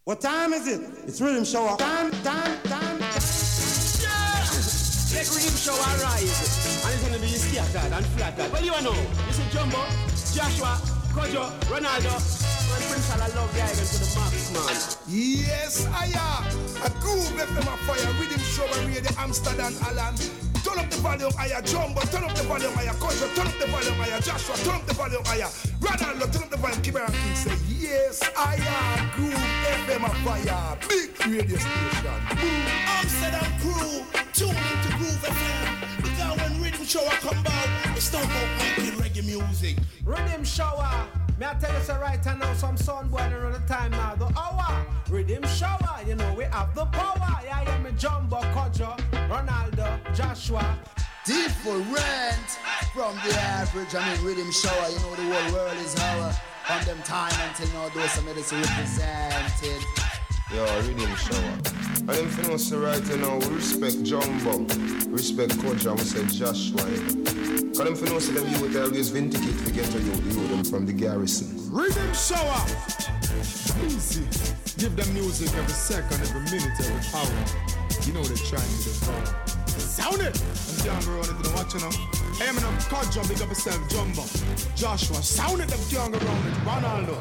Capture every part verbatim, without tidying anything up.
What time is it? It's Rhythm Show. Time, time, time. Yeah! Let Rhythm Show arise. And it's gonna be scattered and flattered. Well, you know, this is Jumbo, Joshua, Kojo, Ronaldo, and Prince I love the island to the max, man. Yes, I am. A groove F M a fire. Rhythm Show and Radio Amsterdam, Alan. Turn up the volume higher, Jumbo. Turn up the volume higher, Kojo. Turn up the volume higher, Joshua. Turn up the volume higher. Ronaldo, turn up the volume. Keep it King say, yes, I am. Groove F M a fire. Big radio station. Amsterdam crew, tune into Groove F M. Because when Rhythm Shower come back, it's not about making reggae music. Rhythm Shower. May I tell you so right now, some sound boy around the time now, the hour. Rhythm Shower, you know we have the power. Yeah, I am a Jumbo, Kojo, Ronaldo, Joshua. Different from the average. I mean, Rhythm Shower, you know the whole world is our. From them time until now, those some medicine represented. Yo, Rhythm Shower. And them finna say right now, we respect Jumbo, respect Kojo, and we say Joshua. Cause them finna say them youth always vindicate to get to you, the youth them from the garrison. Rhythm Shower. Easy. Give them music every second, every minute, every hour. You know they're trying to devour. Sound it! I'm down the road into the watch, you know. Hey, man, I'm Kojo, big up yourself, Jumbo. Joshua, sound it, them young around it. Ronaldo.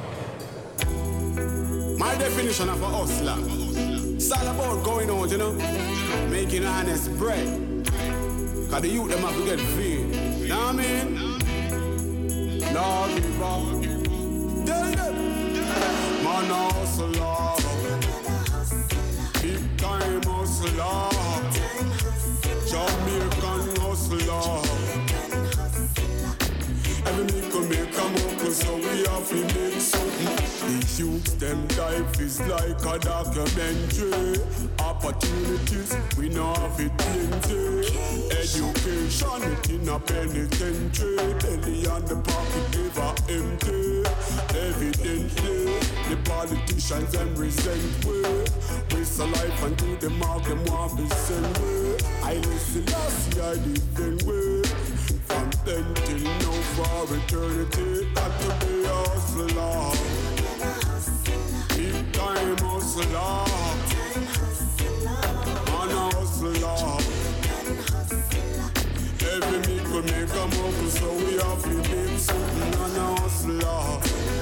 My definition of a hustler. It's all about going out, you know, making honest bread. Cause the youth them have to get fed. You know what I mean? Lord, give up. Tell them. Man, a hustler. Big time hustler. Jamaican hustler. Every nickel make a muckle, so we have to make something. These youths, them life is like a documentary. Opportunities, we know have it plenty. Education, it in a penitentiary. Belly on the pocket, never empty. Evidently, the politicians, them resent we. Waste a life and do the mark, them want to send way. I listen last year, I different way. From then till now for eternity, got to be a hustler. Big time hustler. Man a hustler. Every nickel make a muckle, so we have to make something. Man a hustler.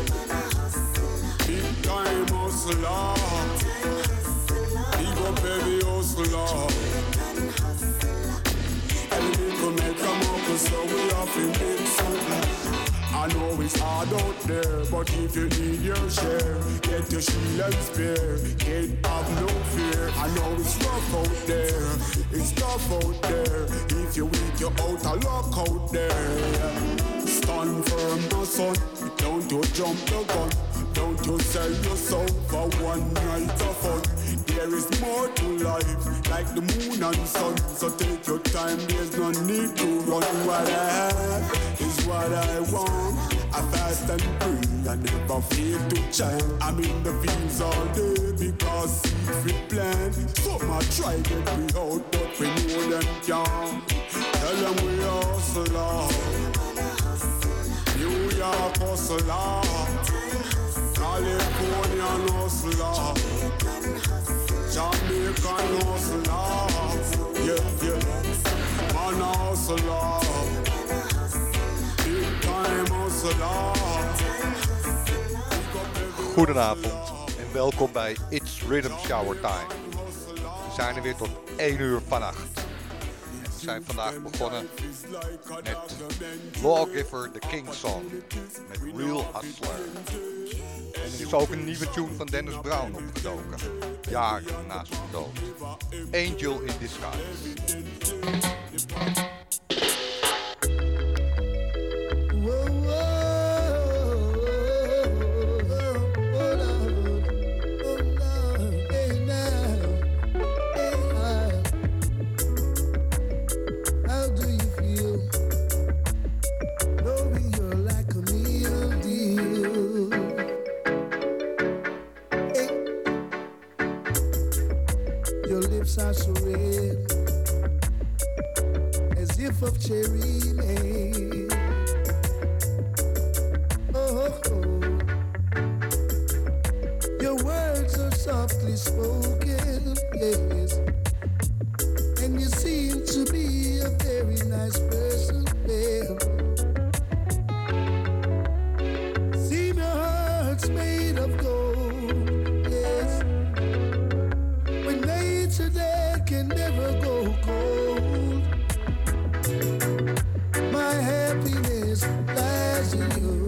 Big time hustler. Big up every hustler. Every nickel make a muckle, so we have to make something. I know it's hard out there, but if you need your share, get your shield and spear. Can't have no fear. I know it's rough out there, it's tough out there. If you're weak, you're out of luck out there. Stand firm, my son. Don't you jump the gun. Don't you sell your soul for one night of fun. There is more to life, like the moon and sun. So take your time, there's no need to run. What I have is what I want. I fast and pray, I never fail to chant. I'm in the fields all day because seeds we plant. Some I try get me out, but we know them can't. Tell them we hustler. New York hustler. Californian hustler, Jamaican hustler, yeah, yeah, man hustler, big time hustler. Goedenavond en welkom bij It's Rhythm Shower Time. We zijn er weer tot één uur vannacht. We zijn vandaag begonnen met Lawgiver, The King Song, met Real Hustler. En er is ook een nieuwe tune van Dennis Brown opgedoken, jaren na zijn dood. Angel in Disguise. Are so red, as if of cherry made. Oh, oh, oh. Your words are soft softly spoken, yes. And you seem to be a very nice person, babe. Seem your heart's made of gold, yes. When nature there can never go cold. My happiness lies in you.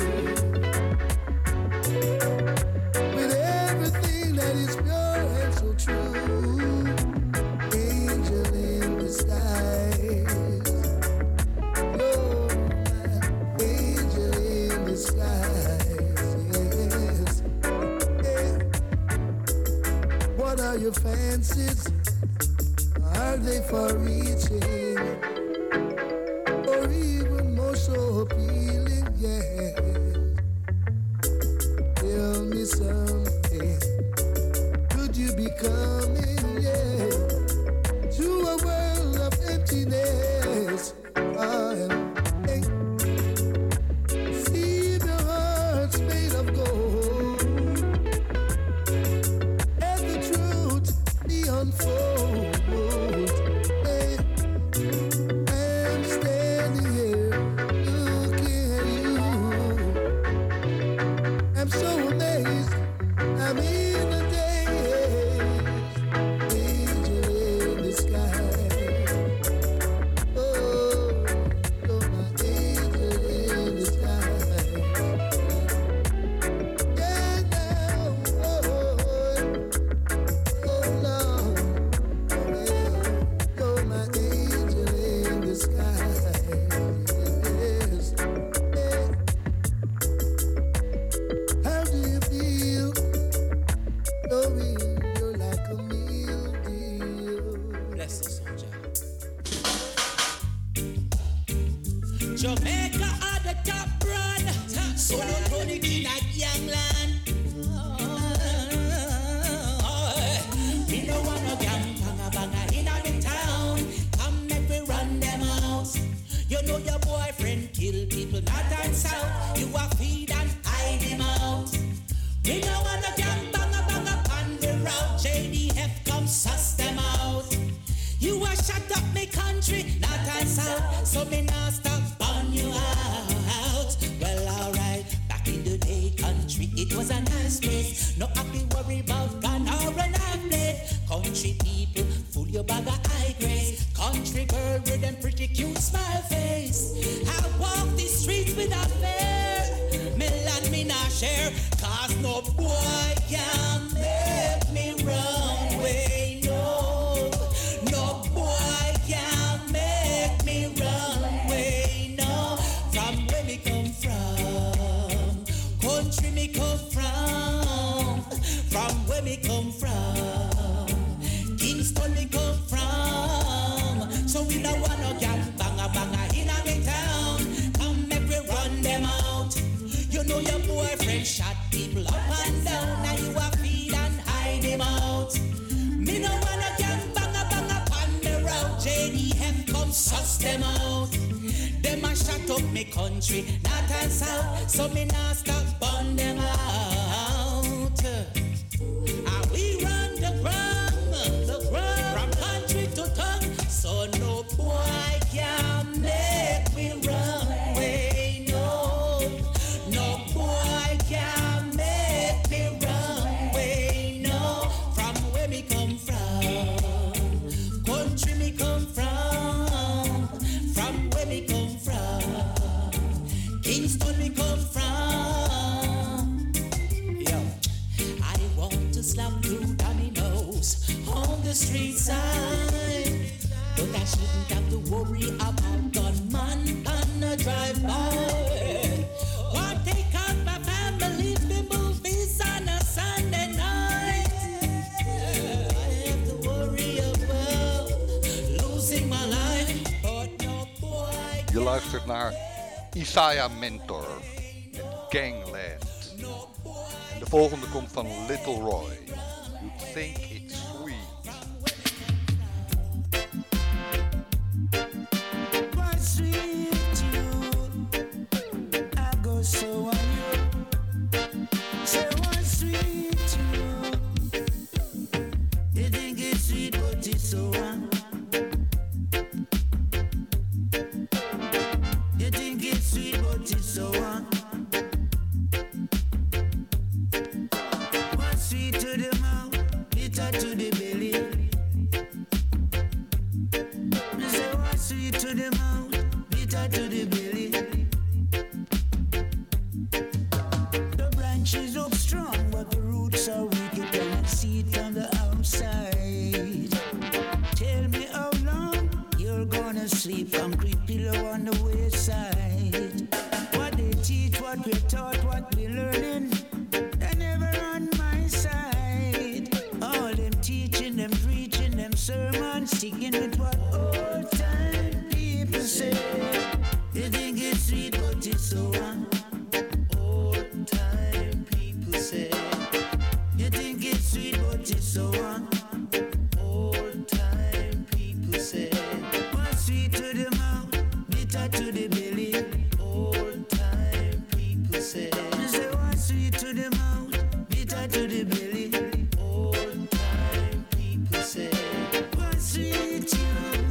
With everything that is pure and so true. Angel in disguise. You're my angel in disguise. Yes. Yeah. What are your fancies? Are they far reaching? Or even more so appealing? Yeah. Tell me something. Could you be coming, yeah, to a world of emptiness? I hey. See the hearts made of gold. Let the truth be unfold. Hey. I'm standing here looking at you. I'm so amazed. I'm in a daze. Angel in the sky. Oh, you're my angel in the sky. Yeah, now, oh, oh, Lord. You're my angel in the sky. Yes. Yeah. How do you feel? Knowing you're like a meal deal. Bless us, soldier. Jamaica are the top brand. So no tonic in a young land. We no want no gang banga banga in a town. Come make we run them out. You know your boyfriend kill people north and south. You a feed and hide him out. We no want no gang banga banga on the route. J D F come suss them out. You a shut up me country north and south. So me not stop burn you out. Well alright, back in the day country it was a nice place. No happy worry about gun or an blade. Country people full your bag of high grade. Country girl with them pretty cute smile face. I walk the streets without fear. Me land me not share. Cause no boy can make me run away. No, no boy can make me run away. No, from where me come from, country me come from, from where me come from, Kingston me come from. So we don't want no gang banga banga in a me town. Come make we run them out. You know your boyfriend shot people up and down. Now you a feed and hide him out. Me no want no gang banga banga on the road. J D F come suss them out. Them a shut up me country, north and south. So me not stop burn them out. And we run the ground, the ground, from country to tongue. So no boy can make me run away. No, no boy can make me run away. No, from where me come from, country me come from, from where me come from, Kingston me come from. Yo, I want to slap two dominoes on the street side, but I shouldn't have to worry about gunman on a drive-by. Or take out my family for movies on a Sunday night. I have to worry about losing my life, but no boy. Je luistert naar Isaiah Mentor met Gangland. En de volgende komt van Little Roy. You think it's sweet. Why sweet you? I go so on you. Say why sweet you? so on. Old time people say, what's sweet to the mouth, bitter to the belly. Old time people say, say what's sweet to the mouth, bitter to the belly. Old time people say, what's sweet you?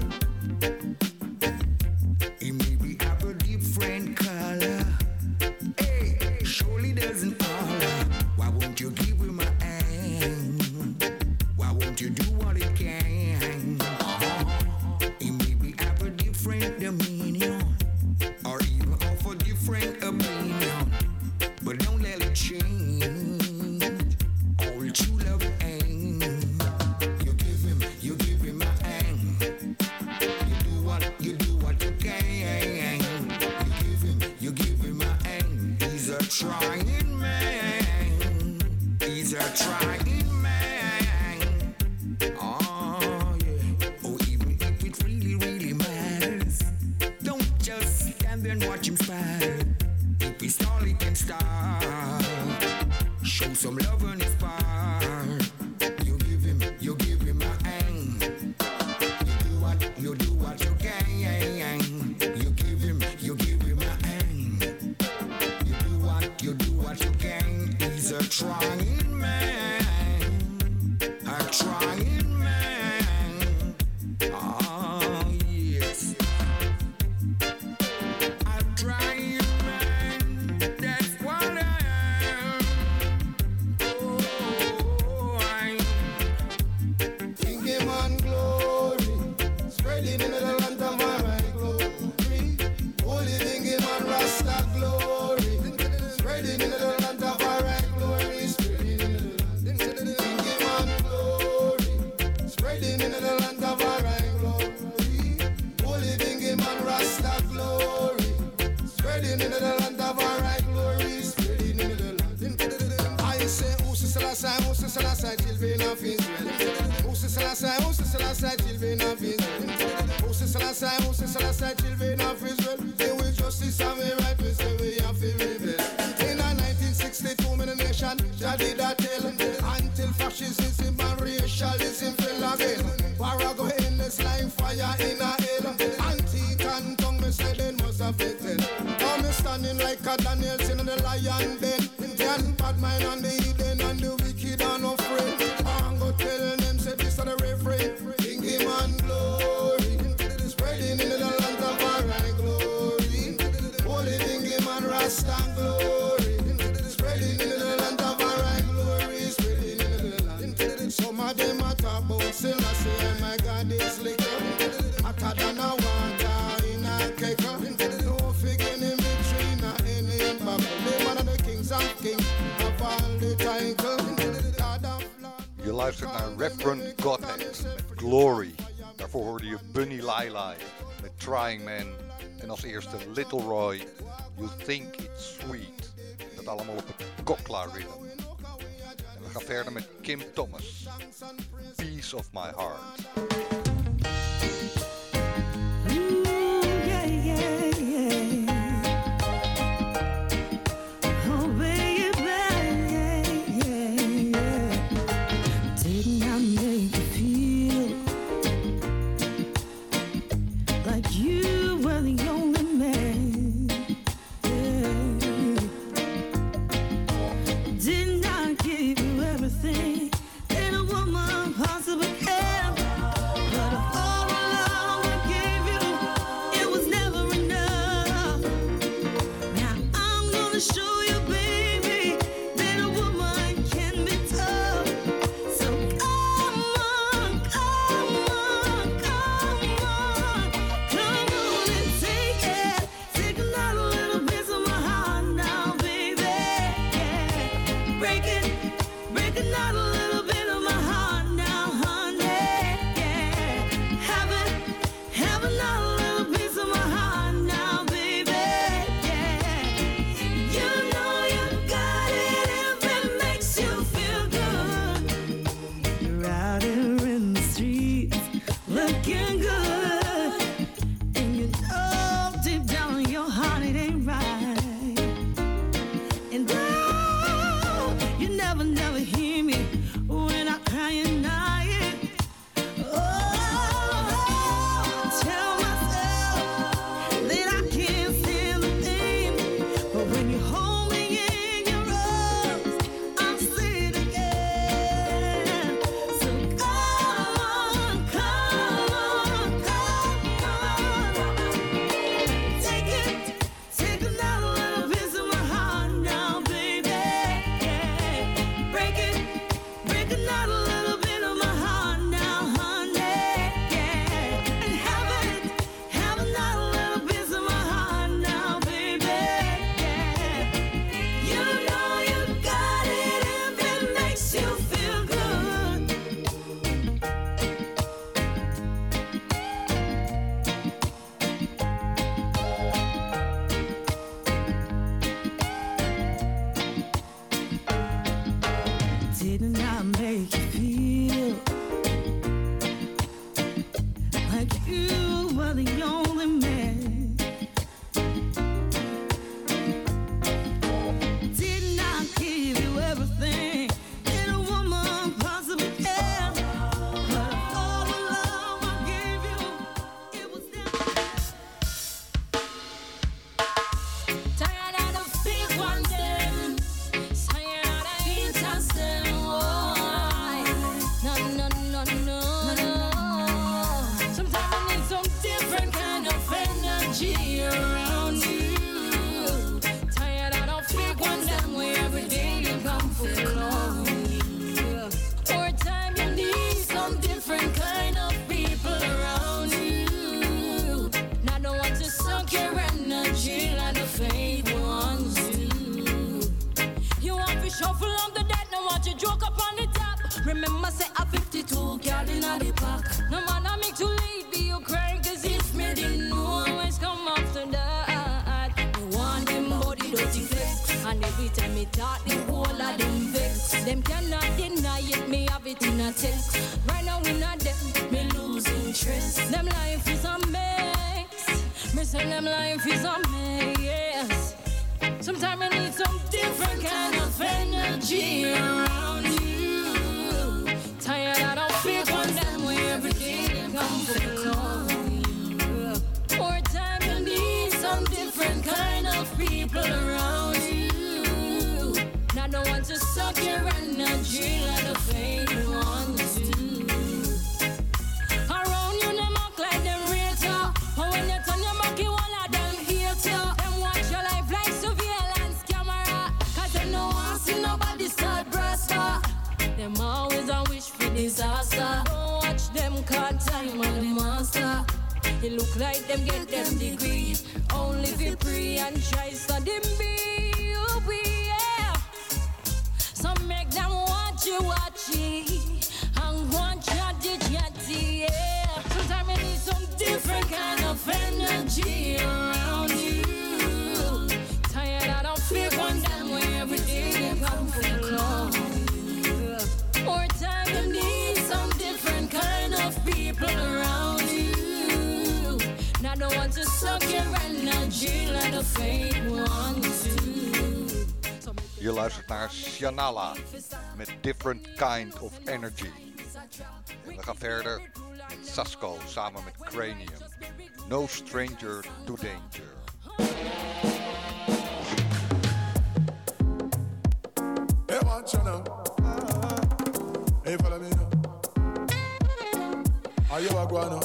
It may be have a different color. Hey, surely doesn't holler. Why won't you give him a hand? Why won't you do what it can? It may be have a different dominion, or even of a different opinion, but don't let it change. All true love ain't. You give him, you give him a hand. You do what, you do what you can. You give him, you give him a hand. He's a trying man. He's a trying man. Oh yeah. Oh, even if it really, really matters, don't just stand there and watch him smile. If he stall, he can start. Show some love on his part. You give him, you give him a hand. You do what, you do what you can. You give him, you give him a hand. You do what, you do what you can. He's a trying man. A trying man. Oh yes. A trying man. That's what I am. Oh, I Thinking on glory, spreading in the land of my glory. Holy thinking on Rasta glory, spreading in the land of our glory. Spreading in the land, thinking on glory, spreading in the land of our glory. Holy thinking on Rasta glory, spreading in the land of our glory. Spreading in the land. I say, Usi Selassie, Usi Selassie, children of Israel. Usi Selassie, Usi Selassie, children of Israel. Usi Selassie, Usi Selassie, children of Israel. They will justice and we right, we say we have to rebel. In a nineteen sixty-two, in the nation, Jah did a tell until fascism and racialism fell again. War go endless like fire in a hell. Anti-can tongue, me say they must have it then. Now me standing like a Daniel in the lion den. The bad mind and the hidden and the wicked are no friend. I'm go tell them say this are the refrain. King him and glory, spreading in the land of our glory. Holy King him and Rasta glory, spreading in the land of our glory. Spreading in the land. Some of them a talk about Selassie and my God is liquor. Hotter than a water in a kecker. No figure in between a any bubble. They one of the kings of kings of all the title. Je luistert naar Reverend Godhead met Glory. Daarvoor hoorde je Bunny Lai met Trying Man. En als eerste Little Roy, You Think It's Sweet. Dat allemaal op het Kokla rhythm. En we gaan verder met Kim Thomas, Piece of My Heart. Didn't I give you everything that a woman possibly can? remember say a fifty-two cal in the pack. No man I make too late be you crying, cause if me didn't know always come after that. Me want them body dirty flex, and every time me talk the whole of them vex. Them cannot deny it, me have it in a text. Right now we not them, me lose interest. Them life is a mess, me say them life is a mess. Sometimes I need some different kind of energy around you. Tired I don't feel one damn way every day they come for love. More time you need some different kind of people around you. Not the one to suck your energy like the fake ones do. Around you them act like them real. But when you turn your back you all of them hate you. Them watch your life like surveillance camera, cause they know I see nobody start brasta. Them always a wish for disaster. Don't watch them cause time on the master. It look like them get them degree only for free and try study me. Oh, yeah. Some make them watch you watch it and want you to yeah. Sometimes you need some different kind of energy around you. Tired I don't feel one damn way every day they come for love. More time you need some different kind of people around you. Not the ones to suck your energy like the fake ones do. Je luistert naar Shanala met Different Kind of Energy. En we gaan verder met Sasko samen met Cranium. No Stranger to Danger. Hey, watch you now. Hey, follow me now. Are you a guano?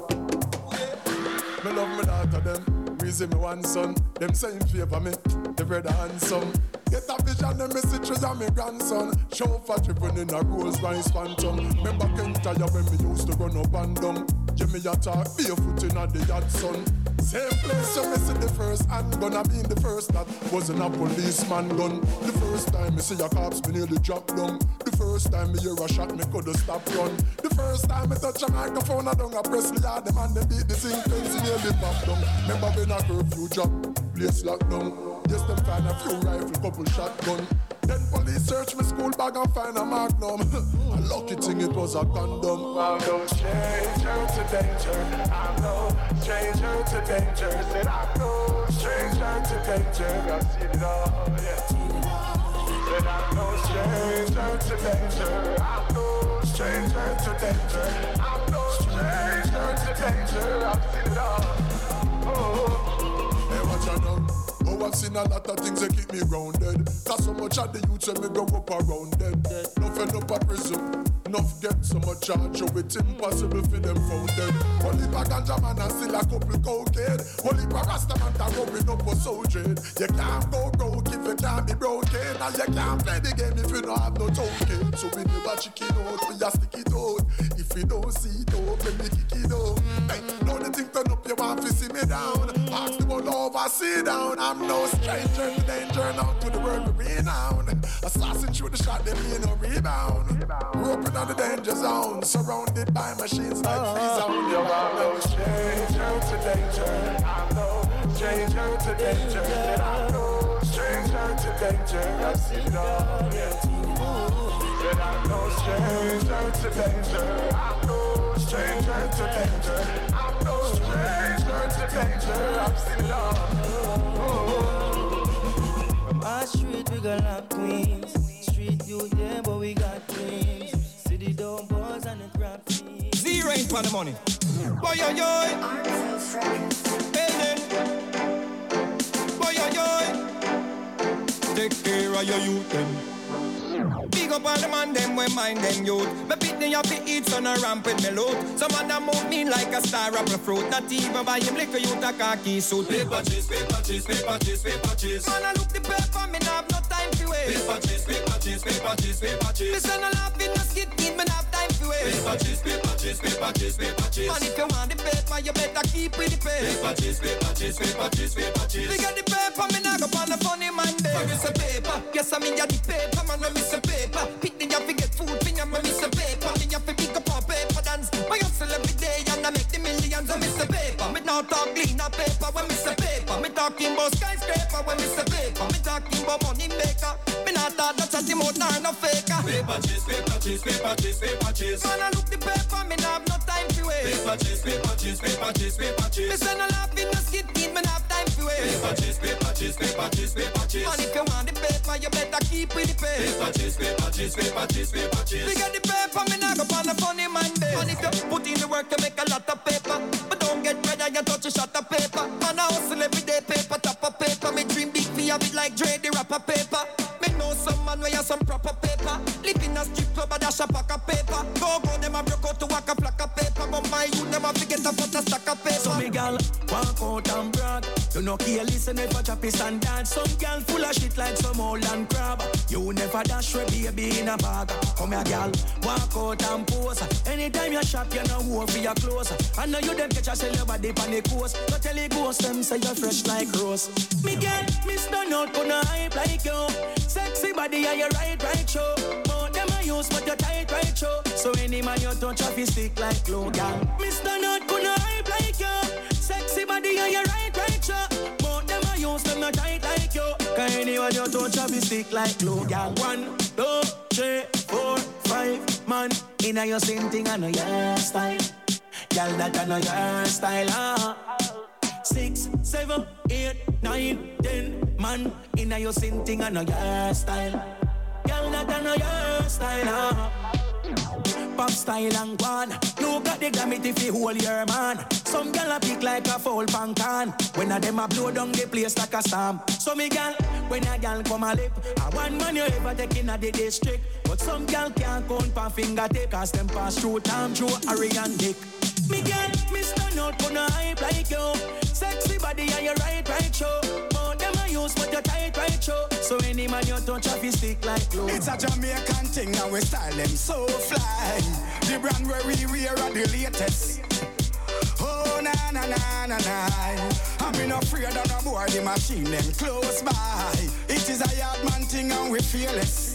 Me love me daughter them. Reason me one son. Them say in favor me. The brother handsome. Get a vision, them messages of me grandson. Chauffeur driven in a Rolls Royce Phantom. Remember Kentire when me used to run up and down. Give me a talk, barefoot in a the yard sun. Same place you me see the first handgun. I mean the first that wasn't a policeman gun. The first time me see a cops, me nearly drop down. The first time me hear a shot, me coulda stop run. The first time me touch a microphone, I don't a press the yard. Them and they beat the sing fence, nearly pop down. Remember when a curfew drop, place locked down. Yes, them find a few rifle, couple shotgun. Then police search my school bag and find a magnum. A lucky thing it was a condom. I'm no stranger to danger. I'm no stranger to danger. Said I'm no stranger to danger. I've seen it all, yeah. Said I'm no stranger to danger. I'm no stranger to danger. I'm no stranger to danger. I've seen it all. Oh, hey, watch out now. Oh, I've seen a lot of things that keep me grounded. Cause so much of the youth when me go up around them. Enough end up a prison, enough get so much charge. So it's impossible for them found dead. Only a ganja man and still a couple cocaine. Only a rasta man that rubbing up for soldier. You can't go broke if you can't be broken. And you can't play the game if you don't have no token. So we never chicken out, we just stick it out. If you don't see it out, then we kick it out. Hey, know the thing turn up, you want to see me down. Ask the one over, sit down. I'm no stranger to danger, now to the world we renowned. Assassin through the shot, they me no rebound. Grew up in the danger zone, surrounded by machines like uh-huh. free zone. Yo, I'm no stranger to danger. I'm no stranger to danger. And I'm no stranger to danger. I've seen it all, yeah. And I'm no stranger to danger. I'm no stranger to danger. I'm no stranger to danger. I've seen it all. From our street we got love queens. Street youth, yeah, but we got dreams. City down boys and the crap fiends. Zero in for the money. Boy, yo, yo. Hey, then. Boy, yo, yo. Take care of your youth, then. Big up all the man, them we mind them youth. Me beat them up to eat son a ramp with me loot. Some of them move me like a star apple fruit. Not even buy him liquor youth a khaki suit. Paper chase, paper chase, paper chase, paper chase. Man I look the paper, me nah have no time to waste. Paper chase, paper chase, paper chase, paper chase. Listen a laugh in the skit, need me nah have time to waste. Paper chase, paper chase, paper chase, paper chase. Man if you want the paper, you better keep with the pace. Paper chase, paper chase, paper chase, paper chase. We got the paper, me nah go on a funny man day. I miss a paper, yes I mean ya the paper, man I miss a paper. Pick the up, we get food, finger, me miss a paper. about skyscraper when me say paper. Me talking about money maker. Me not talk that chatty mouth nor no faker. Paper chase, paper chase, paper chase, paper chase. Man, I look the paper, me not have no time to waste. Paper chase, paper chase, paper chase, paper chase. Me say no laughing, no skit teeth, me not have time to waste. Paper chase, paper chase, paper chase, paper chase. And if you want the paper, you better keep with the paper. Paper chase, paper chase, paper chase, paper chase. We get the paper, me not go on the funny man day. And if you put in the work, you make a lot of paper. But don't get ready, you touch a shot of paper. Man, I hustle every day, paper, top of paper. Me dream big for have it like Dre, the rapper paper. Me know some man where you some proper paper. Live in a strip club, a dash a pack of paper. Go go, them a broke out to walk a flock of paper. But my youth, them a forget to put a stack of paper. So me gal, walk out and brag. You know care, listen if I chop his and dance. Some gal full of shit like some old and crab. You never dash with baby in a bag. Come here gal, walk out and pose. Anytime you shop, you know who for your clothes. I know you them catch a sell your body on the coast. Don't tell the ghost them say you're fresh like rose. Me gal, Mister Not gonna hype like you. Sexy body and your right, right show. More them I use but your tight, right show. So any man you touch off his stick like glue, gal. Mister Not gonna hype like you. Sexy body and your right, right show. More them I use them not tight like you. Cause anyone you touch off his stick like glue, gal. One, two, three, four, five, man. Inna your same thing and your style. Gal that I know your style, ah. Six, seven, eight, nine, ten, man. Inna your same thing and your style. Gal that I know your style, ah. Pop style and guan. You got the glamity if you hold your man. Some gal a pick like a foul pan can. When a them a blow down the place like a storm. So me gal, when a gal come a lip, a one man you ever take in a the district. But some gal can't count pa finger take, cause them pass through time through Harry and Dick. Me gal, Mister Not gonna hype like you. Sexy body and your right, right show. More them a use but your tight, right show. So any man you touch off his stick like glue. It's a Jamaican thing and we style them so fly. The brand where we wear are the latest. Oh na na na na na. I'm not afraid of no boy, the machine them close by. It is a yard man thing and we fearless.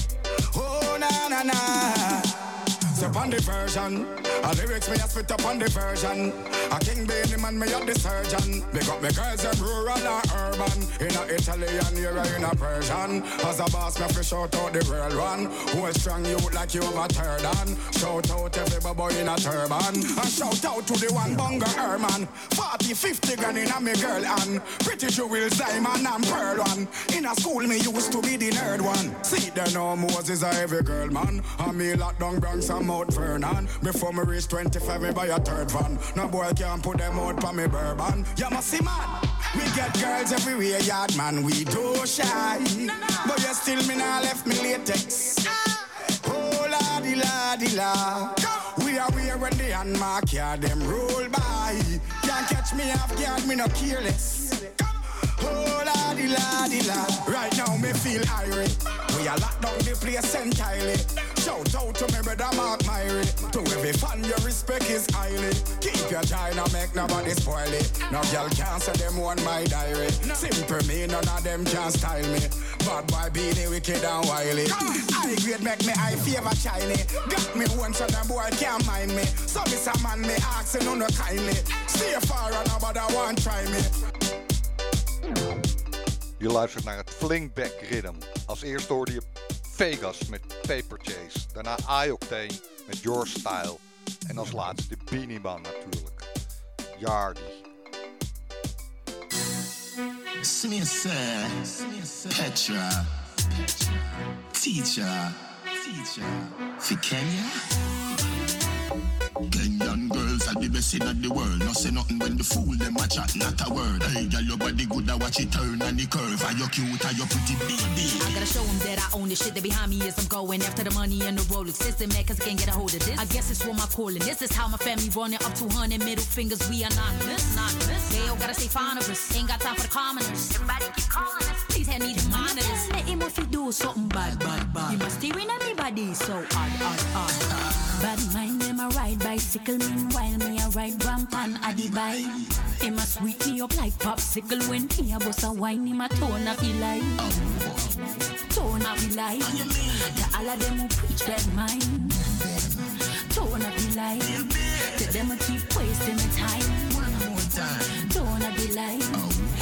Oh na na na. So on the version, a lyrics me a spit up on the version. A King Bailey man me up the surgeon. Big up me girls them rural and urban. In a Italian here in a Persian. As a boss me fi shout out the real one. Who is strong youth like you over third on. Shout out every boy in a turban. And shout out to the one bunga Herman. Forty, fifty grand in a me girl and pretty jewels diamond and pearl one. In a school me used to be the nerd one. See there no Moses a every girl man. And me lock down Bronx and Mount Vernon. Before me reach twenty-five, me buy a third van. No boy can't put them out for me bourbon. You must see man, we get girls everywhere, yard man, we do shy. But you still me nah left me latex. Oh la di la di la. We are here when the handmark yard them roll by. Can't catch me off guard, me no careless. Oh la di la di la. Right now me feel irate. We are locked down the place entirely. Shout out to me brother Mark Myrie. To every fan your respect is highly. Keep your China, make nobody spoil it. No girl can't say them want my diary. Simple me, none of them can style me. Bad boy be the wicked and wily. I grade make me eye favor shiny. Got me one so them boy can't mind me. So this a man me asking on no kindly. Stay far and nobody want try me. Je luistert naar het Flinkback Rhythm. Als eerste hoorde je Vegas met Paper Chase. Daarna I-Octane met Your Style. En als laatste de Beanie Man natuurlijk. Yardi. Smith, Petra, Teacher, Teacher, for Kenya. Kenyan girls are the best in the world. No say nothing when the fool them a chat, not a word. Hey, girl, your body good, I watch it turn and the curve. Are you cute, are you pretty baby? I gotta show them that I own the shit that behind me is I'm going after the money and the Rolex system, man, cause I can't get a hold of this. I guess it's what my calling. This is how my family running up two hundred middle fingers. We anonymous, anonymous. They all gotta stay fond of us. Ain't got time for the commoners. Everybody keep calling us. Please hand me the monitors. Let him if he do something bad, bad, bad. You must steering everybody so odd, odd, odd. Bad mind them a ride bicycle, meanwhile me a ride ramp and a the bike. Him a sweet me up like popsicle when he a bust a wine, him a tone up he like. Tone up he like. To all of them who preach that mind. Tone up he like. To them who keep wasting the time. One more time. Tone up he like.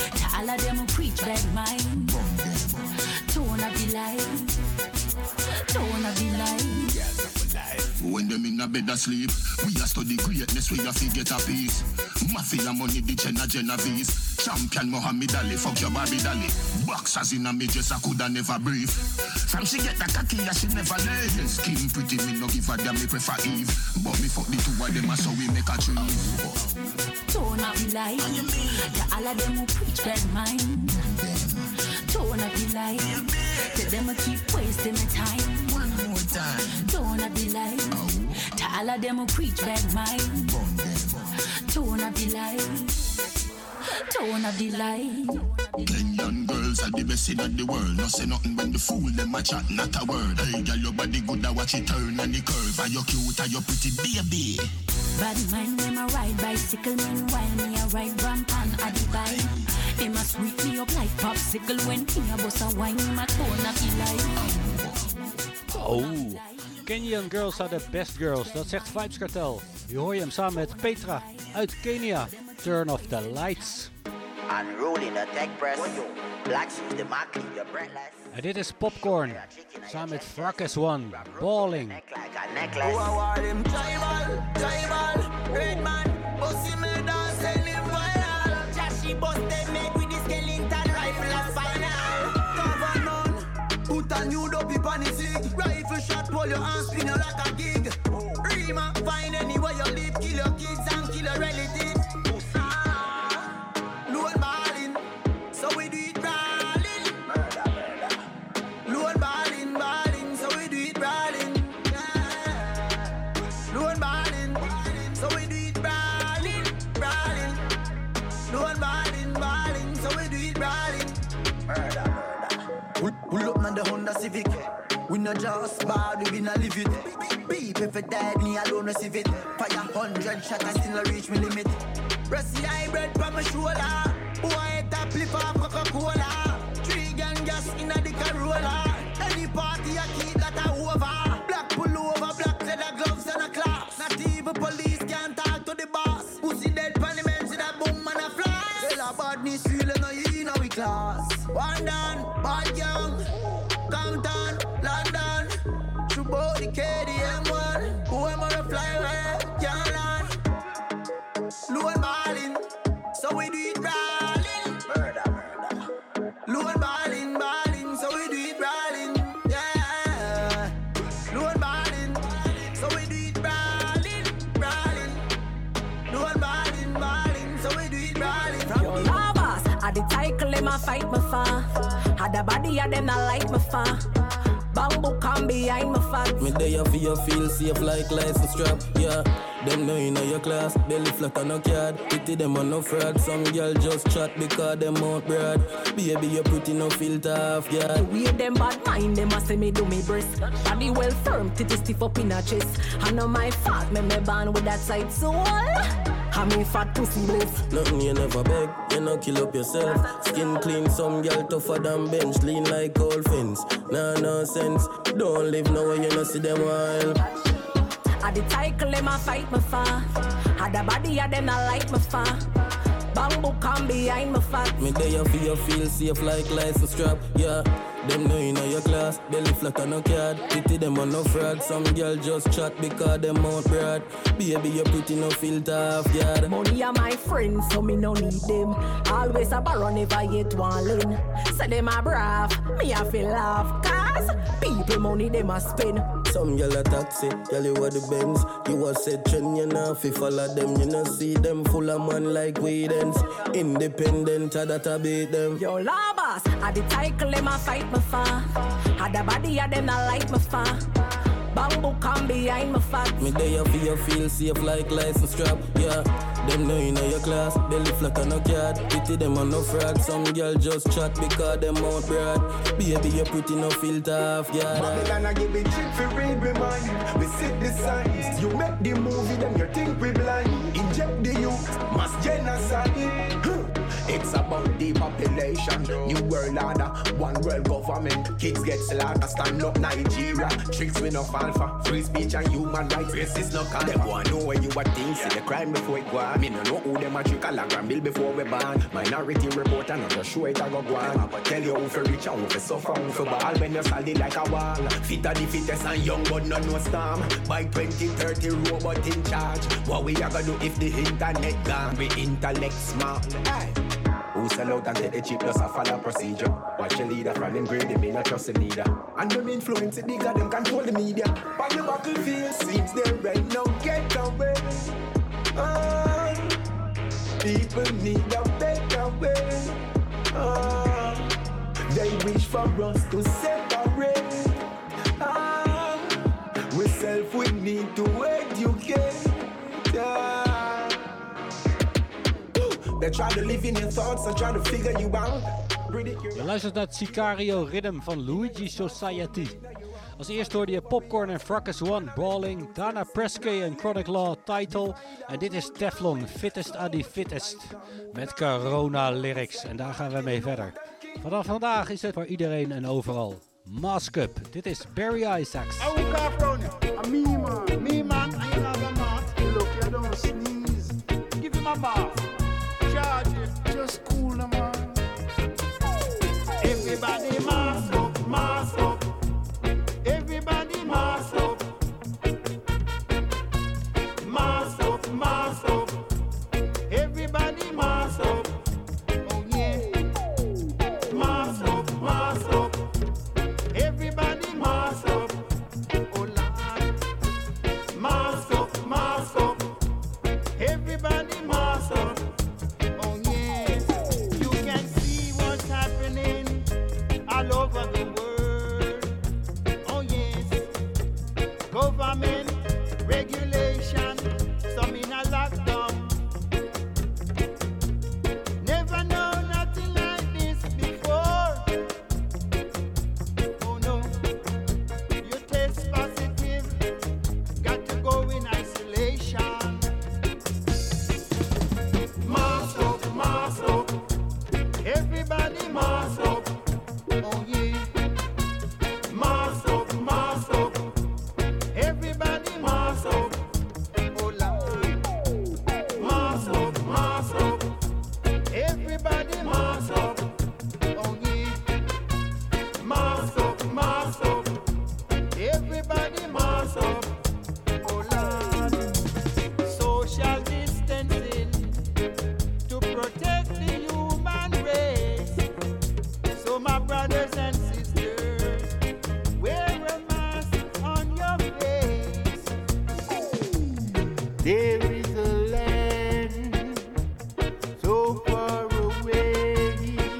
To all of them who preach bad mind. Tone of the line. Tone of the line. When them in a bed asleep, we a study greatness, we a fi get a piece. Mafia money, the Jenna Genovese. Champion Muhammad Ali, fuck your Barbie Dolly. Boxers in a me just I coulda never breathe. From she get the cocky, yeah, she never lay. Skin pretty, me no give a damn, me prefer Eve. But me fuck the two of them, so we make a choose. Tone of the line. To all of them who preach bad mind. Tone of the line. To them who keep wasting my time. One more time. Tone of the line. To all of them who preach bad mind. Tone of the line. Tone of the line. Kenyan girls are the best in the world. No say nothing when the fool them a chat, not a word. Hey, girl, your body good, I watch it turn and the curve. Are you cute, are you pretty, baby? Bad mind when I ride bicycle, meanwhile me a ride rampan at the bike. They must sweep me up like popsicle when me a bust a wine in my tone of the line. Oh, Kenyan girls are the best girls, dat zegt Vybz Kartel. Hier hoor je hem samen met Petra uit Kenia. Turn off the lights. Unruly, the tech press. Black shoes, the market, your breathless. En dit is Popcorn, samen met Fracas One, Balling. Who are them tribal, tribal, red man, bossy me dance and live viral. Joshy busted made with the skeleton rifle as final. Cover none, put a new dopey pan the sig. Rifle shot, pull your hands, spin you like a gig. Rima, find anywhere you live, kill your kids and kill your relatives. Pull up on the Honda Civic. We not just bad, we not live it. Beep if it dead, me alone receive it. Fire hundred shot, I still reach my limit. Rusty hybrid from my shoulder. Boy, that flip off Coca-Cola. Three gang gas in a the Corolla. Any party I keep that I over. Black pullover, black leather gloves and a class. Not even police can't talk to the boss. Pussy dead parliament with a boom and a flash. Tell a badness really no in our class. One down, bad young, Compton, London, Chubo the K D M one, who am I to fly away, can't land. Low and balling, so we do it brawling. Murder, murder. Low and balling, balling, so we do it brawling. Yeah. Low and balling, so we do it brawling, brawling. Low and balling, balling, so we do it brawling. Yo, lovers, I the title in my fight my fa. Had a body of them not like my fa. Bamboo come behind my fat. Me there for you feel safe like license strap. Yeah, them know in your class. Belly flat on no card. Pity them on no fraud. Some girl just chat because them out broad. Baby you pretty no filter off, yeah. The way them bad mind, them a say me do me breast. Body well firm, titty stiff up in a chest. I know my fat, me me born with that side soul. I mean fat pussy bliss. Nothing you never beg, you no kill up yourself. Skin clean, some girl tougher than bench. Lean like old fence, nah nonsense. Don't live nowhere you no see them while. I the title them a fight my fa. Had a body of them not like my fa. Bamboo come behind my fat. Me there for you feel safe like license strap, yeah. Them know in your class, belly flat on no card. Pity them on no fraud. Some girl just chat because them out broad. Baby you pretty no filter off, yeah. Money are my friends, so me no need them. Always a borrow, never yet one lend. Say them a brave, me a feel laugh. Cause people money them a spend. Some girl a taxi, girl you are the Benz. You a set trend, you know fi follow them. You know see them full of man like weedens. Independent, a that a beat them. Yo lovers, I the title them a fight my fa. Had a body of them not like my fa. Bamboo come behind my fat. Me there for you feel safe like license strap, yeah. Them know in your class, belly flat on no card. Pity them on no fraud. Some girl just chat because them out broad. Baby you pretty no filter off, yeah. Babylon I give it trick for read me mind. We sit the signs. You make the movie, then you think we blind. Inject the youth, mass genocide. It's about the population. revolution. New world order, one world government. Kids get slaughtered, stand up Nigeria. Tricks with no alpha, free speech and human rights. Racists no call. Them want know where you are think. See the crime before it go on. Me no know who them a trick a logram bill before we ban. Minority report and not show it a go go on. But tell you who for rich and who for suffer, who for ball. When you solid like a wall. Fit of the fittest and young but not no storm. By twenty thirty robot in charge. What we a gonna do if the internet gone? We intellect smart. Hey. Who sell out and take the cheap, just a follow procedure. Watch your leader from them grade, they may not trust the leader. And them influence it bigger, them control the media. On the battlefield, seems they're right now, get away. Oh, people need a better way. Oh, they wish for us to separate. Oh, we self, we need to educate. Yeah. They try to live in your thoughts and try to figure you out. Je luistert naar het Sicario Rhythm van Luigi Society. Als eerst hoorde je Popcorn en Fracas One, Brawling, daarna Presky en Chronic Law, Title. En dit is Teflon, Fittest of the Fittest, met Corona Lyrics. En daar gaan we mee verder. Vanaf vandaag is het voor iedereen en overal. Mask Up, dit is Barry Isaacs. I woke up from a me man, me man, and you have a mask. Look, you don't sneeze. Give him a bath. Charge it, just cool them man. Everybody mask up, mask up. Everybody mask up. Mask up, mask up. Everybody mask up. Oh yeah. Mask up, mask up. Everybody mask up. Oh Lord. Mask up, mask up. Everybody mask up. All over the world, oh yes, government regulation, some in a lockdown. Never know nothing like this before. Oh no, you test positive, got to go in isolation. Mask up, mask up, everybody mask up. Oh yeah, mask up, mask up. Everybody mask up. Oh Lord, mask up, mask up. Everybody mask up. Oh yeah, mask up, mask up. Everybody mask up. Oh Lord, social distancing to protect the human race. So my brothers and sisters, wear a mask on your face. There is a land so far away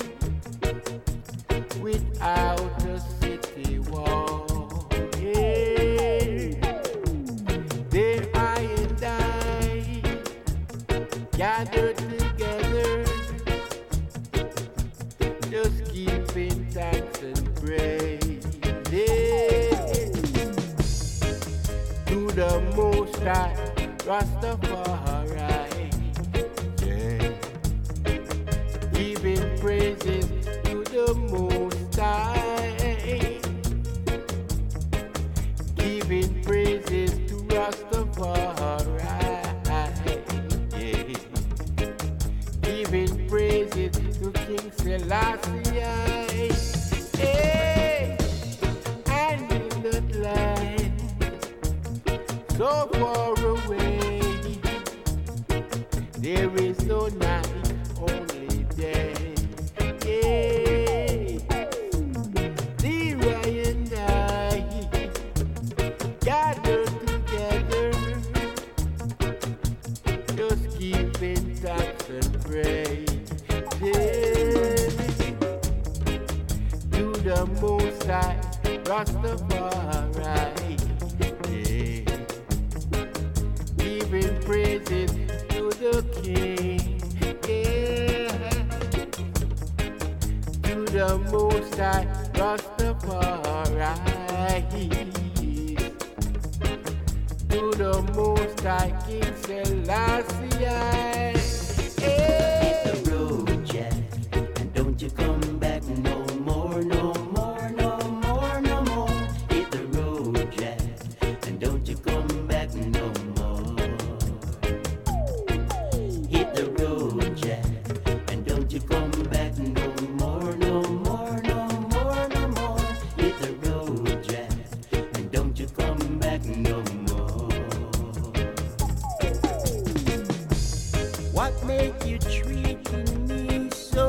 without a city wall. Yeah. There I and I gathered together, just giving thanks and praise, yeah, to the Most High, Rastafari, yeah, giving praises to the Most High, giving praises to Rastafari, yeah, giving praises to King Selassie, hey, and in that land so far away, there is no night, only day, yeah. There I and I gathered together, just giving thanks and praise, yeah, to the Most High, Rastafari, yeah, giving praises to the King, yeah, to the Most High, Rastafari, to the Most High, King Selassie, Hit the road, Jack, and don't you come make you treating me so?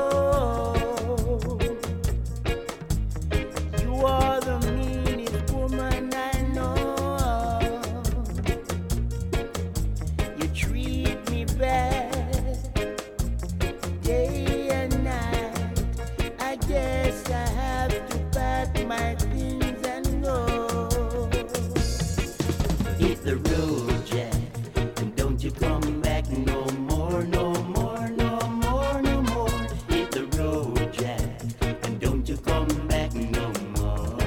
You are the meanest woman I know. You treat me bad day and night. I guess I have to pack my things and go. Hit the road, Jack. Don't you come back no more, no more, no more, no more. Hit the road, Jack, and don't you come back no more.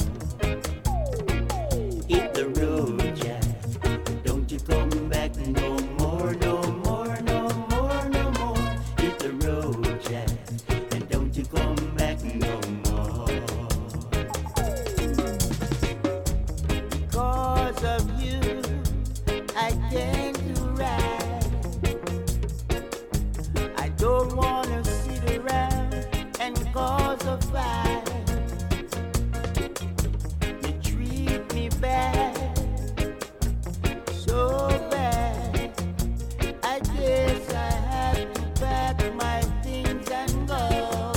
Hit the road, Jack, don't you come back no more, no more, no more, no more. Hit the road, Jack, and don't you come back no more. Because of you, I can't do right. I don't wanna sit around and cause a fight. You treat me bad, so bad. I guess I have to pack my things and go.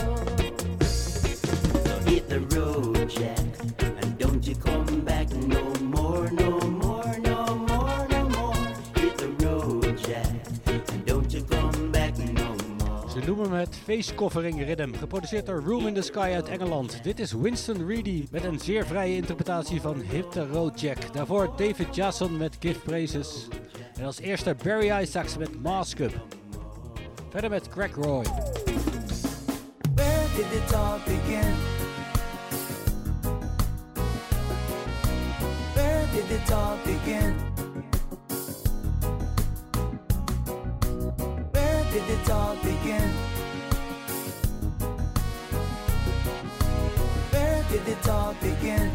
So hit the road, Jack, and don't you come back no more, no more, no more, no more. Hit the road, Jack, and don't you come back no more. Ze noemen hem het Face Covering Rhythm, geproduceerd door Room in the Sky uit Engeland. Dit is Winston Reedy met een zeer vrije interpretatie van Hit the Road Jack. Daarvoor David Jason met Give Praises. En als eerste Barry Isaacs met Mask Up. Verder met Craig Roy. Where did it all begin? Where did it all begin? Where did it all begin? Where did it all begin?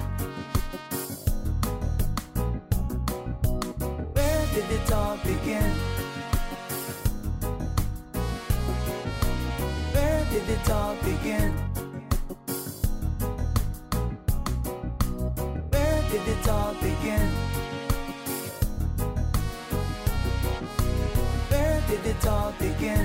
Where did it all begin? Where did it all begin? Where did it all begin? Where did it all begin?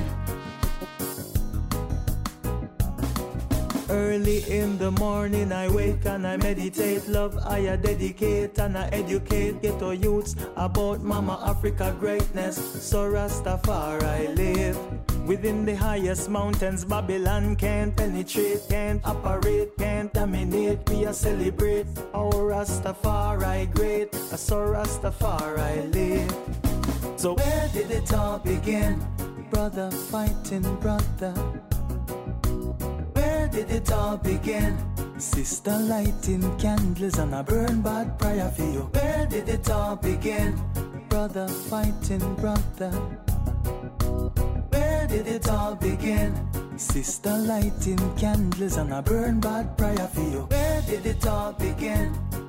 Early in the morning I wake and I meditate. Love I dedicate and I educate ghetto youths about Mama Africa greatness. So Rastafari live within the highest mountains. Babylon can't penetrate, can't operate, can't dominate. We are celebrate our Rastafari great. So Rastafari live. So where did it all begin? Brother fighting brother. Where did it all begin? Sister lighting candles and I burn bad prayer for you. Where did it all begin? Brother fighting brother. Where did it all begin? Sister lighting candles and I burn bad prayer for you. Where did it all begin?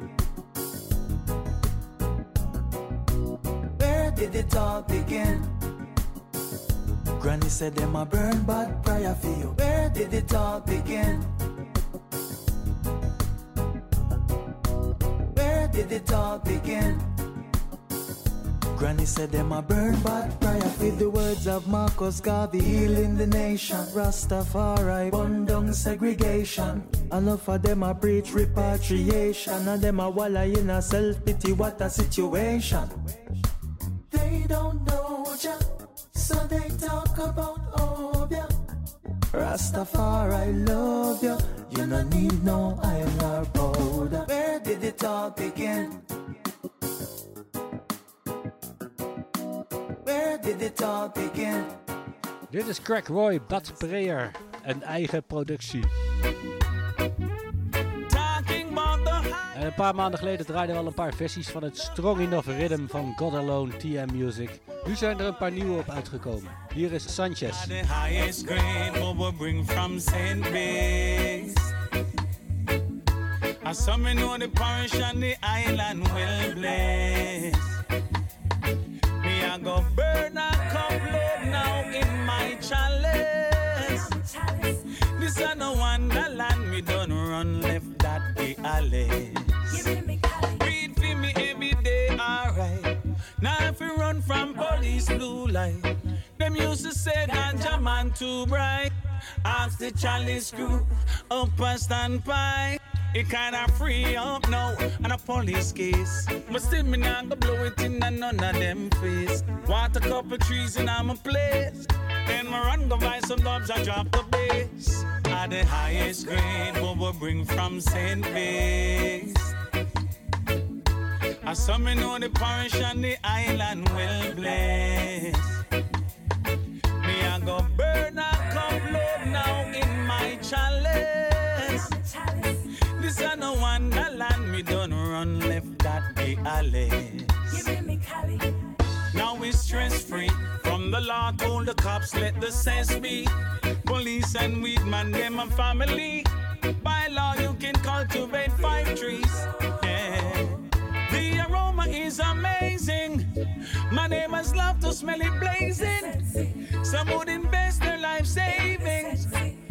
Where did it all begin? Granny said them a burn bad prayer for you. Where did it all begin? Where did it all begin? Granny said them a burn bad prayer. With the words of Marcus Garvey, healing the nation. Rastafari, burn down segregation. Enough of them a preach repatriation. And them a walla in a self-pity, what a situation. They don't know ya, so they talk about Obia. Rastafari love ya, you no need no iron or powder. Where did it all begin? Where did it all begin? Dit is Craig Roy, Bad Prayer, een eigen productie. En een paar maanden geleden draaiden we al een paar versies van het Strong Enough Rhythm van God Alone T M Music. Nu zijn er een paar nieuwe op uitgekomen. Hier is Sanchez. The highest grade what we bring from Saint Base. I saw me know the parish and the island well blessed. Me I go burn a cup load now in my chalice. This is no wonderland, me don't run left that the alley. Read for me every day, alright. Now if we run from police blue light, Them used to say ganja man too bright. Ask the chalice crew up a standby. It kinda free up now on a police case. But still me not go blow it in none of them face. Want a couple trees in my place. Then my run go buy some dubs, I drop the bass. At the highest grade, what we bring from Saint Base. I saw me know the parish and the island well blessed. Me I go burn a cup load now in my chalice. This is no wonderland, me done run left that be Alice. Now we stress free. From the law told the cops let the sense be. Police and weed man them a family. By law you can cultivate five trees. Yeah. The aroma is amazing. My neighbors love to smell it blazing. Some would invest their life savings.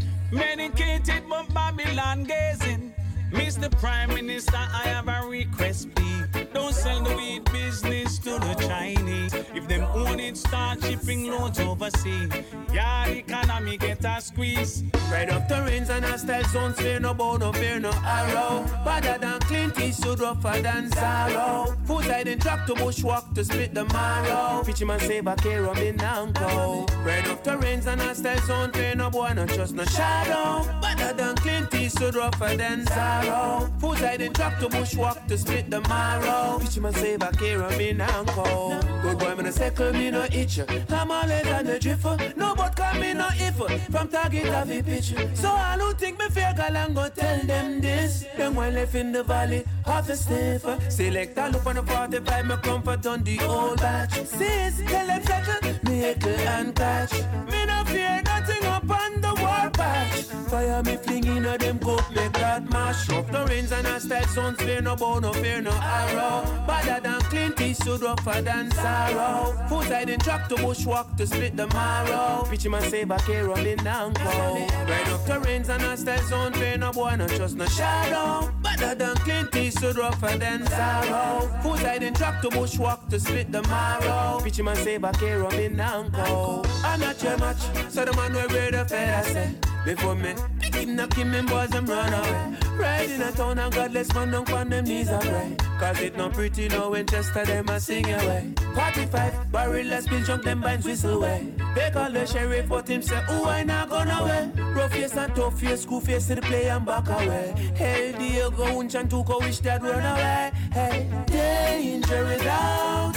Medicated but Babylon gazing. Mister Prime Minister, I have a request, please. Don't sell the weed business to the Chinese. If them own it, start shipping loads overseas. Yeah, the economy get a squeeze. Right up the rains and a style zones, fear no bow, no fear no arrow. Better than Clint Eastwood, rougher than sorrow. Food I didn't drop to bushwalk to split the marrow. Pitchy man save a care of me now go. Right up the rains and a style zone, fear no boy, no trust no shadow. Better than Clint Eastwood, rougher than sorrow. Food I didn't drop to bushwalk to split the marrow. Pitchy man save a care of me now go. Good boy, man, a second me no itch. I'm all than the drifter. No but come me no if. From target of a picture. So I don't think me fear girl and go tell them this. Them one left in the valley of the stiffer. Select a look on the forty-five, me comfort on the old batch. Sis, tell them settle, me heckle and catch. Me no fear nothing up on the war patch. Fire me fling in a them coat, make that mash. Up the rains and a style zones, fear no bow, no fear no arrow. Better than Clint Eastwood, rougher than sorrow. Foot I didn't track to bushwalk to split the marrow. Pitchy man save a care of me now go. Right up the rains and a style zone, fear no boy, no trust no shadow. Better than Clint Eastwood, rougher than sorrow. Foot I didn't track to bushwalk to split the marrow. Pitchy man save a care of me now go. I'm not your match, so the man will read the fair say. Before me, pick him, knock him, and boys them run away. Right in a town, and godless man don't find them knees and pray. Cause it not pretty no Winchester, them a sing away. forty-five, barrel let's bill jump them binds whistle away. They call the sheriff, but him say, ooh, I not gonna away. Rough face and tough face, school face to the play and back away. Hey, Diego, Unch and Tuco, wish that run away. Hey, danger without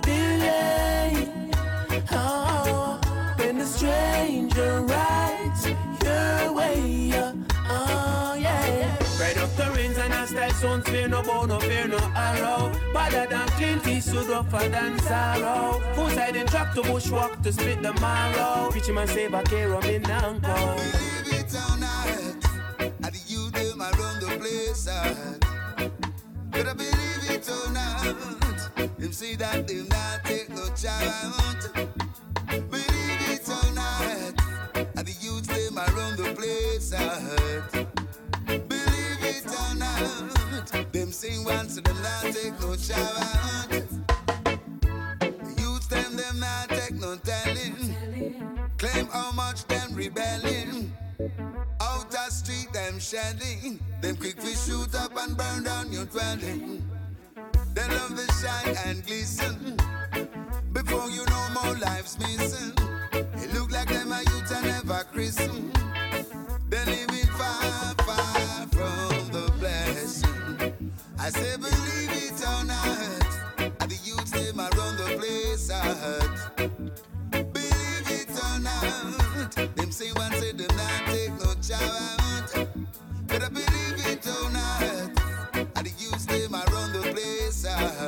delay. Oh, when the stranger rides your way, uh, oh yeah. Right up the rains and a style zones, fear no bow, no fear no arrow. Better than Clint Eastwood, rougher than sorrow. Foot I didn't track to bushwalk to split the marrow. Pitchy man save a care of me now go. Believe it or not, I the youth them around the place. But I believe it or not, them say that them not take no child. Believe it or not, I the youth them around the place. Believe it or not, them sing once and them not take no shower. The youth them them not take no telling. Claim how much them rebelling. Out the street them shedding. Them quick we shoot up and burn down your dwelling. They love the shine and glisten. Before you know more lives missing. It look like them a youth and never christen. They living far, far from the blessing. I say believe it or not, and the youth them around the place. Believe it or not, them say one say them not take no child. But I believe it or not, and the youth them around the place.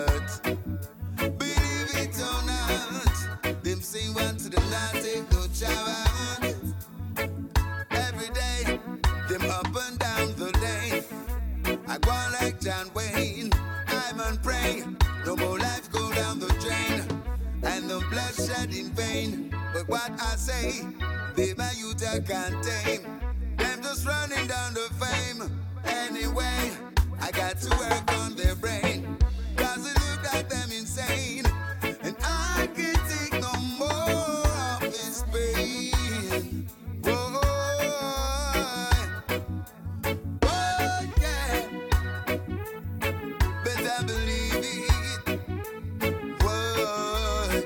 Believe it or not, them say one say them not take no child. Every day, them up and down the lane. I go like John Wayne. I'm on pray. No more life go down the drain. And no bloodshed in vain. But what I say, they my youth I can't tame. Them just running down the fame. Anyway, I got to work on their brain. Cause it look like them insane. And I can't take no more of this boy.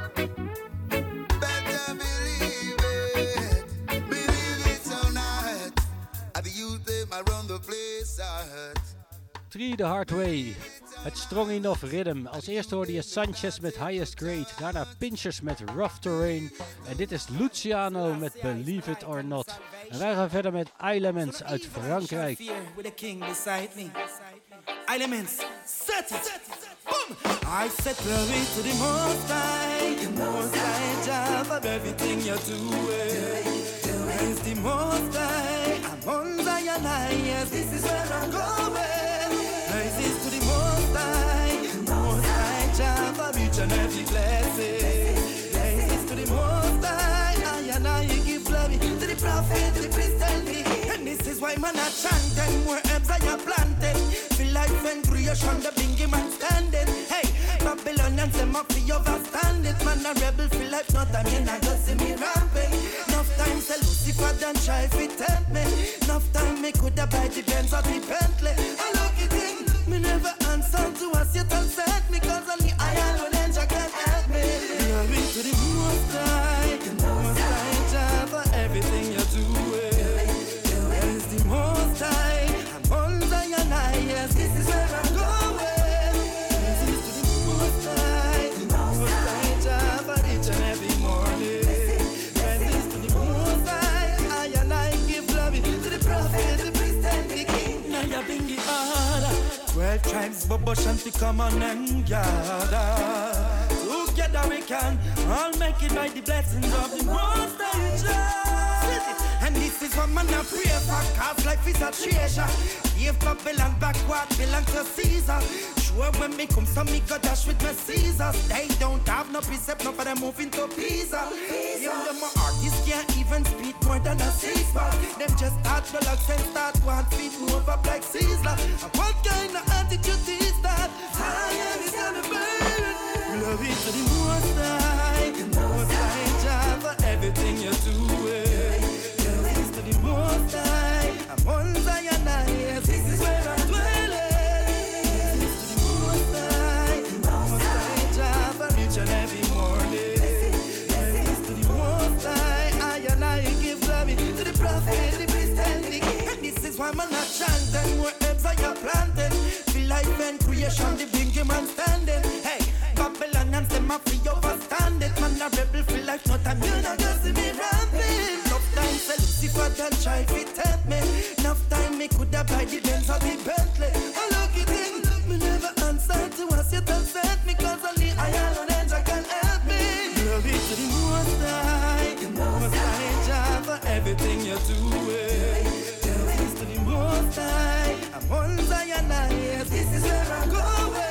Better believe it, believe it or not. At the youth they might run the place out. Three the Hard Way. Het Strong Enough Rhythm. Als eerste hoorde je Sanchez met Highest Grade. Daarna Pinchers met Rough Terrain. En dit is Luciano met Believe It or Not. En wij gaan verder met Elements uit Frankrijk. With a king beside me. Elements, set it. Boom. I said glory to the Most High, the Most High, Jah, for everything you're doing. Praise the Most High, I'm on Zion high, yes, this is where I'm going. Praises to the Most High, the Most High, Jah, for each and every blessing. Praises to the Most High, I and I give glory to the prophet, to the priest and the king. And this is why man I chanting, more herbs I have planted. Feel life and creation, the bingy man standing. Hey, Babylonians, them up for overstand it. Man a rebel, feel like not a man, I just see me ramping. Enough time, say Lucifer done try if it tempt me. Enough time, me coulda buy the Benz or the Bentley. I look it in, me never answer to a Satan set me. Cause only I alone and Jah can help me. Glory to the Most High, the Most High, Jah, for everything you're doing. There is the Most High, I'm on Zion high, yes, this is where I'm going. This is to the Most High, the Most High, Jah, for each and every morning. This is to the Most High, I and I give glory to the prophet, the priest and the king. Now you bring the order. Twelve tribes, Bobo Shanti, come on and gather. Together we can all make it by the blessings of the Most High Jah. And this is what man a pray for, cause life is a treasure. If Babylon backward belong to Caesar. Sure when me come so me go dash with my Caesars. They don't have no precept, no for them moving to Pisa. You know my artists can't even speak more than a Caesar. Them just start relax and start one feet move up like Caesar. And what kind of attitude is that? Fire is gonna burn. Glory to the Most High, the Most High, Jah, for everything you're doing. Glory to the Most High, I'm on Zion high, yes, this is where I'm dwelling. Glory to the Most High, the Most High, Jah, for each and every morning. Glory to the Most High, I and I give glory to the prophet, the priest and the king. And this is why man a chanting, more herbs I have planted. Feel life and creation, the bingy man standing. Hey, Babylonians, them a free overstand it. Man a rebel, feel like not a man, I just see me ramping. Enough time, say Lucifer done try to tempt me. Enough time, me coulda buy the Benz or the Bentley. I look it in, me never answer to a Satan set me. Cause only I alone and Jah can help me. Glory to the Most High, the Most High, Jah, for everything you're doing. Glory to the Most High, I'm on Zion high, yes, this is where I'm going.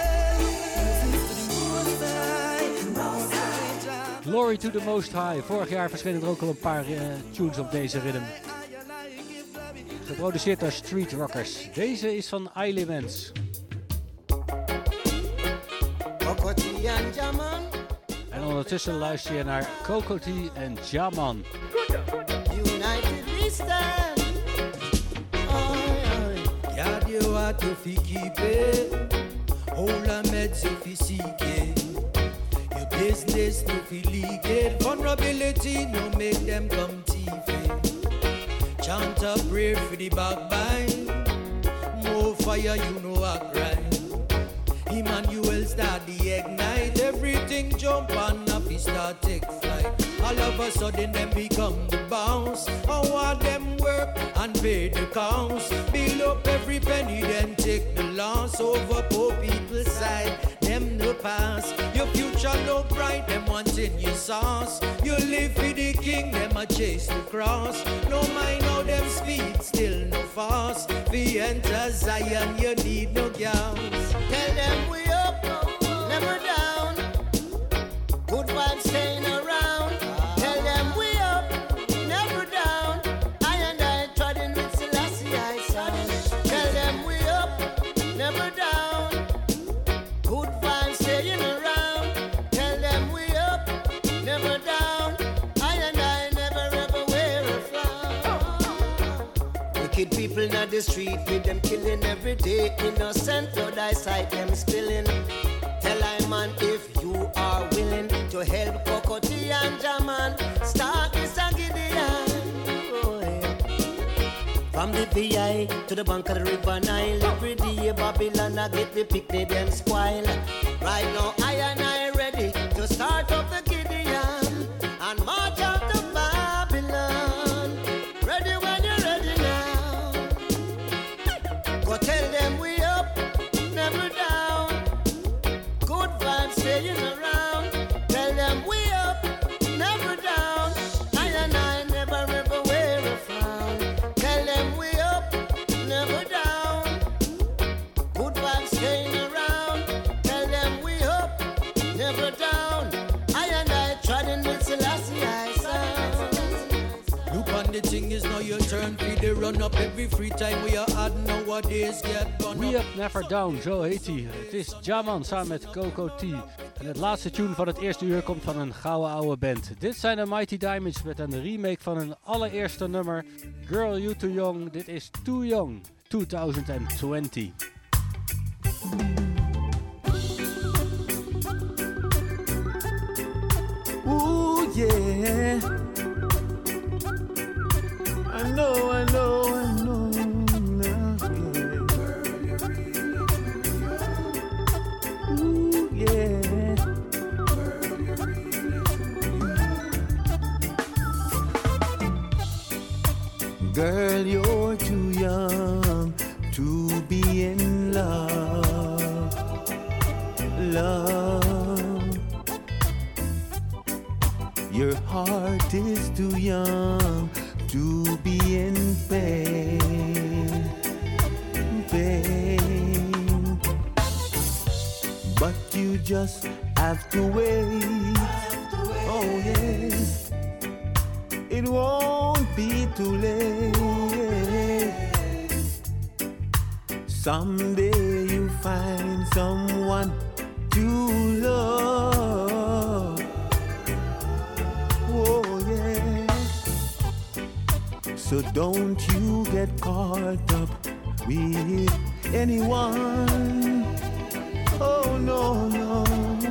Glory to the Most High. Vorig jaar verschenen er ook al een paar uh, tunes op deze rhythm. Geproduceerd door Street Rockers. Deze is van Elements. En ondertussen luister je naar Kokoti en Jaman. United we stand. Oh, yeah. God, you are to keep it. Hold a meds if you seek it. Business no feel leak it. Vulnerability no make them come thieving. Chant a prayer for the backbite. More fire you know act right. Emmanuel start the ignite. Everything jump on up, he start take flight. All of a sudden them become the bounce. I want them work and pay the counts. Build up every penny then take the loss. Over poor people's side, them no pass. Your future no bright, them wanting your sauce. You live for the king, them a chase the cross. No mind how them speed, still no fast. We enter Zion, you need no gowns. Tell them we up, never down. Good vibes staying around. Tell them we up, never down. I and I treading with Selassie, I saw. Tell them we up, never down. Good vibes staying around. Tell them we up, never down. I and I never ever wear a frown. Wicked people in the street with them killing every day. Innocent blood I sight them spilling. Tell I man if you are willing. From the V I to the bank of the river Nile, every day Babylon I get the pick, they then spoil. Right now I and I ready to start up the Gideon and march out to Babylon. Ready when you're ready now. Go tell them we up, never down. Good vibes staying around. Tell them we up, never down. I and I never ever wear a frown. Tell them we up, never down. Good vibes staying around. Tell them we up, never down. I and I trying with Selassie I sound. Look on the thing is now your turn for the run up. Every free time we are add nowadays get gone We Up Never Down, zo heet hij. Het is Jaman samen met Coco T. En het laatste tune van het eerste uur komt van een gouden oude band. Dit zijn de Mighty Diamonds met een remake van hun allereerste nummer. Girl You Too Young, dit is Too Young, twintig twintig. Ooh, yeah. I know, I know, I know now, yeah. Ooh, yeah. Girl, you're too young to be in love, love. Your heart is too young to be in pain, pain. But you just have to wait. Oh yes, it won't be too late. Someday you find someone to love. Oh yes. So don't you get caught up with anyone. Oh no, no.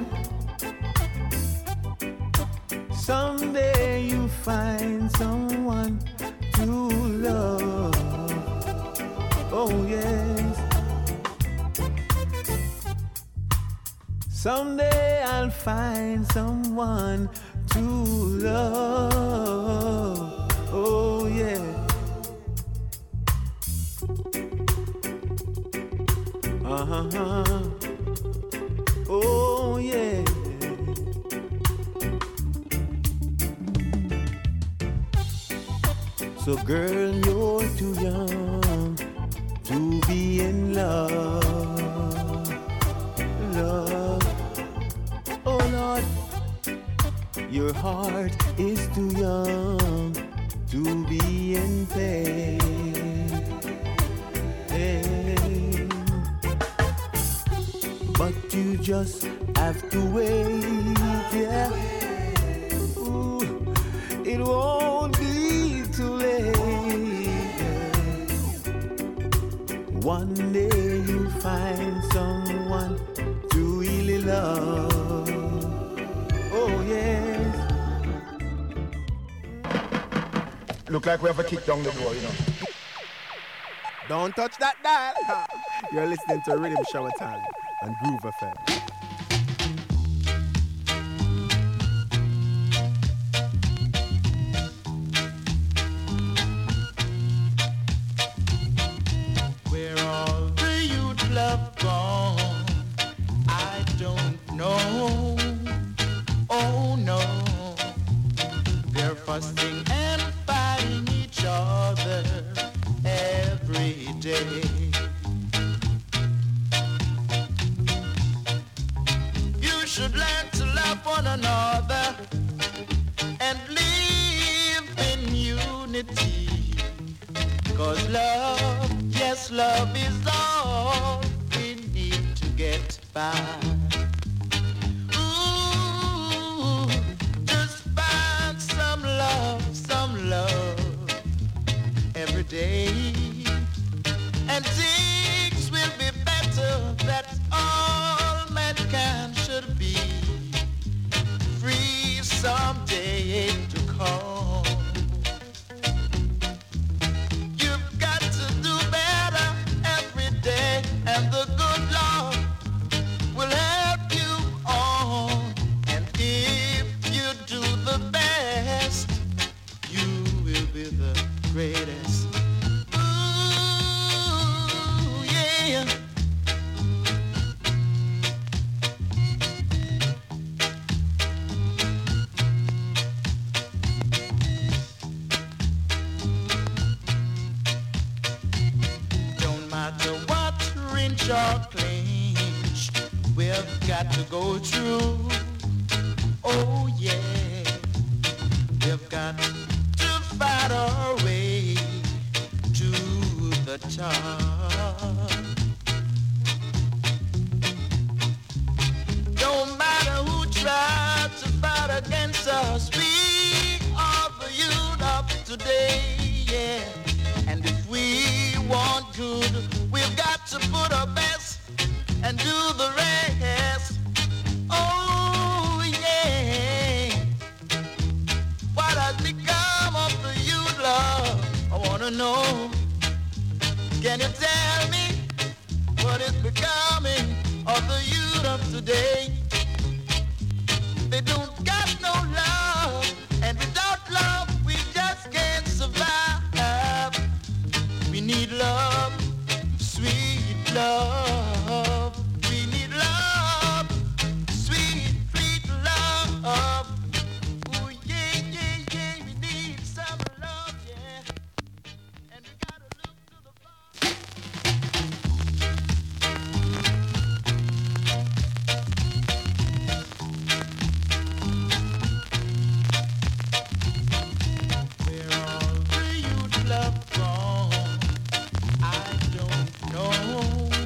Someday you find someone to love. Oh yes. Someday I'll find someone to love. Oh yeah. Uh-huh. Oh yeah. So girl, you're too young to be in love, love. Oh Lord, your heart is too young to be in pain, pain. But you just have to wait, yeah. Ooh, it won't be too late. One day you'll find someone to really love. Oh yes. Look like we have a kick down the door, you know. Don't touch that dial. You're listening to Rhythm Shower Time and Groove F M. Where all the youth love gone, I don't know. Oh no, they're fussing and fighting each other every day. You should learn to love one another and live in unity. Cause love, yes, love is all we need to get by. Ooh, just find some love, some love every day, and things will be better. That's all mankind should be. Free someday to come. You've got sure clinch. We've got to go through. Oh yeah, we've got to fight our way to the top. Don't matter who tries to fight against us, we are the youth of today, yeah. And if we want good, we've got to put our best and do the rest. Oh yeah. What has become of the youth, love? I wanna know. Can you tell me what is becoming of the youth of today? They don't got no love, and without love we just can't survive. We need love, sweet love. We need love, sweet, sweet love. Ooh, yeah, yeah, yeah, we need some love, yeah. And we gotta look to the where all the youth love gone, I don't know.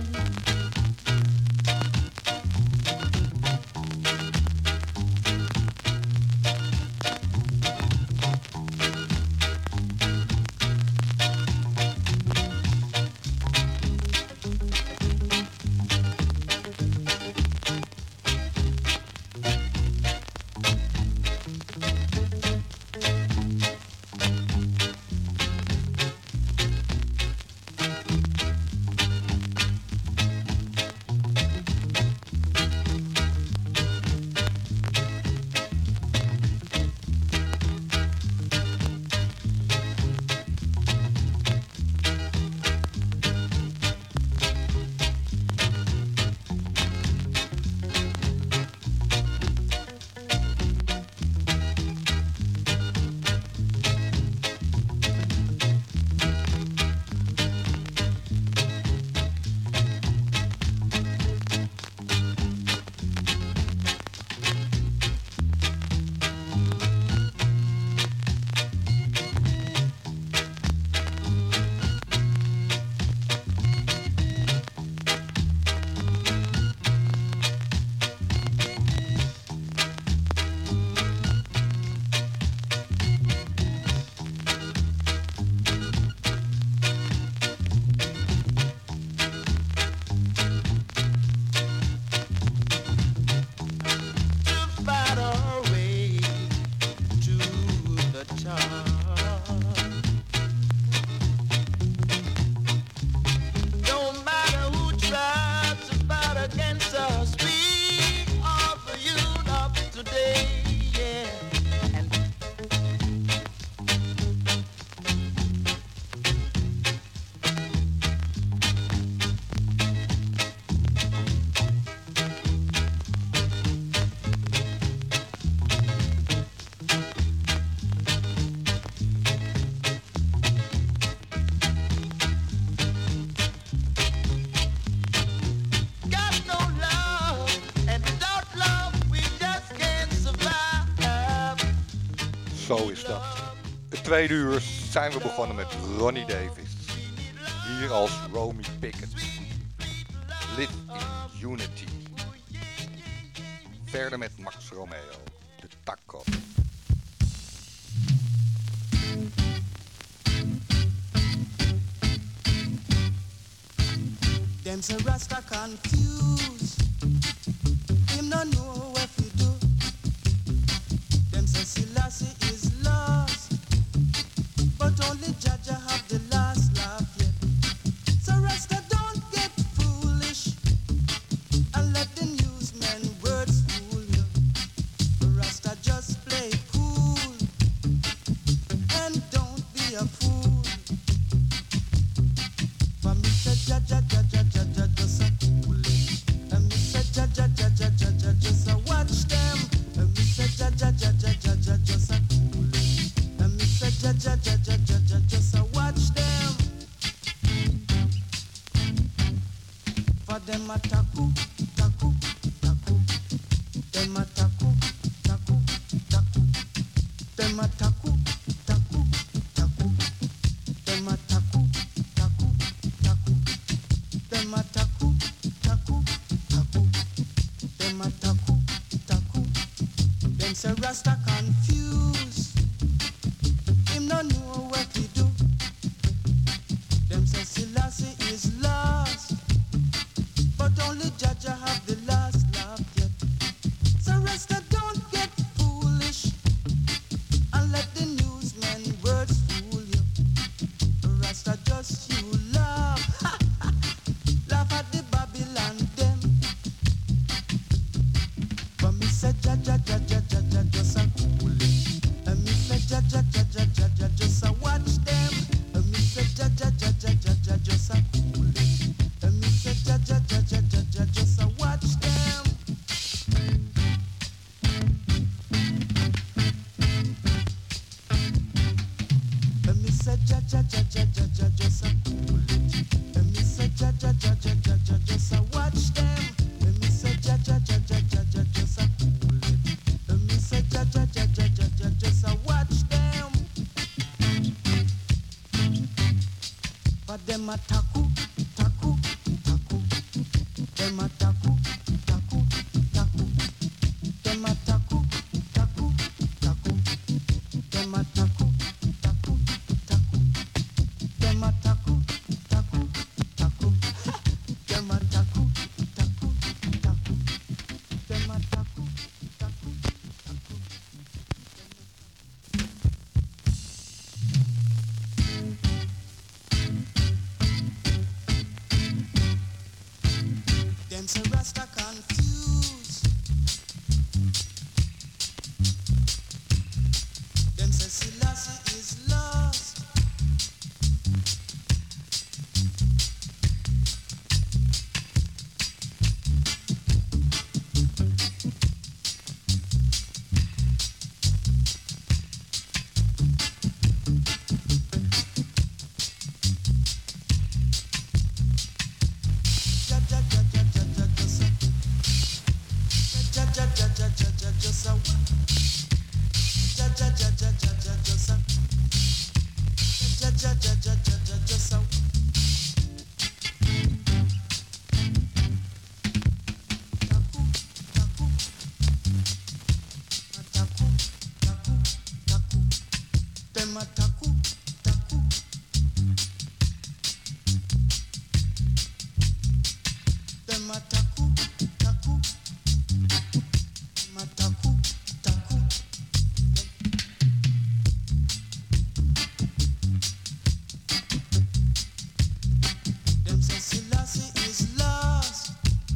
Fight our way to the top. Don't matter who tries to fight against us, we are the youth of today, yeah. And got no love, and without love we just can't survive. Zo is dat. Het tweede uur zijn we begonnen met Ronnie Davis. Hier als Romy Pickett. Live in Unity. Verder met Max Romeo. De Taco. Them say Rasta confused. Him no know what to do. Them say Selassie is lost, but only Jaja have the last laugh yet. So Rasta don't get foolish and let the newsmen words fool you. Rasta just play cool and don't be a fool. For Mister Jaja Jaja Jaja just a cool. And Them a taku, taku, taku. Them a taku, taku, taku. Them a taku, taku, taku. Them a taku, taku. Them say Rasta confused. Him no know what to do. Them say Selassie is lost, but only Jaja have the last laugh yet. So Rasta don't get foolish and let the newsmen words fool you. Rasta just you laugh, laugh at the Babylon them. But me say Jaja, Jaja, Jaja, just a cool it. And me say Jaja, Jaja, Jaja, just a watch them. And me say Jaja, Jaja, Jaja, just a cool it. And me say Jaja, Jaja, Jaja, just a watch them. And me say Jaja, Jaja, Jaja, just a cool it. And me say Jaja, Jaja, Jaja, just a watch them. And me say Jaja, Jaja, Jaja, just a cool it. And me say Jaja, Jaja, Jaja, just a watch them. But them a taku, taku, taku. Them a taku, taku, taku. Them a taku, taku, taku. Them a taku, taku, taku. Them a taku, taku, taku. Them a taku, taku, taku. Them a taku, taku, taku. Them say Rasta confused. Them say Selassie is lost. Ja, ja, ja, ja, ja, ja, just a- ja, ja, ja, ja, ja, ja, just a- ja, ja, ja, ja, ja, ja, just a- ja, ja, ja, ja, ja, ja, just a- Taku, taku. A taku, taku, taku. Them a taku, taku. Them a taku, taku. Them a taku, taku. Them say Selassie is lost.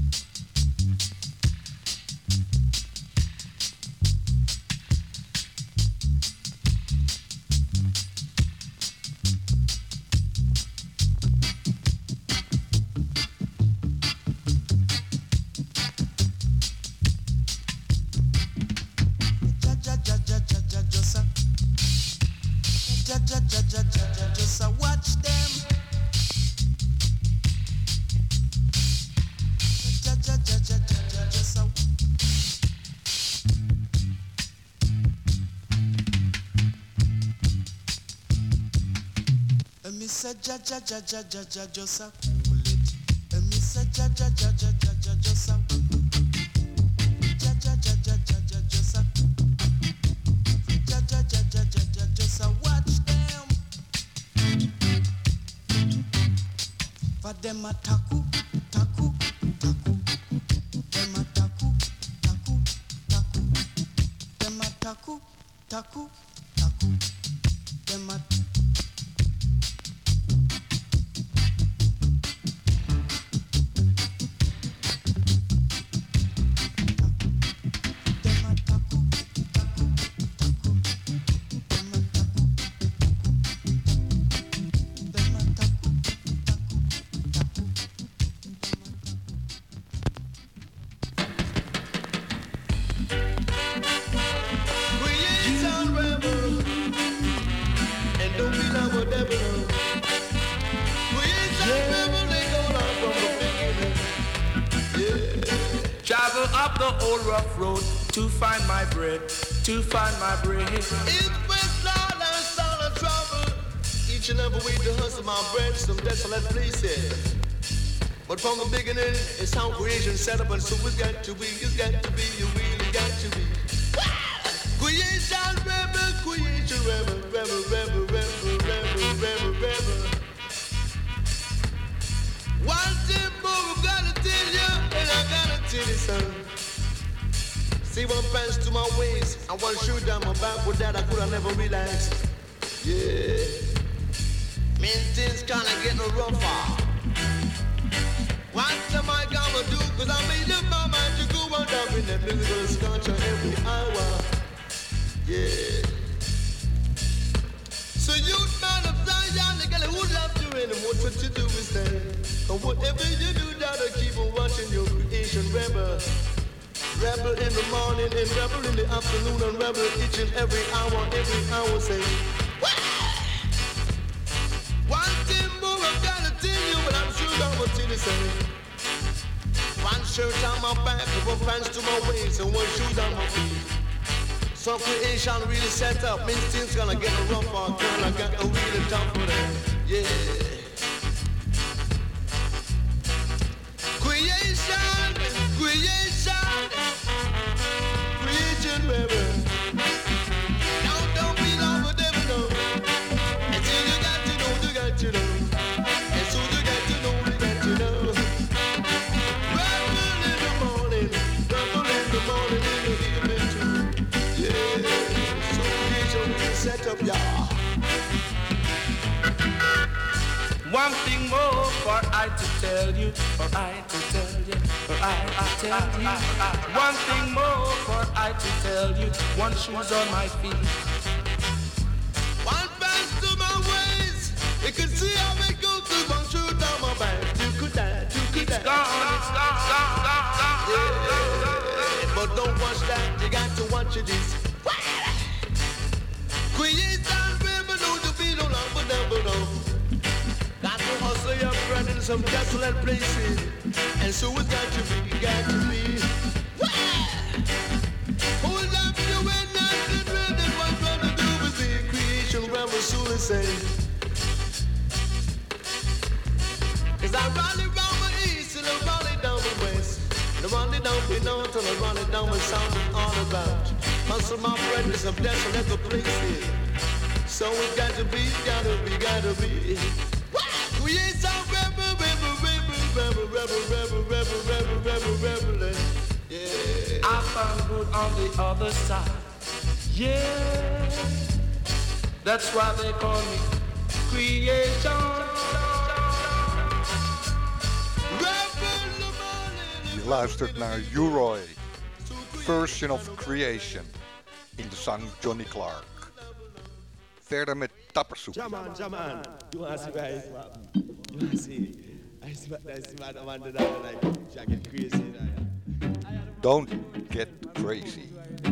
Ja, ja, ja, ja, ja, ja, just a- ja, ja, ja, ja, ja, ja, just a watch them. Ja, ja, ja, ja, ja, ja, just a- And me say ja, ja, ja, ja, ja, ja, just a cool it. And me say ja, ja, ja, ja, ja, ja, just a- ja, ja, ja, ja, ja, ja, just a- ja, ja, ja, ja, ja, ja, just a watch them. But them a taku, taku, taku. Them a taku, taku, taku. Them a taku, taku, taku. Them a Travel up the old rough road to find my bread. to find my bread. It's with all and all and trouble. Each and every week to hustle my bread, some desolate places. But from the beginning, it's how creation set up, and so it's got to be, it's got to be, you really got to be. Creation rebel, creation rebel, rebel, rebel, rebel, rebel, rebel, rebel. One thing more I gotta tell you, and I gotta tell you something. See one pants to my waist, and one shoe down my back, with that I could have never relaxed. Yeah. Mean things kinda getting rougher. What am I gonna do? Cause I made up my mind to go on down in that musical scotch every hour. Yeah. So you man of Zion, the girl who loves you and what what you do is that. And whatever you do, that'll keep on watching your creation rebel. Rebel in the morning and rebel in the afternoon and rebel each and every hour, every hour say. One thing more I've gotta tell you, but I'm sure I'm gonna tell you something. One shirt on my back, one pants to my waist, and one shoes on my feet. Some creation really set up, means things gonna get a rough or girl, I got a really tough for that. Yeah. Creation, creation, creation, baby. Don't, don't be long for them, no. And so you got to know, you got to know. And so you got to know, you got to know. Rebel in the morning, rebel in the morning, in the evening too. Yeah, so creation will set up, y'all. One thing more for I to tell you, for I to tell you, for I to tell you. One thing more for I to tell you, one shoes on my feet. One pants to my waist, you can see how it goes through one shoe down my back. You could die, you could die. It's gone, it's gone, gone, gone, gone. Yeah, but don't watch that, you got to watch it this. Creation, baby, don't you be no long, but never know. Got to hustle your bread in some desolate places. And so it's got to be, got to be. Hold up your way, nothing ready. What gonna do with the creation rebel soon say. Cause I rally round the east and I rally down the west. And I rally down the north and I rally down the south and all about. Hustle my bread in some desolate places. So it's got to be, gotta be, gotta be. Creation rebel, rebel, rebel, rebel, rebel, rebel, rebel, rebel, rebel, rebel. Yeah. I found good on the other side. Yeah. That's why they call me creation. Je luistert naar U-Roy, Version of Creation, in de zang Johnny Clark. Verder met Tappersoep. Jaman, Jaman, you want to see where it's from? You want to see? I see what I want to do, like, jacket crazy. Don't get crazy.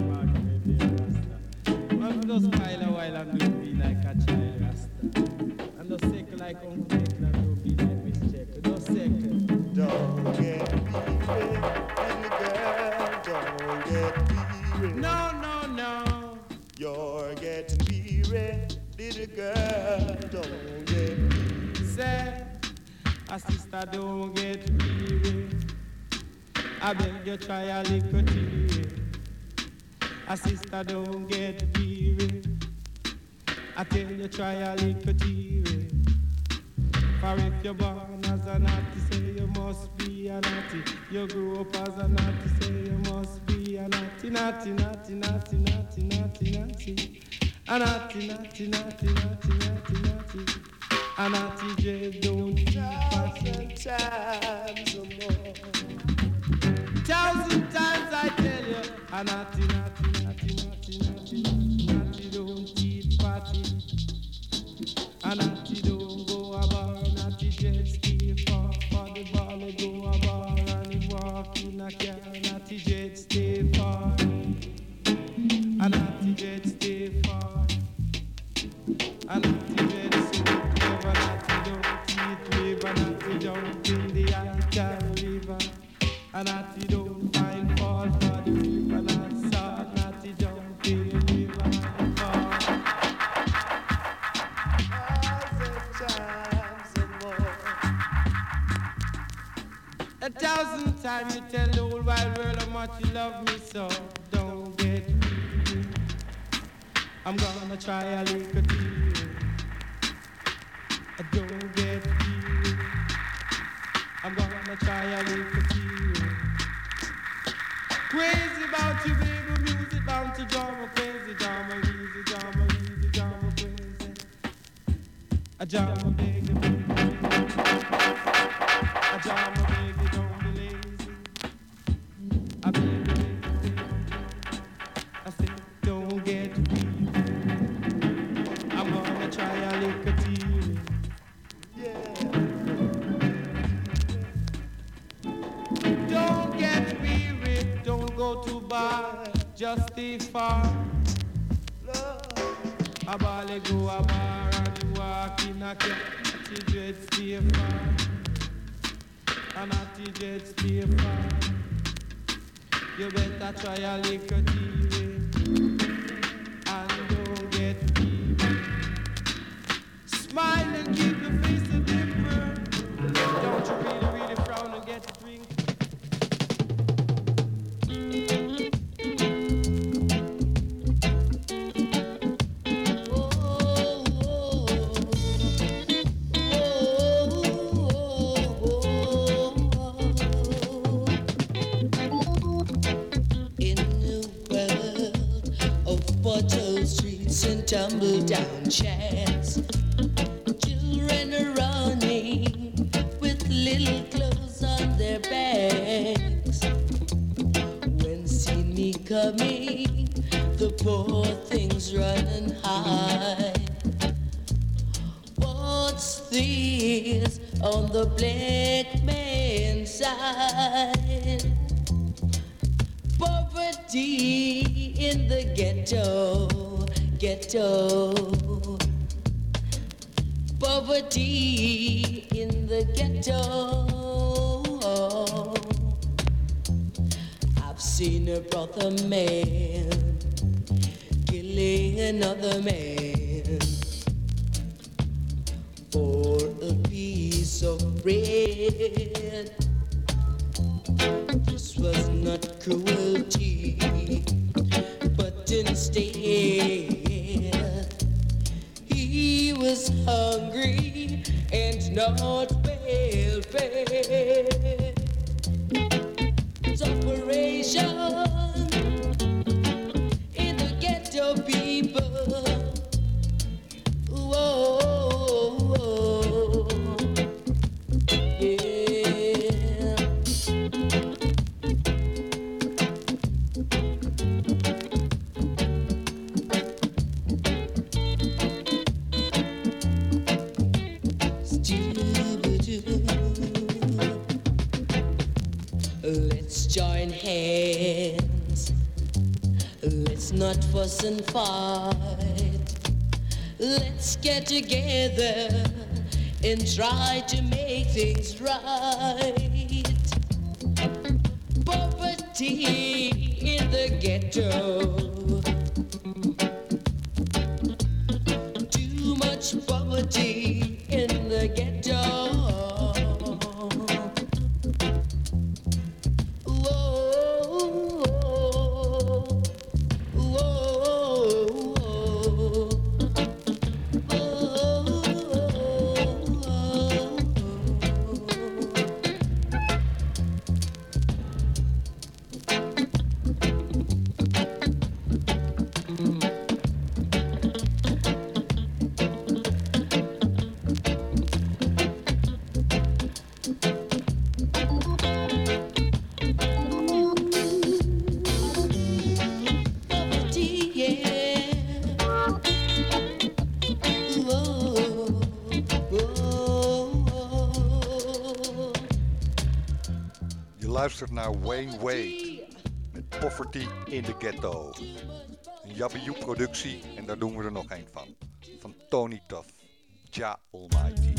I'm just while a while I'm doing be like a child rasta. I'm just sick like Uncle Nick and I'm doing be like Miss Check. Just sick. Don't get weary, little girl, don't get weary. No, no, no. You're getting weary, little girl, don't get weary. Say, a sister don't get weary. I beg you try a little tea. A sister don't get weary. I tell you try a little tea. For if you're born as a naughty, say you must be a naughty. You grew up as a naughty, say you must be a naughty, naughty, naughty, naughty, naughty, naughty, naughty. A naughty, naughty, naughty, naughty, naughty, naughty. A naughty just don't keep passing times or more. Thousand times I tell you, a naughty, naughty, naughty, naughty, naughty, naughty, naughty don't eat party. A naughty don't go a bar, naughty just stay far. For the ball they go a bar and he walk in a car. Naughty just stay far. A naughty just stay far. A naughty just so clever, naughty don't eat liver, naughty jump in the Icon River. A naughty don't find fault for the river, not salt, naughty jump in thousand times you tell the whole wide world how much you love me, so don't get weary. I'm gonna try a little deal. Don't get weary. I'm gonna try a little deal. Crazy about you, baby, music bound to drama, crazy drama, easy drama, easy drama, crazy. A drama, baby, a drama, baby, don't be lazy. A baby, baby, I said, don't get weary. I'm gonna try a little deal. Yeah. Don't get weary, don't go too far, just stay far. A bally go a bar and you walk in a cat, the dread stay far. And at the dread stay far. You better try a little deal and don't get weary. Smile and keep your face a dimmer. Don't you really, really frown and get a drink. And tumble down chairs, children are running with little clothes on their backs. When see me coming, the poor things run and hide. What's this on the black man's side? Poverty in the ghetto. Ghetto, poverty in the ghetto. I've seen a brother man killing another man for a piece of bread. This was not cruelty, but instead he was hungry and not well fed. It's operation in the ghetto, people. Whoa, whoa, yeah. Let's join hands. Let's not fuss and fight. Let's get together and try to make things right. Poverty in the ghetto. Too much poverty in the ghetto. Luistert naar Wayne Wade met Poverty in the Ghetto. Een Yabba-You-productie en daar doen we er nog één van. Van Tony Tuff, Jah Almighty.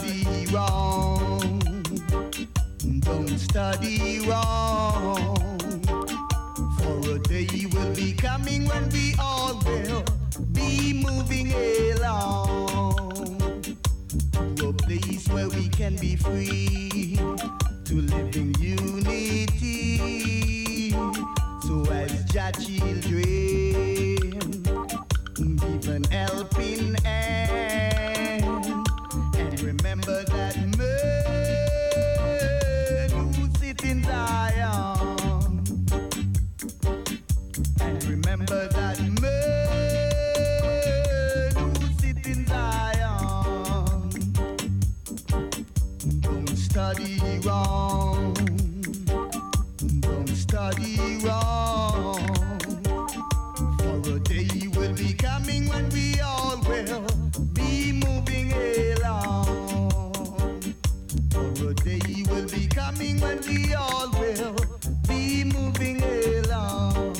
study wrong. Don't study wrong. For a day will be coming when we all will be moving along to a place where we can be free to live in unity. So as Jah children, give an helping hand and remember that man who sits in Zion, and remember that man who sits in Zion. Don't study wrong, don't study wrong. For a day will be coming when we all will be moving along. For a day will be coming when we all will be moving along.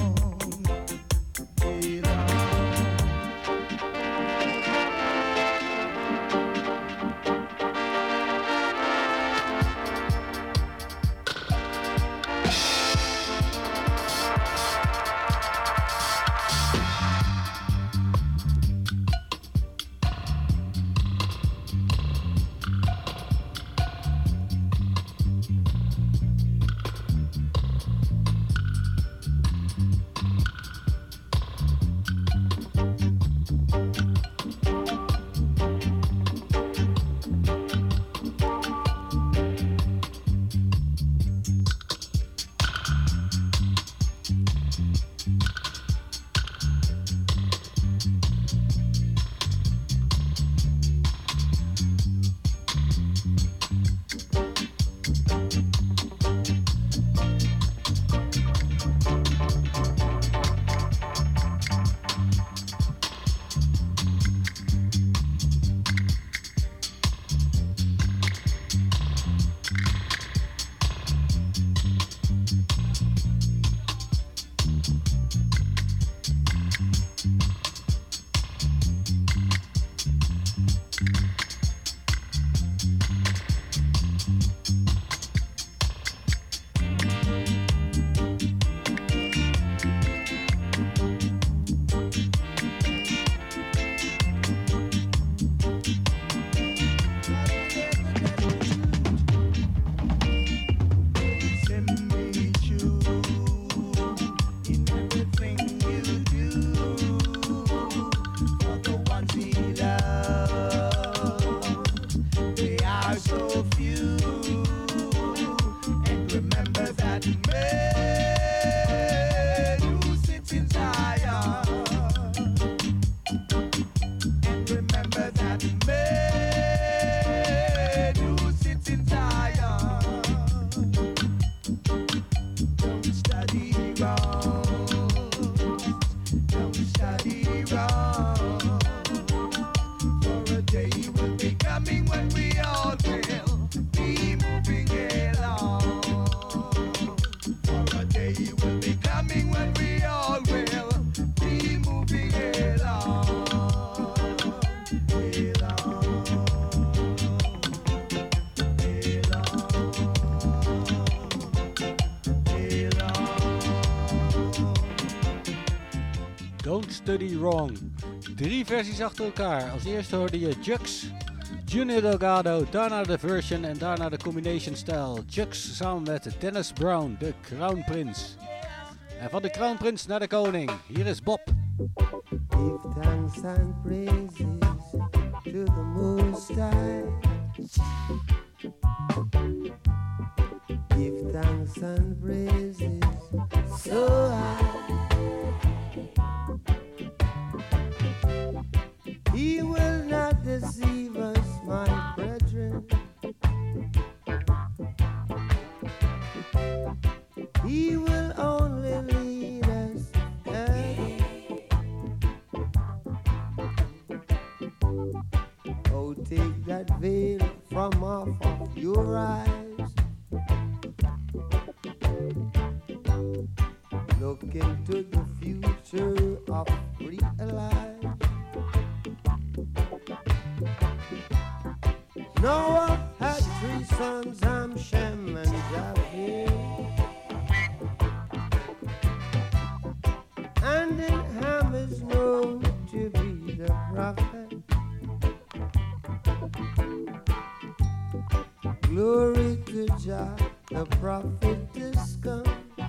Study Wrong. Drie versies achter elkaar. Als eerste hoorde je Jux, Junior Delgado, daarna de version en daarna de combination style. Jux samen met Dennis Brown, de Crown Prince. En van de Crown Prince naar de koning. Hier is Bob. Give thanks and praises to the Most High. Give thanks and praises so high. He will not deceive us, my brethren. He will only lead us there. Oh, take that veil from off of your eyes. Look into the future of real life. Noah had three sons, Ham, Shem, and Japheth. And then Ham is known to be the prophet. Glory to Jah, the prophet is come.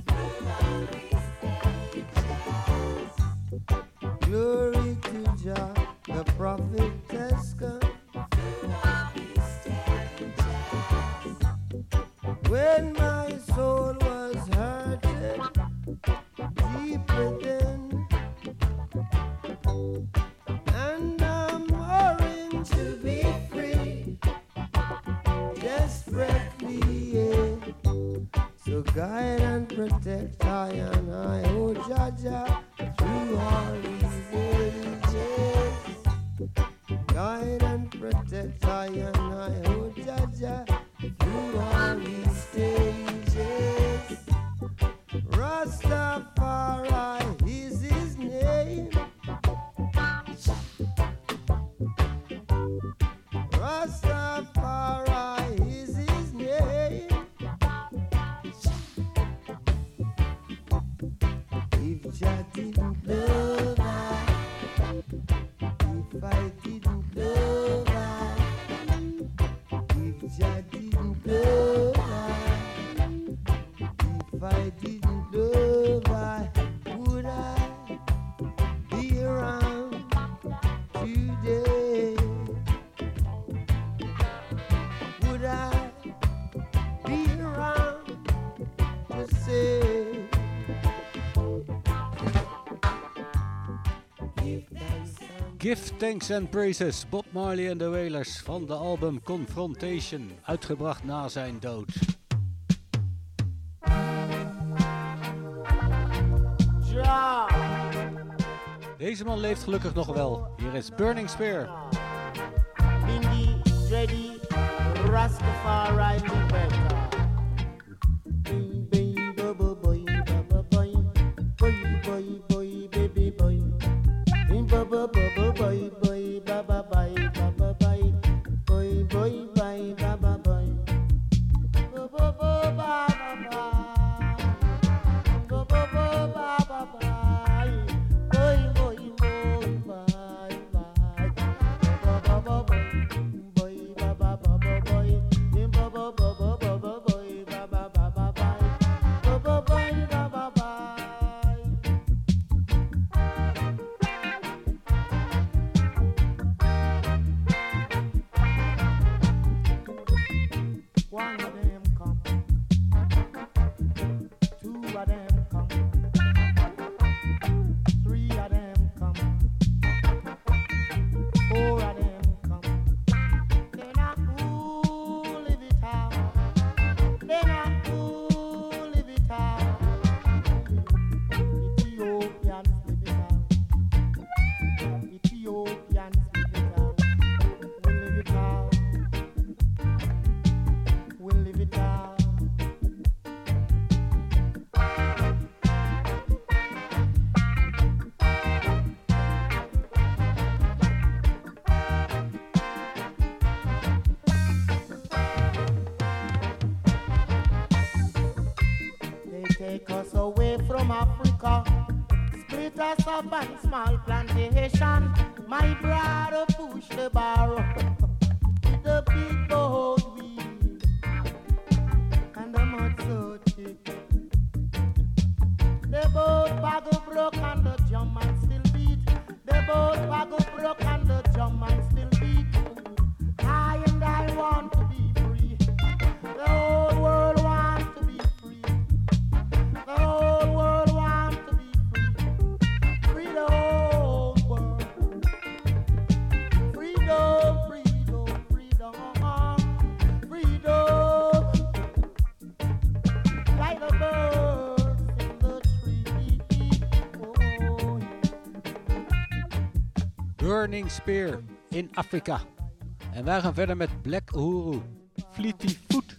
Glory to Jah, the prophet has come. When my soul was hurted deep within, and I'm worrying to be free, desperately, yeah. So guide and protect I and I, oh Jah Jah, through all these ages. Guide and protect I and I, oh Jah Jah, through all these stages. Rastafari is his name. Rastafari is his name. If Jah didn't love I, if I didn't love I, if Jah didn't love I, if I didn't love I, would I be around today? Would I be around to say, Give Thanks and Praises, Bob Marley en de Wailers van de album Confrontation, uitgebracht na zijn dood. Ja. Deze man leeft gelukkig nog wel. Hier is Burning Spear. Bindi, Ready, Rastafari, Liberta. Boy, boy, baba, bye, baba, bye. Boy, boy, bye, baba, bye. Bo, bo, bo, baba, bye. Bo, bo, bo, baba, bye. Boy, boy, boy, bye, bye. Bo, bo, bo, boy, boy, baba, baba, boy. Bo, bo, bo, bo, bo, bo, boy, baba, baba, bye. Bo, bo, boy, baba, bye. One of them come, two of them come, three of them come, four of them come. Then I who live it out, then I who live it out. Ethiopians live it out, Ethiopians live it out, we live it out. We'll live it out. They take us away from Africa, split us up on small plantation. My brother push the bar up with the big boat wheel and the mud so thick. The boat buggle broke and the drum man still beat. The boat buggle broke and the drum man still beat. I and I want to be free. The whole world wants to be free. The whole world wants to be free. Free the whole world. Freedom, freedom, freedom, freedom. Like the birds in the tree. Oh, yeah. Burning Spear in Afrika. En wij gaan verder met Black Uhuru, Fleety Foot.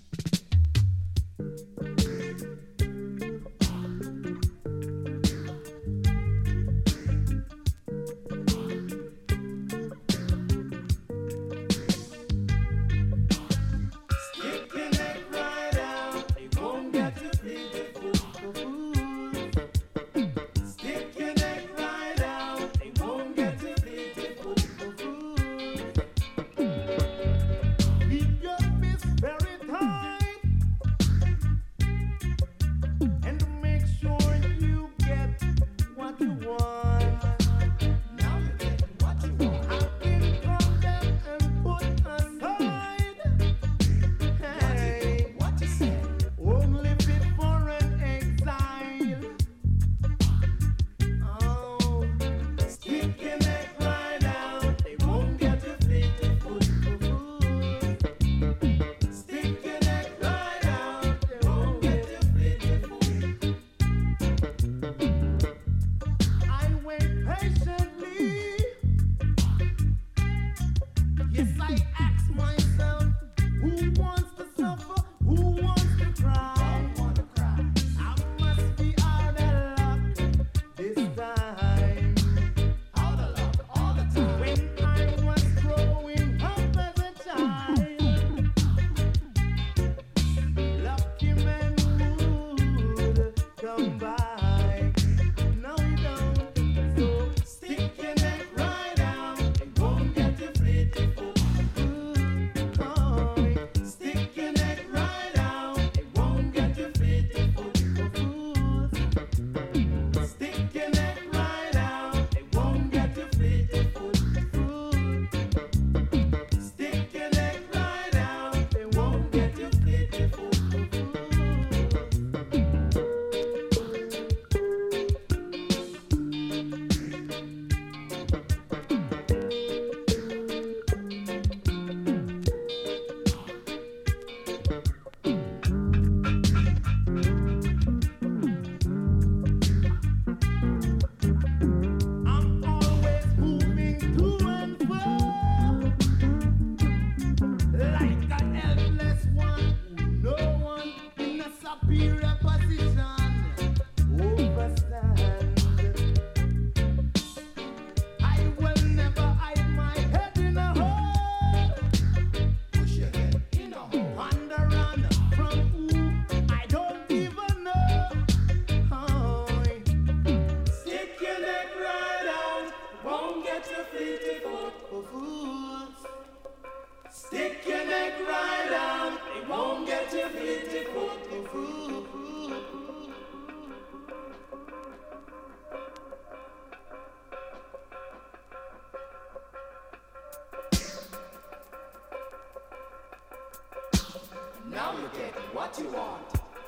Now you get what you want.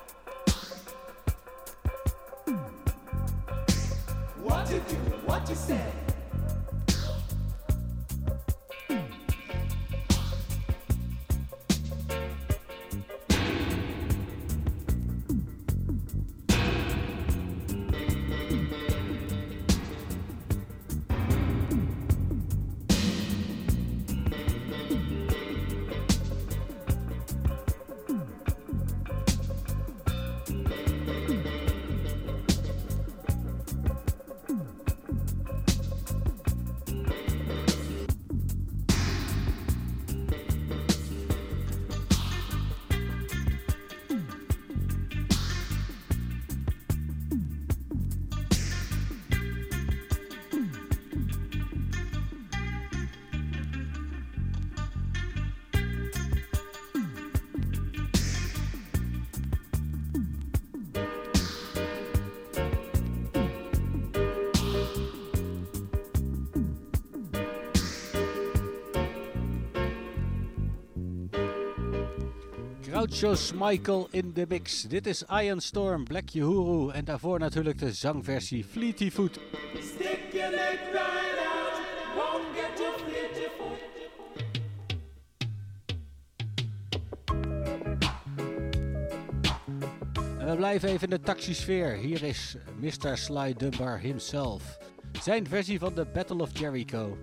What you do, what you say. Groucho Michael in de mix. Dit is Iron Storm, Black Uhuru en daarvoor natuurlijk de zangversie Fleety Foot. Stick your leg right out, won't get your fleety foot. En we blijven even in de taxisfeer. Hier is mister Sly Dunbar himself. Zijn versie van de Battle of Jericho.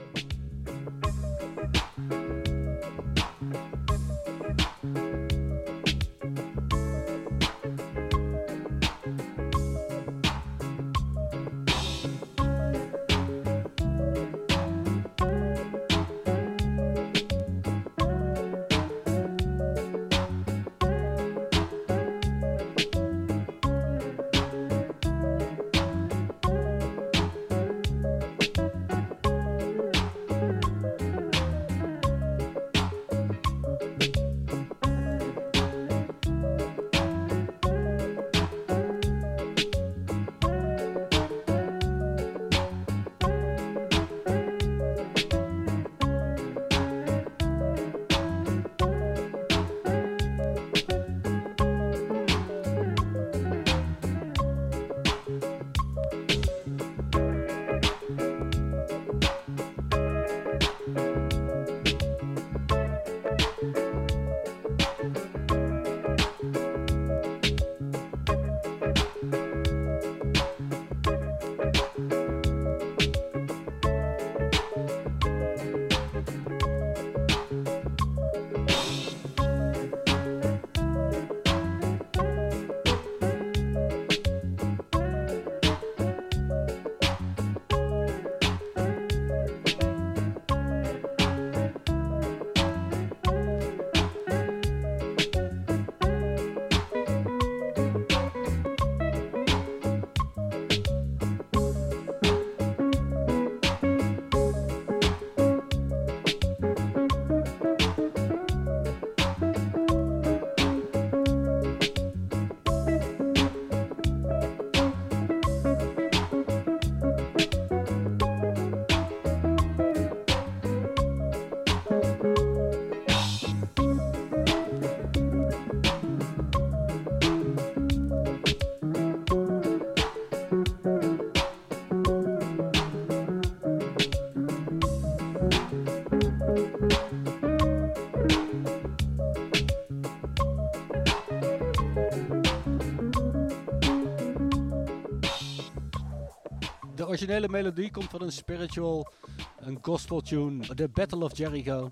De originele melodie komt van een spiritual, een gospel tune, The Battle of Jericho.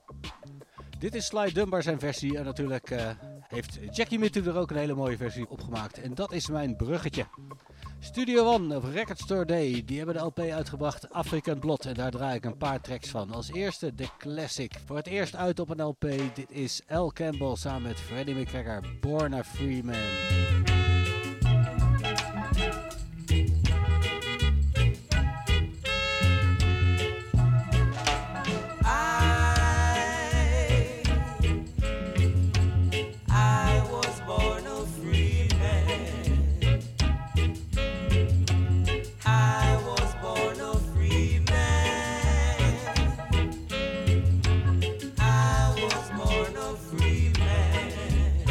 Dit is Sly Dunbar zijn versie en natuurlijk uh, heeft Jackie Mittoo er ook een hele mooie versie opgemaakt. En dat is mijn bruggetje. Studio One of Record Store Day, die hebben de L P uitgebracht African Blood en daar draai ik een paar tracks van. Als eerste de classic, voor het eerst uit op een L P. Dit is Al Campbell samen met Freddie McGregor, Born a Free Man. Free man.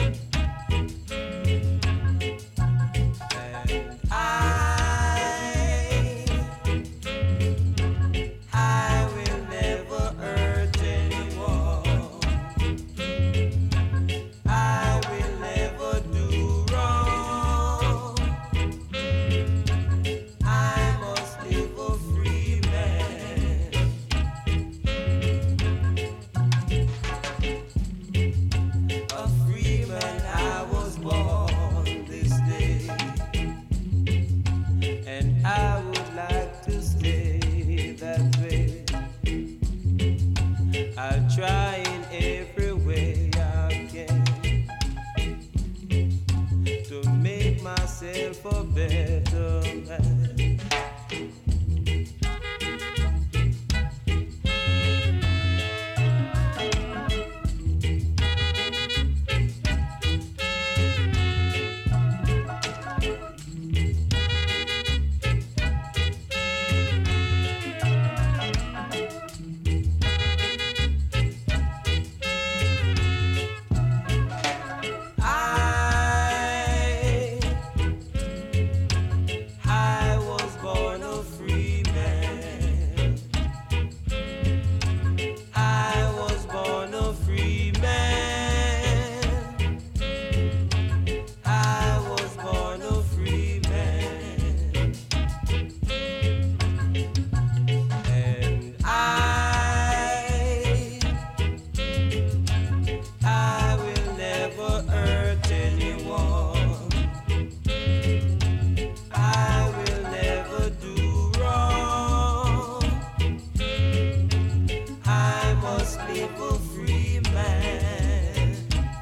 must live a free man.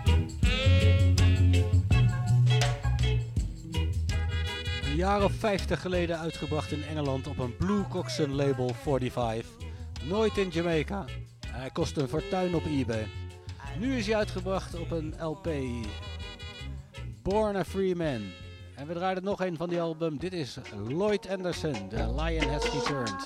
Een jaar of vijftig geleden uitgebracht in Engeland op een Blue Coxswain label vijfenveertig. Nooit in Jamaica. Hij kost een fortuin op eBay. Nu is hij uitgebracht op een L P. Born a Free Man. En we draaien nog een van die album. Dit is Lloyd Anderson, The Lion Has Returned.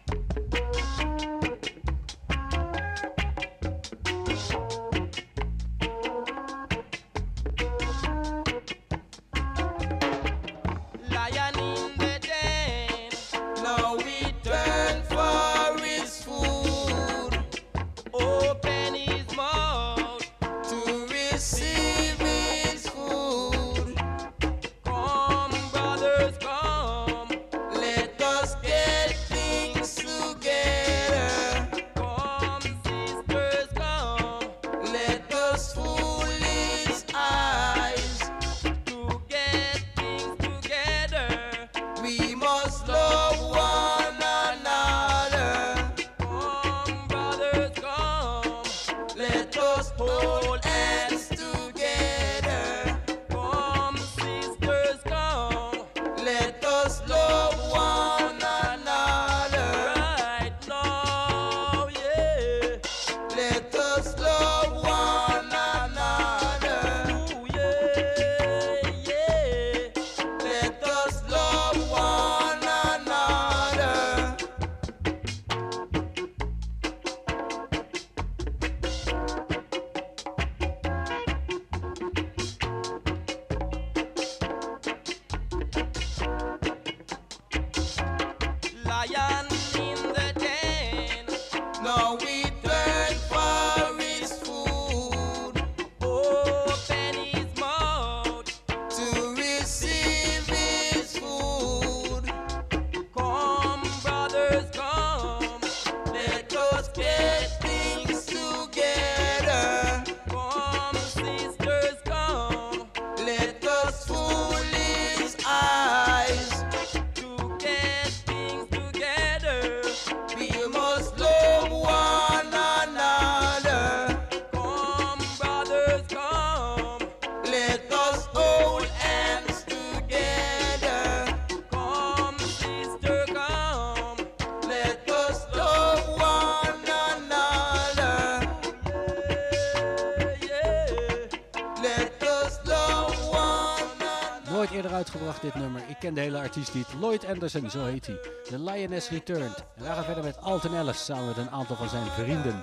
Uitgebracht dit nummer. Ik ken de hele artiest niet. Lloyd Anderson, zo heet hij. The Lion Has Returned. En wij gaan verder met Alton Ellis samen met een aantal van zijn vrienden.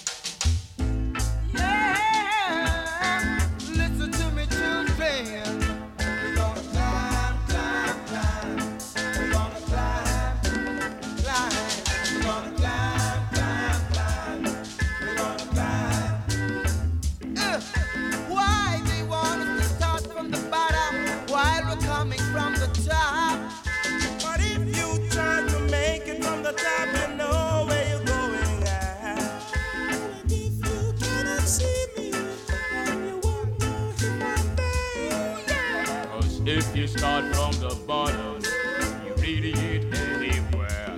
If you start from the bottom, you really ain't anywhere.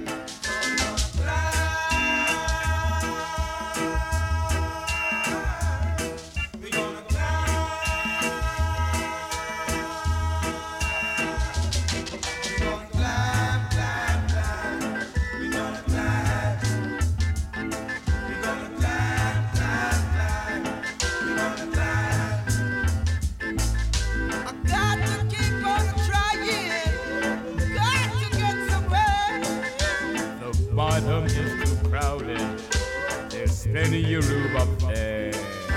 We're gonna climb. We're gonna climb, climb, climb. We're gonna climb. We're gonna climb, climb, climb. We're gonna climb. I got to keep on trying. Got to get somewhere. The bottom is too crowded. There's plenty of room up there.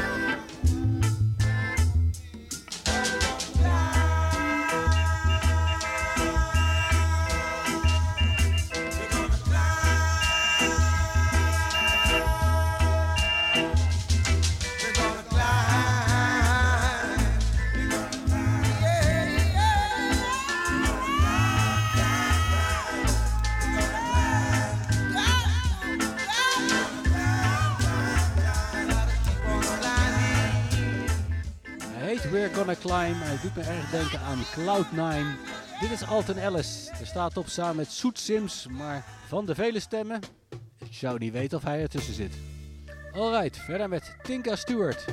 We're Gonna Climb. Hij doet me erg denken aan Cloud nine. Dit is Alton Ellis. Er staat op samen met Soet Sims, maar van de vele stemmen, ik zou niet weten of hij ertussen zit. Alright, verder met Tinka Stewart.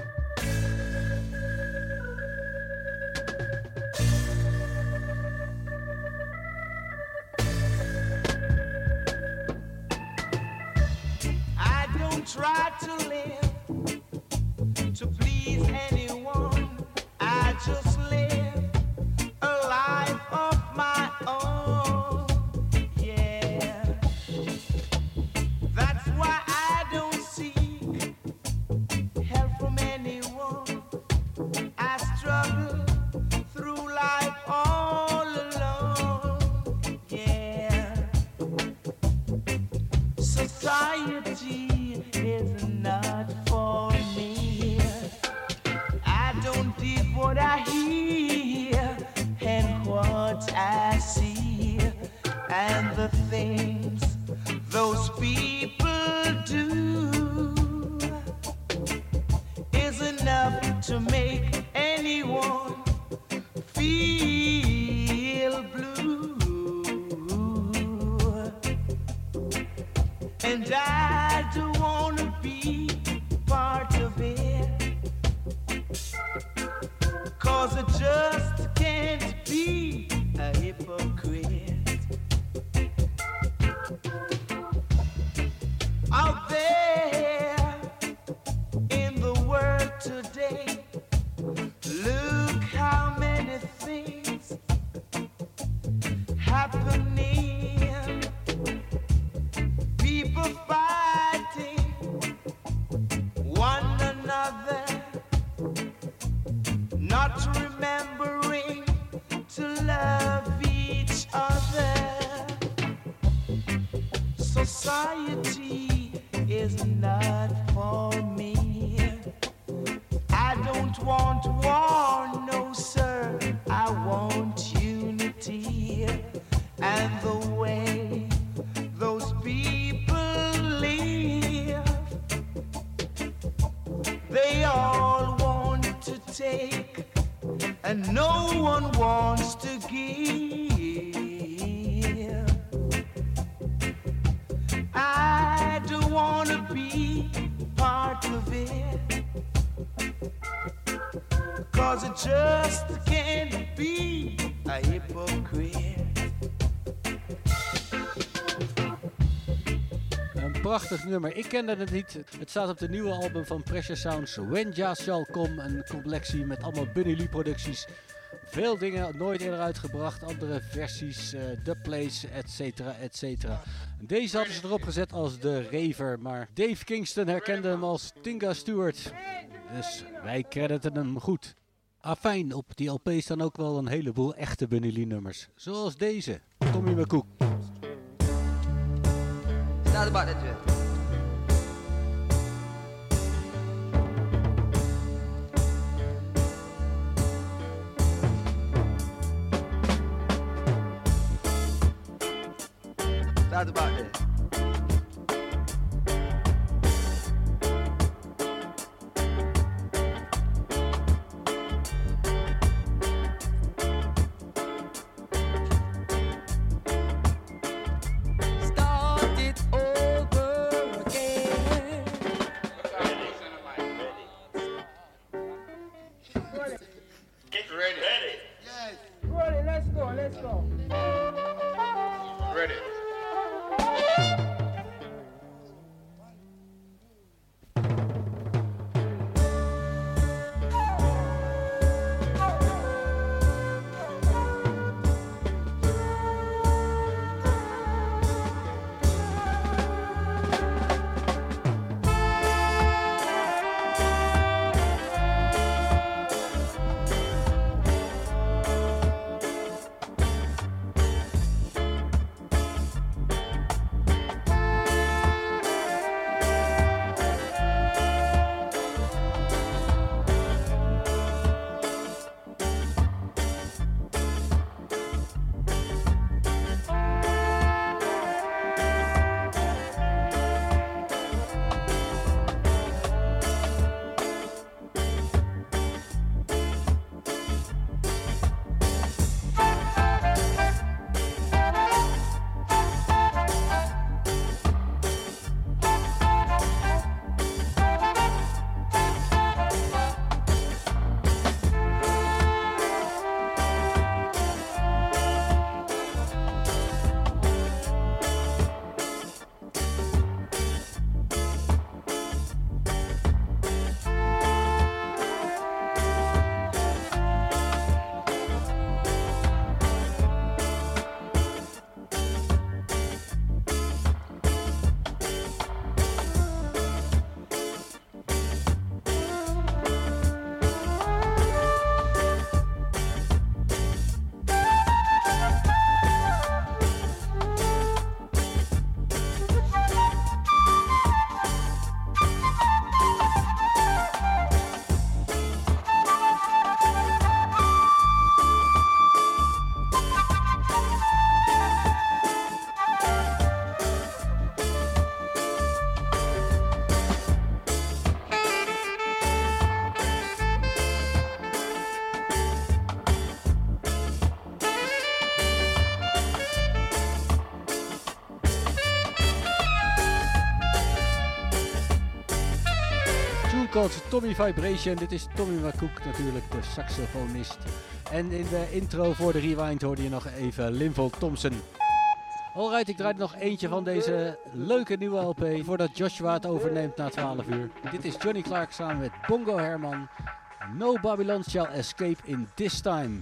I don't try to live to please anyone. I just live a life of my own. Yeah, that's why I don't seek help from anyone. I struggle through life all alone. Yeah, society is not for me. I don't dig what I hear and what I see, and the things those people do is enough to make anyone feel blue. And I don't wanna be part of it, 'cause I just can't be a hypocrite. Out there in the world today, look how many things happening. People fighting one another, not remembering to love each other. Society is not for me. I don't want war, no sir, I want unity. And the way those people live, they all want to take and no one wants to give. I don't want to be part of it, 'cause I just can't be a hypocrite. Een prachtig nummer. Ik kende het niet. Het staat op de nieuwe album van Pressure Sounds, When Jah Shall Come. Een collectie met allemaal Bunny Lee producties. Veel dingen nooit eerder uitgebracht. Andere versies, uh, dubplays, et cetera, et cetera. Deze hadden ze erop gezet als de Raver. Maar Dave Kingston herkende hem als Tinka Stewart. Dus wij crediten hem goed. Afijn, op die L P staan ook wel een heleboel echte Bunny Lee nummers. Zoals deze. Tommy McCook. Not about that, Jeff. That's about that. Start it over again. Get ready. Ready. Yes. Roll it, let's go, let's go. Ready. Thank you. Called Tommy Vibration. Dit is Tommy McCook natuurlijk, de saxofonist. En in de intro voor de Rewind hoorde je nog even Linval Thompson. Alright, ik draai er nog eentje van deze leuke nieuwe L P voordat Joshua het overneemt na twaalf uur. Dit is Johnny Clark samen met Bongo Herman. No Babylon shall escape in this time.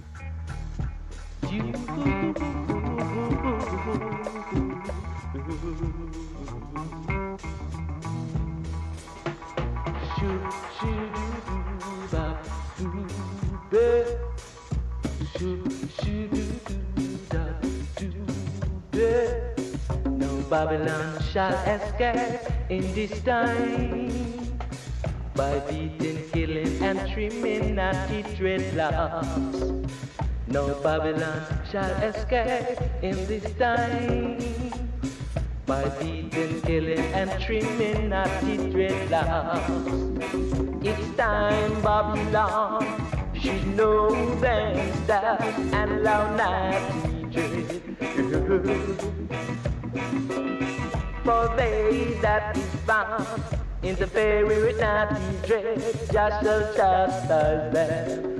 No Babylon shall escape in this time by beating, killing, and trimming naughty dreadlocks. No Babylon shall escape in this time by beating, killing, and trimming naughty dreadlocks. It's time Babylon should know them stars and allow naughty dread. For they that is bound in the very with naughty dread, just shall chastise them.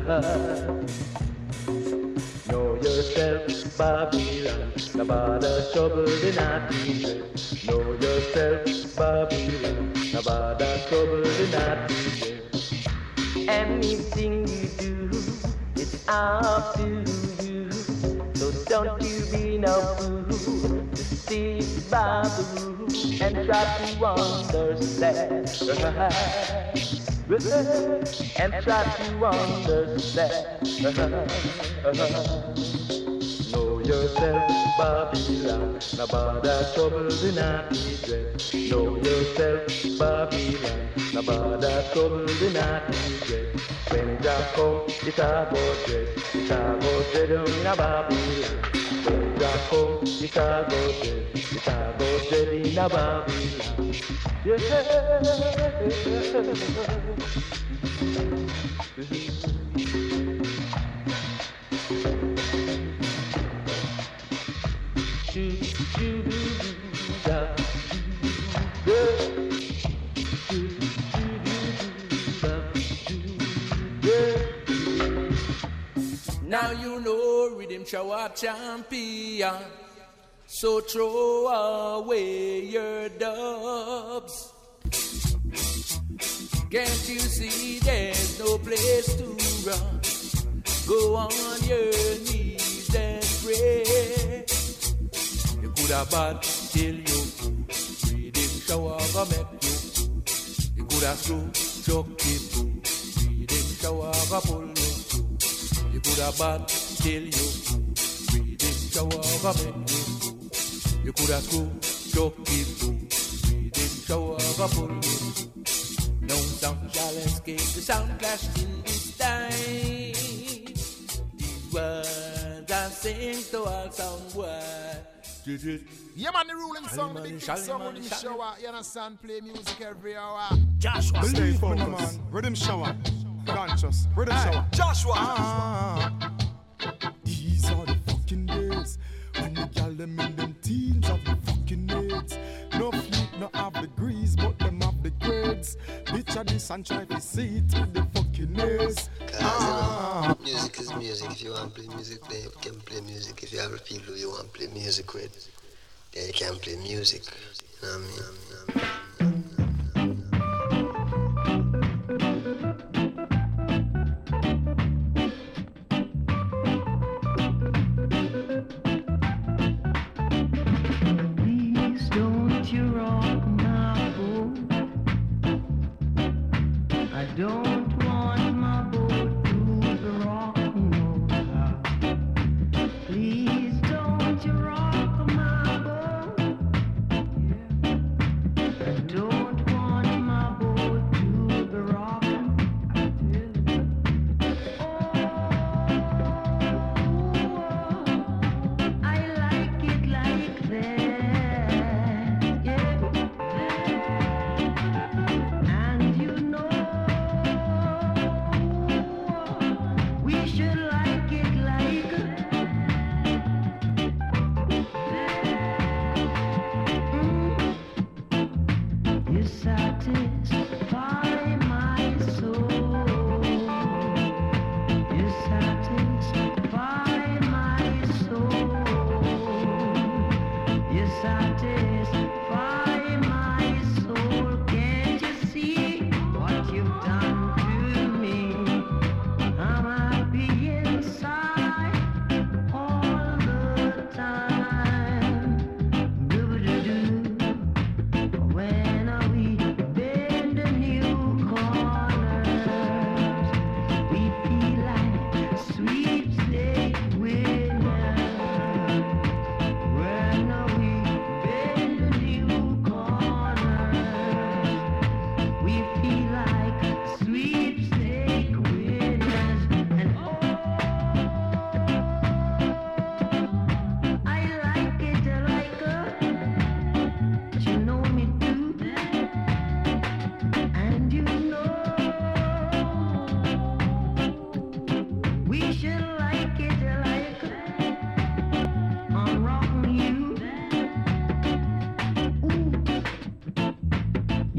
Know yourself, Babylon, no bother trouble the naughty dread. Know yourself, Babylon, no bother trouble the naughty dread. Anything you do, it's up to you. So don't you be no fool to stick by the rule and try to understand. And try to understand. Know yourself, Babylon, no bother trouble the naughty dread. Know yourself, Babylon, no bother trouble the naughty dread. When Jah come, it's a go dread, it's a go dread in a Babylon. When Jah come, it's a go dread, it's a go dread in a Babylon. Yeah. Now you know Rhythm Shower champion, so throw away your dubs. Can't you see there's no place to run? Go on your knees and pray. You could have bad till you Rhythm Shower go make you. You could have screw chuck it. Rhythm Shower go pull you. You could have bad till you Rhythm Shower go make you. You could have screw chuck it. Rhythm Shower go pull you. No sound shall escape the sound clash till this time. These words I sing to all sound boys. Yeah, man, the ruling song, the big song, Rhythm Shower. You understand? Play music every hour. Joshua, believe me, man. Rhythm Shower. Conscious. Rhythm hey, Shower. Joshua. Ah, these are the fucking days when the gal them in them teens have the fucking AIDS. No fleet, no have degrees, but them have the grades. Picture this and try to see it with the fucking A's. Ah. You know, music is music. If you want to play music, play, you can play music. If you have people you want to play music with, then you can play music. You know what I mean? You know what I mean?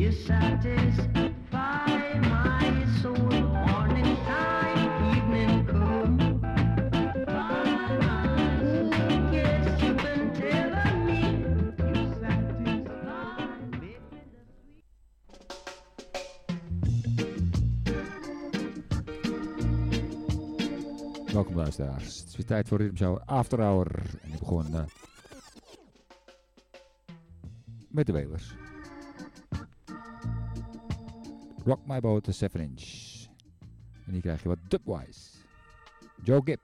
You satisfy my soul. Morning time, evening come. Yes, you can tell me. You satisfy me. Welkom luisteraars. Het is weer tijd voor Rhythm Shower After Hour. En ik begon uh, met de Wailers. Rock My Boat, de seven inch. En hier krijg je wat dubwise. Joe Gibb.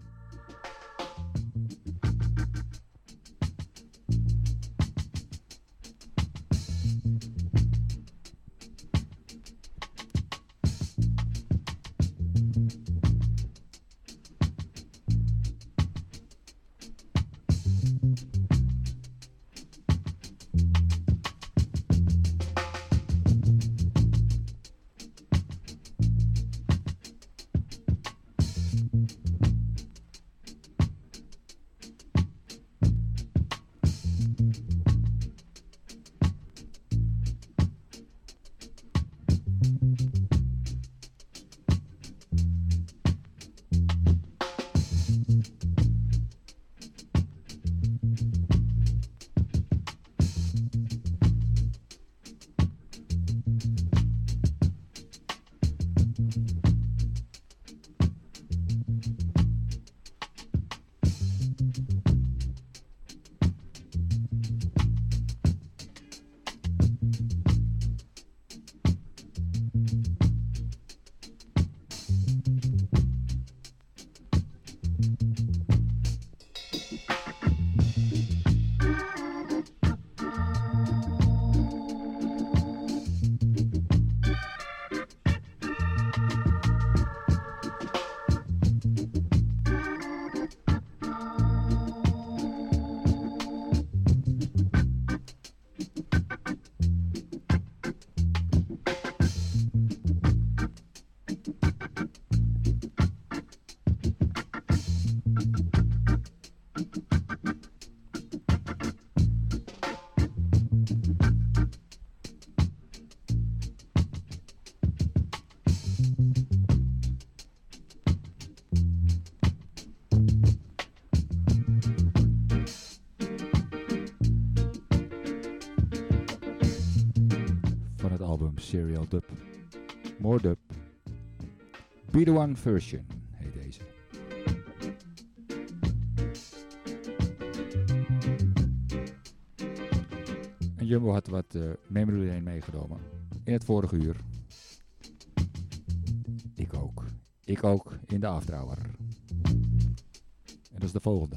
Serial dub. More dub. Be the One version heet deze. En Jumbo had wat uh, memory lane meegenomen in het vorige uur. Ik ook. Ik ook in de After Hour. En dat is de volgende.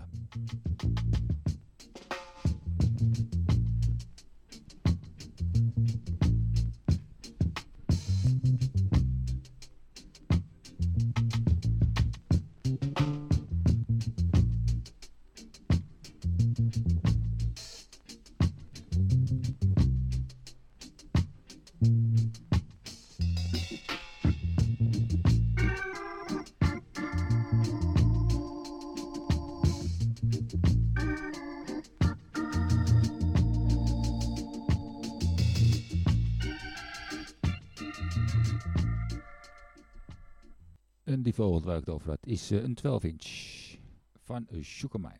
En die volgende waar ik het over had is uh, een twaalf inch van uh, Sugar Minott.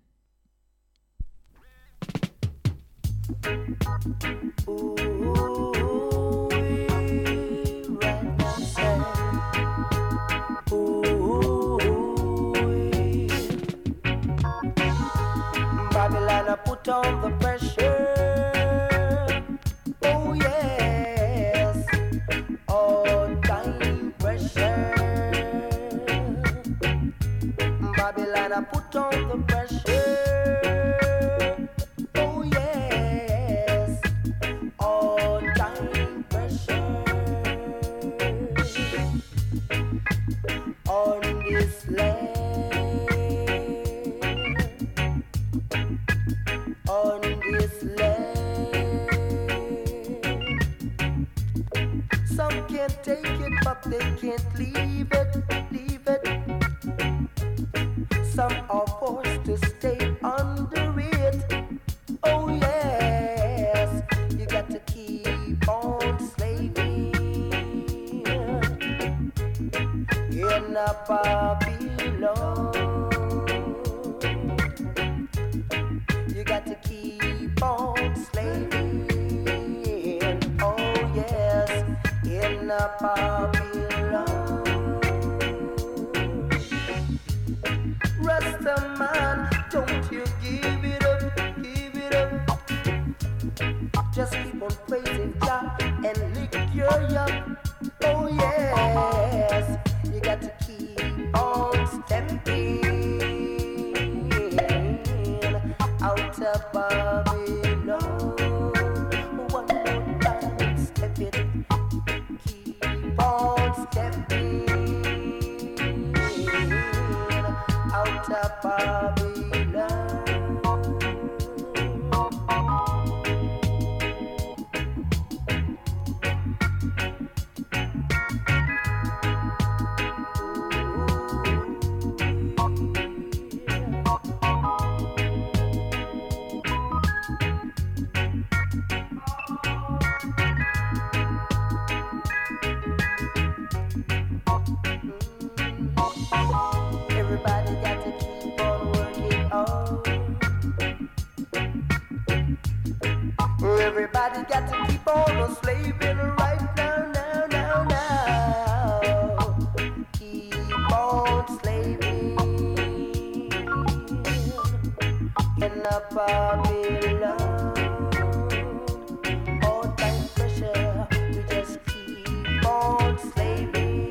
Babylon, I put on the pressure. Oh yes, all time pressure. Babylon, I put on the pressure. Oh yes, all time pressure. On this land. On this land, some can't take it, but they can't leave it, leave it. Some are forced to stay under it. Oh yes, you got to keep on Babylon. You got to keep on slaving. Oh yes, in a Babylon. Rasta man, don't you give it up, give it up. Just keep on praising Jah and lick your yuck. Oh yes, you got to keep on stepping out of Babylon. One more time, step it. Keep on stepping out of Babylon. Everybody got to keep on working on. Everybody got to keep on slaving right now, now, now, now. Keep on slaving in a Babylon. All time pressure, we just keep on slaving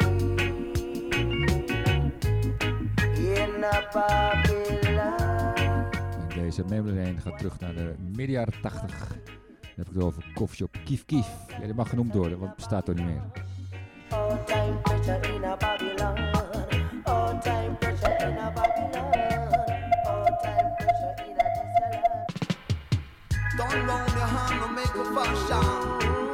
in a Babylon. En deze memory lane gaat terug naar de midden jaren tachtig. Dan heb ik het over Coffeeshop Kief Kief. Ja, die mag genoemd worden, want het bestaat toch niet meer. All time pressure in a Babylon. All time pressure in a Babylon. All time pressure in a this land. Turn round your hand and make a fashion.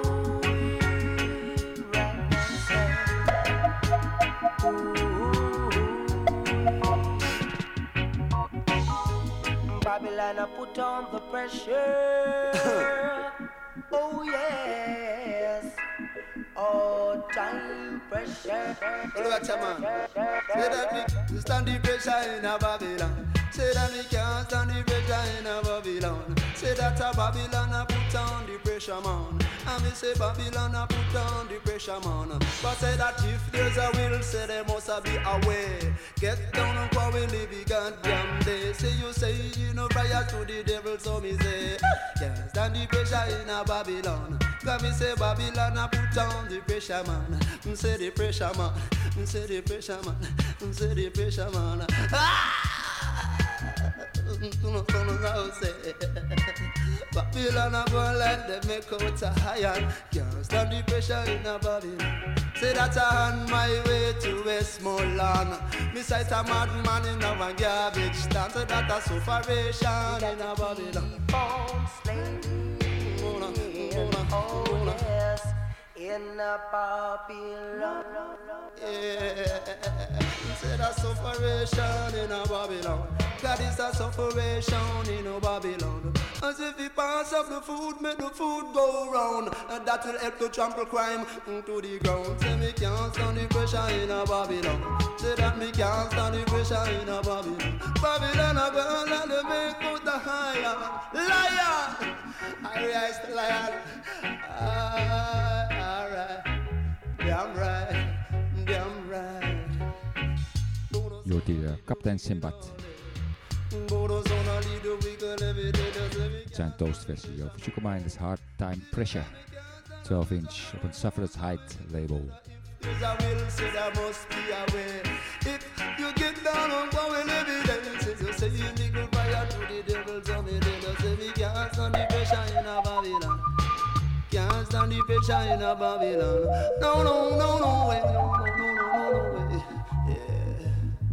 Babylon, I put on the pressure. Oh yes. All time pressure. Well, watch a man. Say that we stand the pressure in a Babylon. Say that we can't stand the pressure in a Babylon. Say that a Babylon a put on the pressure, man. And me say Babylon a put on the pressure, man. But say that if there's a will, say there must be a way. Get down and quarrel every goddamn day. Say you say you know prior to the devil, so me say can't stand the pressure in a Babylon. Cause me say Babylon a put on the pressure, man. Me say the pressure, man. Me say the pressure, man. Me say the pressure, man. Ah! Babylon a go like them make out a iron. Can't stand the pressure in a Babylon. Say that I on my way to Westmoreland. Me sight a madman in a garbage stand. Say that a sufferation in a Babylon. Born slaving. Oh yes. In a Babylon. Yeah. Say that sufferation in a Babylon. God is a sufferation in a Babylon. As if he pass up the food, make the food go round. And that will help to trample crime to the ground. Say me can't stand the pressure in a Babylon. Say that me can't stand the pressure in a Babylon. Babylon a go and they make out the higher. Liar! I rise the liar. Ah, alright. Damn right. Damn right. Je hoort hier uh, Kaptein Sinbad. Het zijn toastversie over Sugarminder's Hard Time Pressure. twaalf inch op een Sufferer's Height label. There's a will, say there must be a way. If you get down on going evidences, you say you nickel fire to the devil, so me little say we can't stand the pressure in a Babylon. Can't stand the pressure in a Babylon. No, no, no, no way, no, no, no, no, no way. Yeah.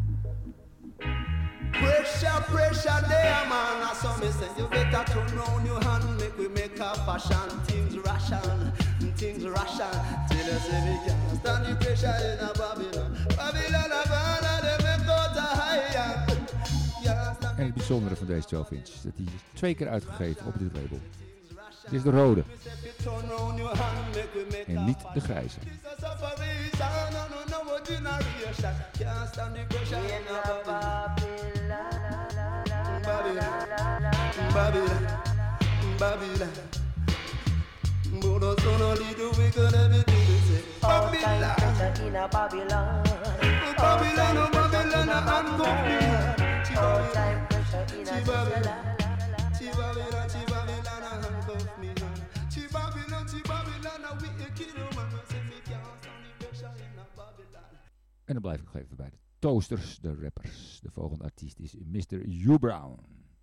Pressure, pressure there, man. I saw me say you better turn round your hand, make we make a fashion. Things ration, things ration. Till you say we can't stand the pressure in a Babylon. Babylon, a Babylon, they make out a higher. En het bijzondere van deze twaalf inch is dat hij is twee keer uitgegeven op dit label. Dit is de rode. En niet de grijze. pressure. Can't stand the pressure in a Babylon. Babylon, Babylon, Babylon. But us gonna lead the wicked everything they say. Babylon, pressure in a Babylon. Babylon, oh Babylon, handcuff me. All time pressure in a Babylon, Babylon, Babylon, handcuff me. Babylon, Babylon, we a kingdom man. Say me can't stand the pressure in a Babylon. En dan blijf ik nog even bij de Toasters, de rappers. De volgende artiest is mister U Brown.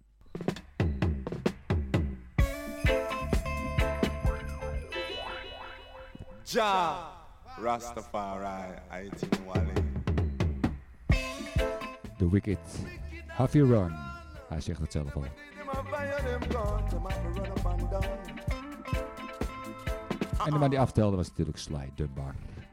Ja, Rastafari, I think Wally. The Wicked, Huffy Run. Hij zegt het zelf al. En de man die aftelde was natuurlijk Sly Dunbar.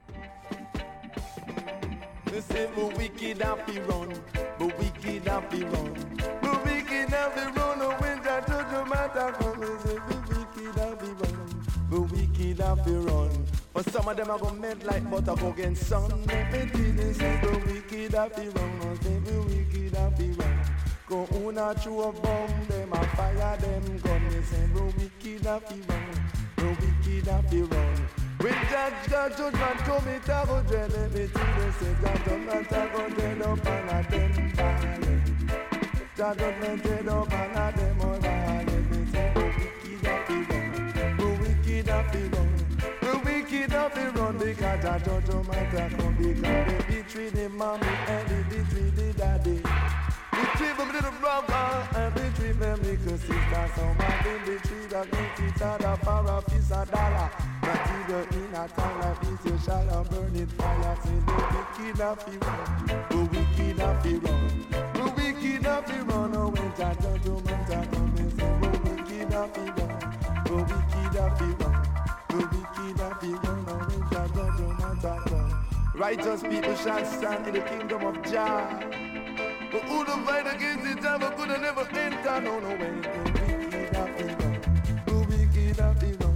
They say we wicked happy run, we wicked happy run, we wicked happy run. Oh, when that to the matter come, we say we wicked happy run, we wicked happy run. But some of them are gonna melt like butter go against sun. They say we wicked happy run, oh, say we wicked happy run. Go on a through a bomb, them a fire them gun. They say we wicked happy run, we wicked happy run. When judge got judgment come, it a go dread everything they say. Judgment a go dread up and a them violent. Judgment dread up and a them all violent. They say go wicked happy run, go wicked happy run, go wicked happy run. Because a judgment a come, because they betray the mommy and they betray the daddy. Betray them little brother and betray them little sister. Somebody betray the great teacher, the for a piece of dollar. But either in a time like this, you shall have burn it fire. Say the wicked happy run, the wicked happy run, the wicked happy run. Oh, when the judgment a come, they say the wicked happy run, the wicked happy run, the wicked happy run. Oh, when the judgment a come, righteous people shall stand in the kingdom of Jah. But who the fight against the devil could have never enter. No, no way. The wicked happy run, the wicked happy run.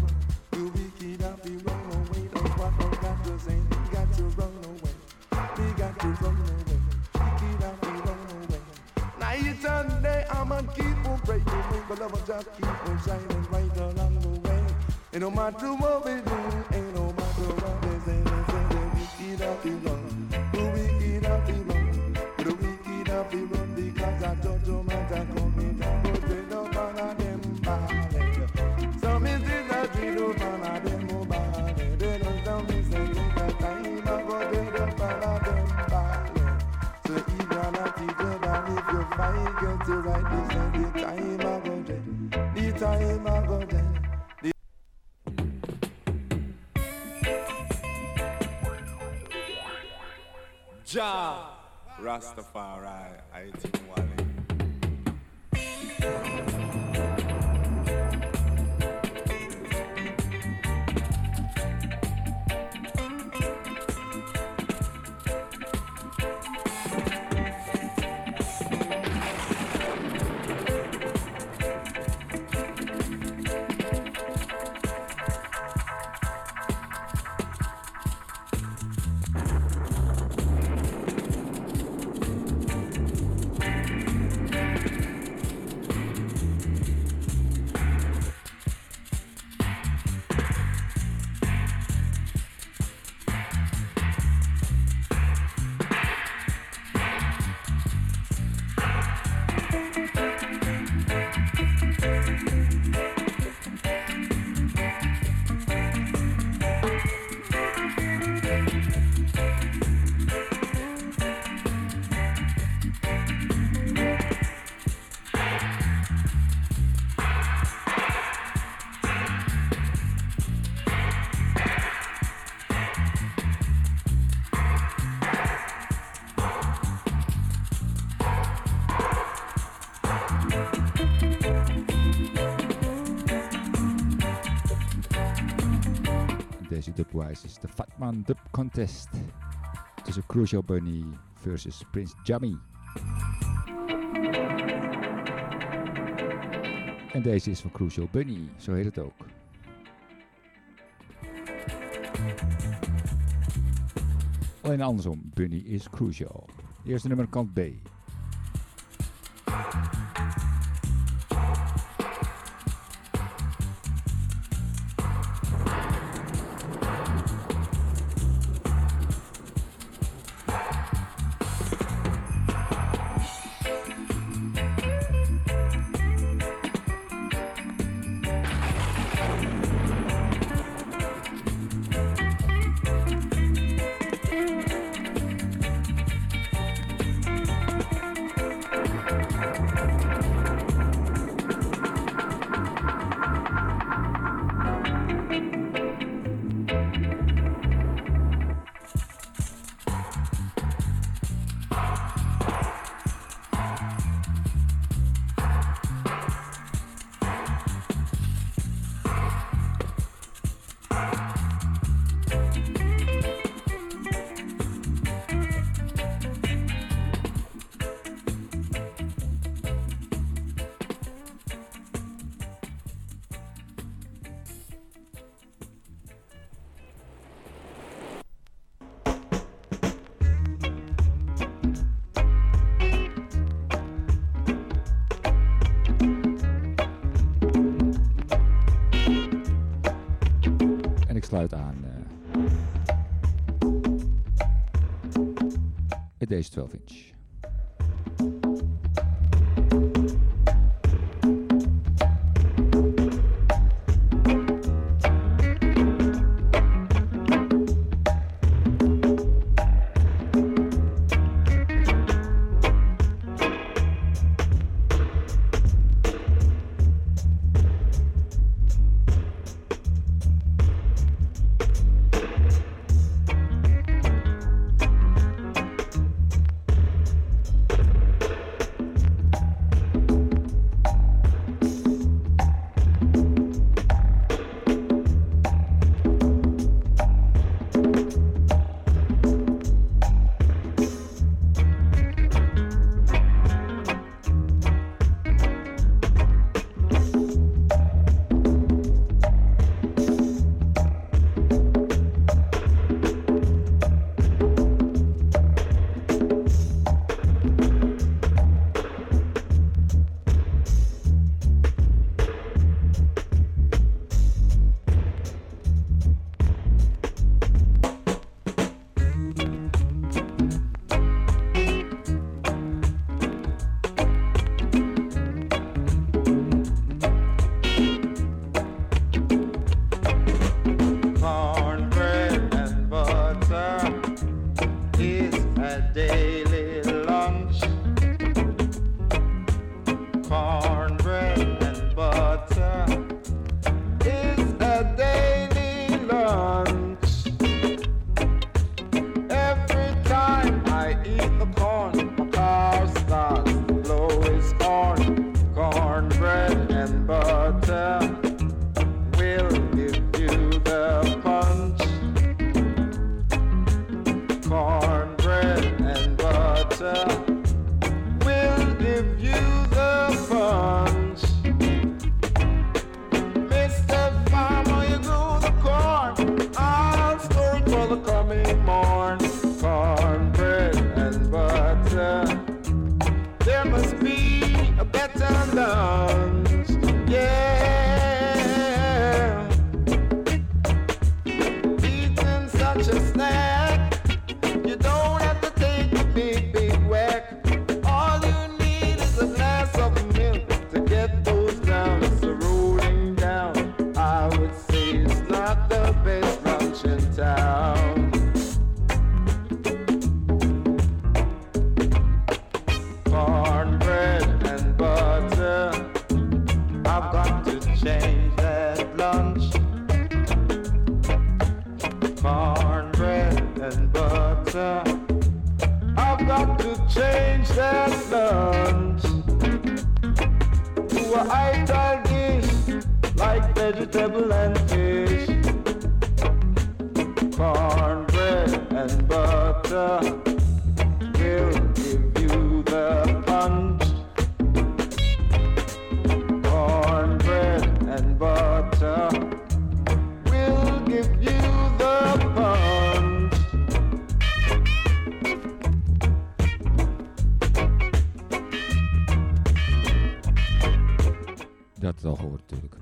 Keep on praying, but love just keep on shining right along the way. And no matter what we do, ain't no matter what they say, they say the wicked happy run, the wicked happy run, the wicked happy run, because I judgment a coming down, go dread up on a them ballad. Some is in a dread up on a them ballad. They don't tell me say in that time I go dread up on a them ballad. So if you're not together, if you fight, get it right. The time I go there, the time I go there. The Ja, Rastafari, I think Wally. Dubwise is de Fatman Dub Contest tussen Crucial Bunny versus Prince Jammy. En deze is van Crucial Bunny, zo heet het ook. Alleen andersom, Bunny is crucial. Eerste nummer kant B. Sluit aan uh, met deze twaalf inch.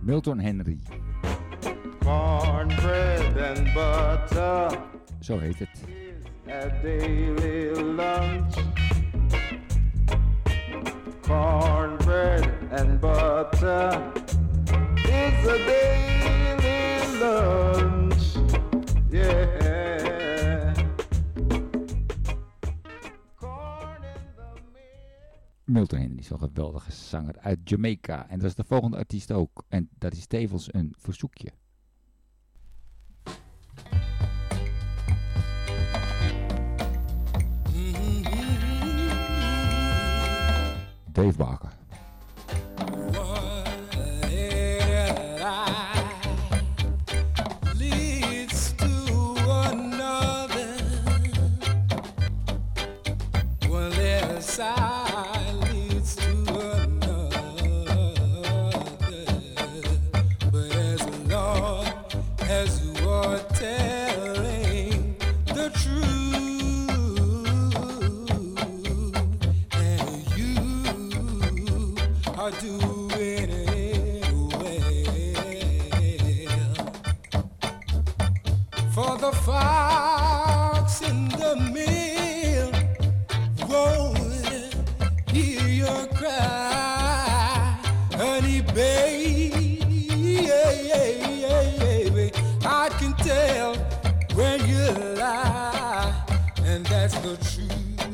Milton Henry. Cornbread and butter. Zo heet het. A daily lunch. Cornbread and butter is a daily lunch. Yeah. Milton Henry is wel een geweldige zanger uit Jamaica. En dat is de volgende artiest ook. En dat is tevens een verzoekje. Dave Barker. Leads to another. One little side leads to another. But as long as you are telling the truth. Are doing it well. For the fox in the mill won't hear your cry, honey baby. I can tell when you lie, and that's the truth.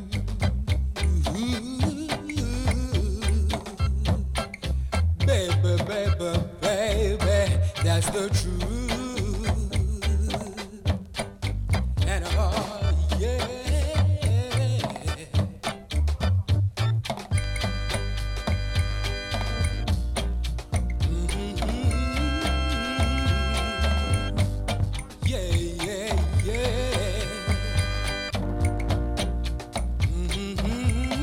Baby, baby, baby, that's the truth. And oh yeah. Mm-hmm. Yeah, yeah, yeah. Mm-hmm.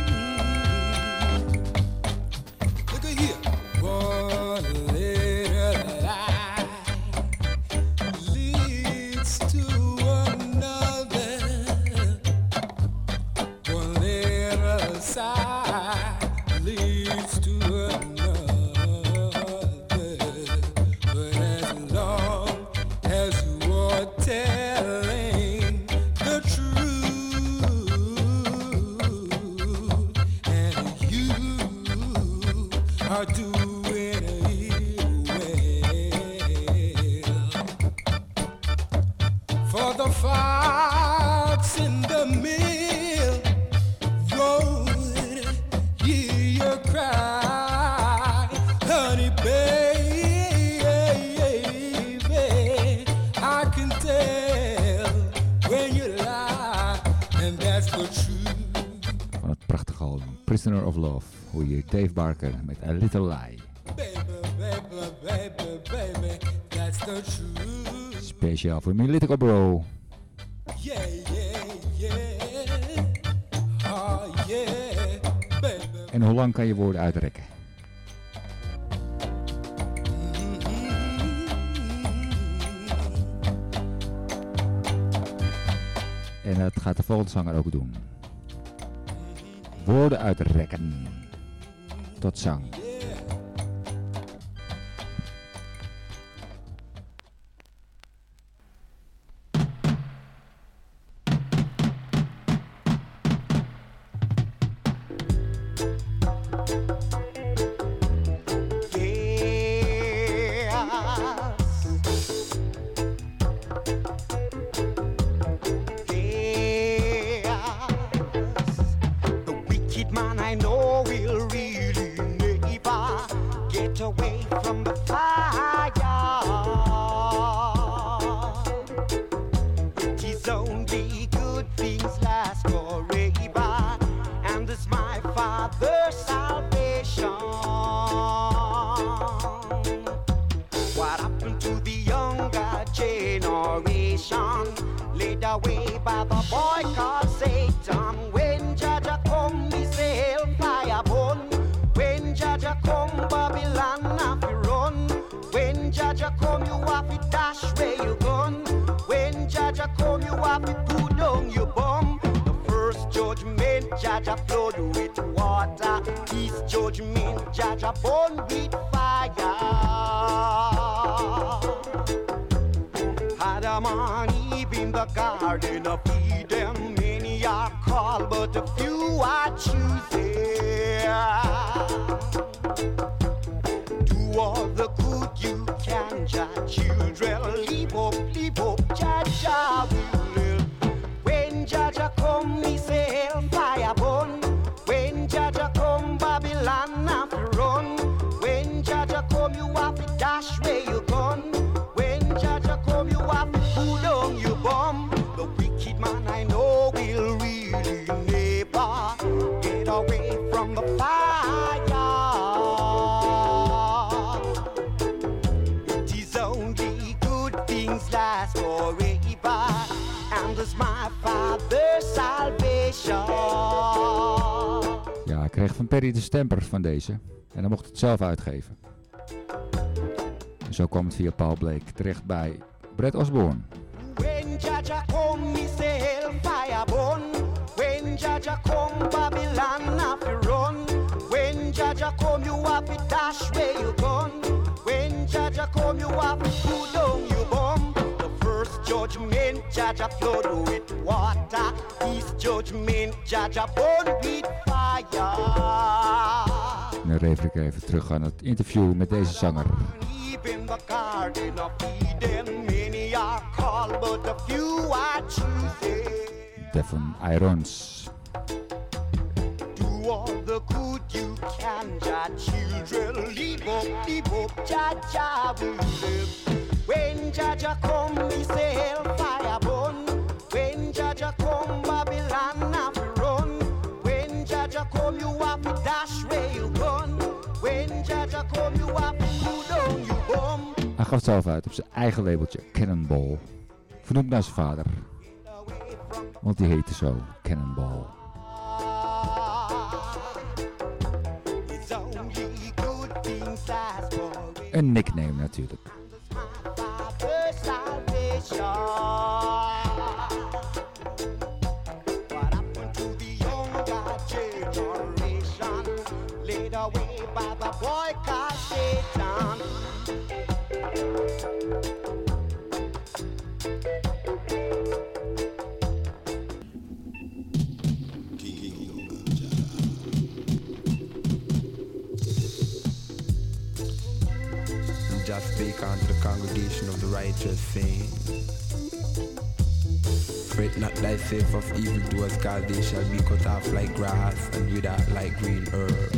Look at here. One little lie leads to another. One little sigh leads to another. But as long as you are telling the truth, and you are doing for the fox in the mill won't hear your cry, honey baby. I can tell when you lie, and that's the truth. Van het prachtige album Prisoner of Love hoor je Dave Barker met A Little Lie. Baby, baby, baby, baby, that's the truth. Speciaal voor mijn little bro. Yeah, yeah, yeah. Oh yeah, baby. En hoe lang kan je woorden uitrekken? En dat gaat de volgende zanger ook doen. Woorden uitrekken. Tot zang. Jaja flood with water. His judgment, Jaja born with fire. fire. Adam and Eve in the garden of Eden, many are called, but a few are choosing. Do all the good you can, Jah children. Leave up, leave up, Jah Jah will live. When Jah Jah come, me say hellfire burn. When Jah Jah come, Babylon have to run. When Jah Jah come, you have to dash where you gone. When Jah Jah come, you have to pull down your bomb. The wicked man I know will really never get away from the fire. It is only good things last forever, and it's my Father's salvation. Ja, ik kreeg van Perry de stemper van deze. En hij mocht het zelf uitgeven. En zo kwam het via Paul Blake terecht bij Brett Osborne. When Jah Jah come, me say hellfire burn. When Jah Jah come, Babylon have to run. When Jah Jah come, you have to dash where you gone. When Jah Jah come, you have to pull down your bomb. The first judgment, Jah Jah flood with water. This judgment, Jah Jah burn with fire. En dan refer ik even terug aan het interview met deze zanger. In the garden of Eden, many are called, but a few are choosing. Devon Irons. Do all the good you can, Jah children. Leave up, leave up, Jah Jah will live. When Jah Jah come, me say hellfire burn. When Jah Jah come, Babylon have to run. When Jah Jah come, you have to dash where you gone. When Jah Jah come, you have to pull down your bomb. Hij gaf het zelf uit op zijn eigen labeltje Cannonball. Vernoemd naar zijn vader. Want die heette zo, Cannonball. Een nickname natuurlijk. Just speak unto the congregation of the righteous, saying, fret not thyself of evildoers, cause they shall be cut off like grass and wither like green herb.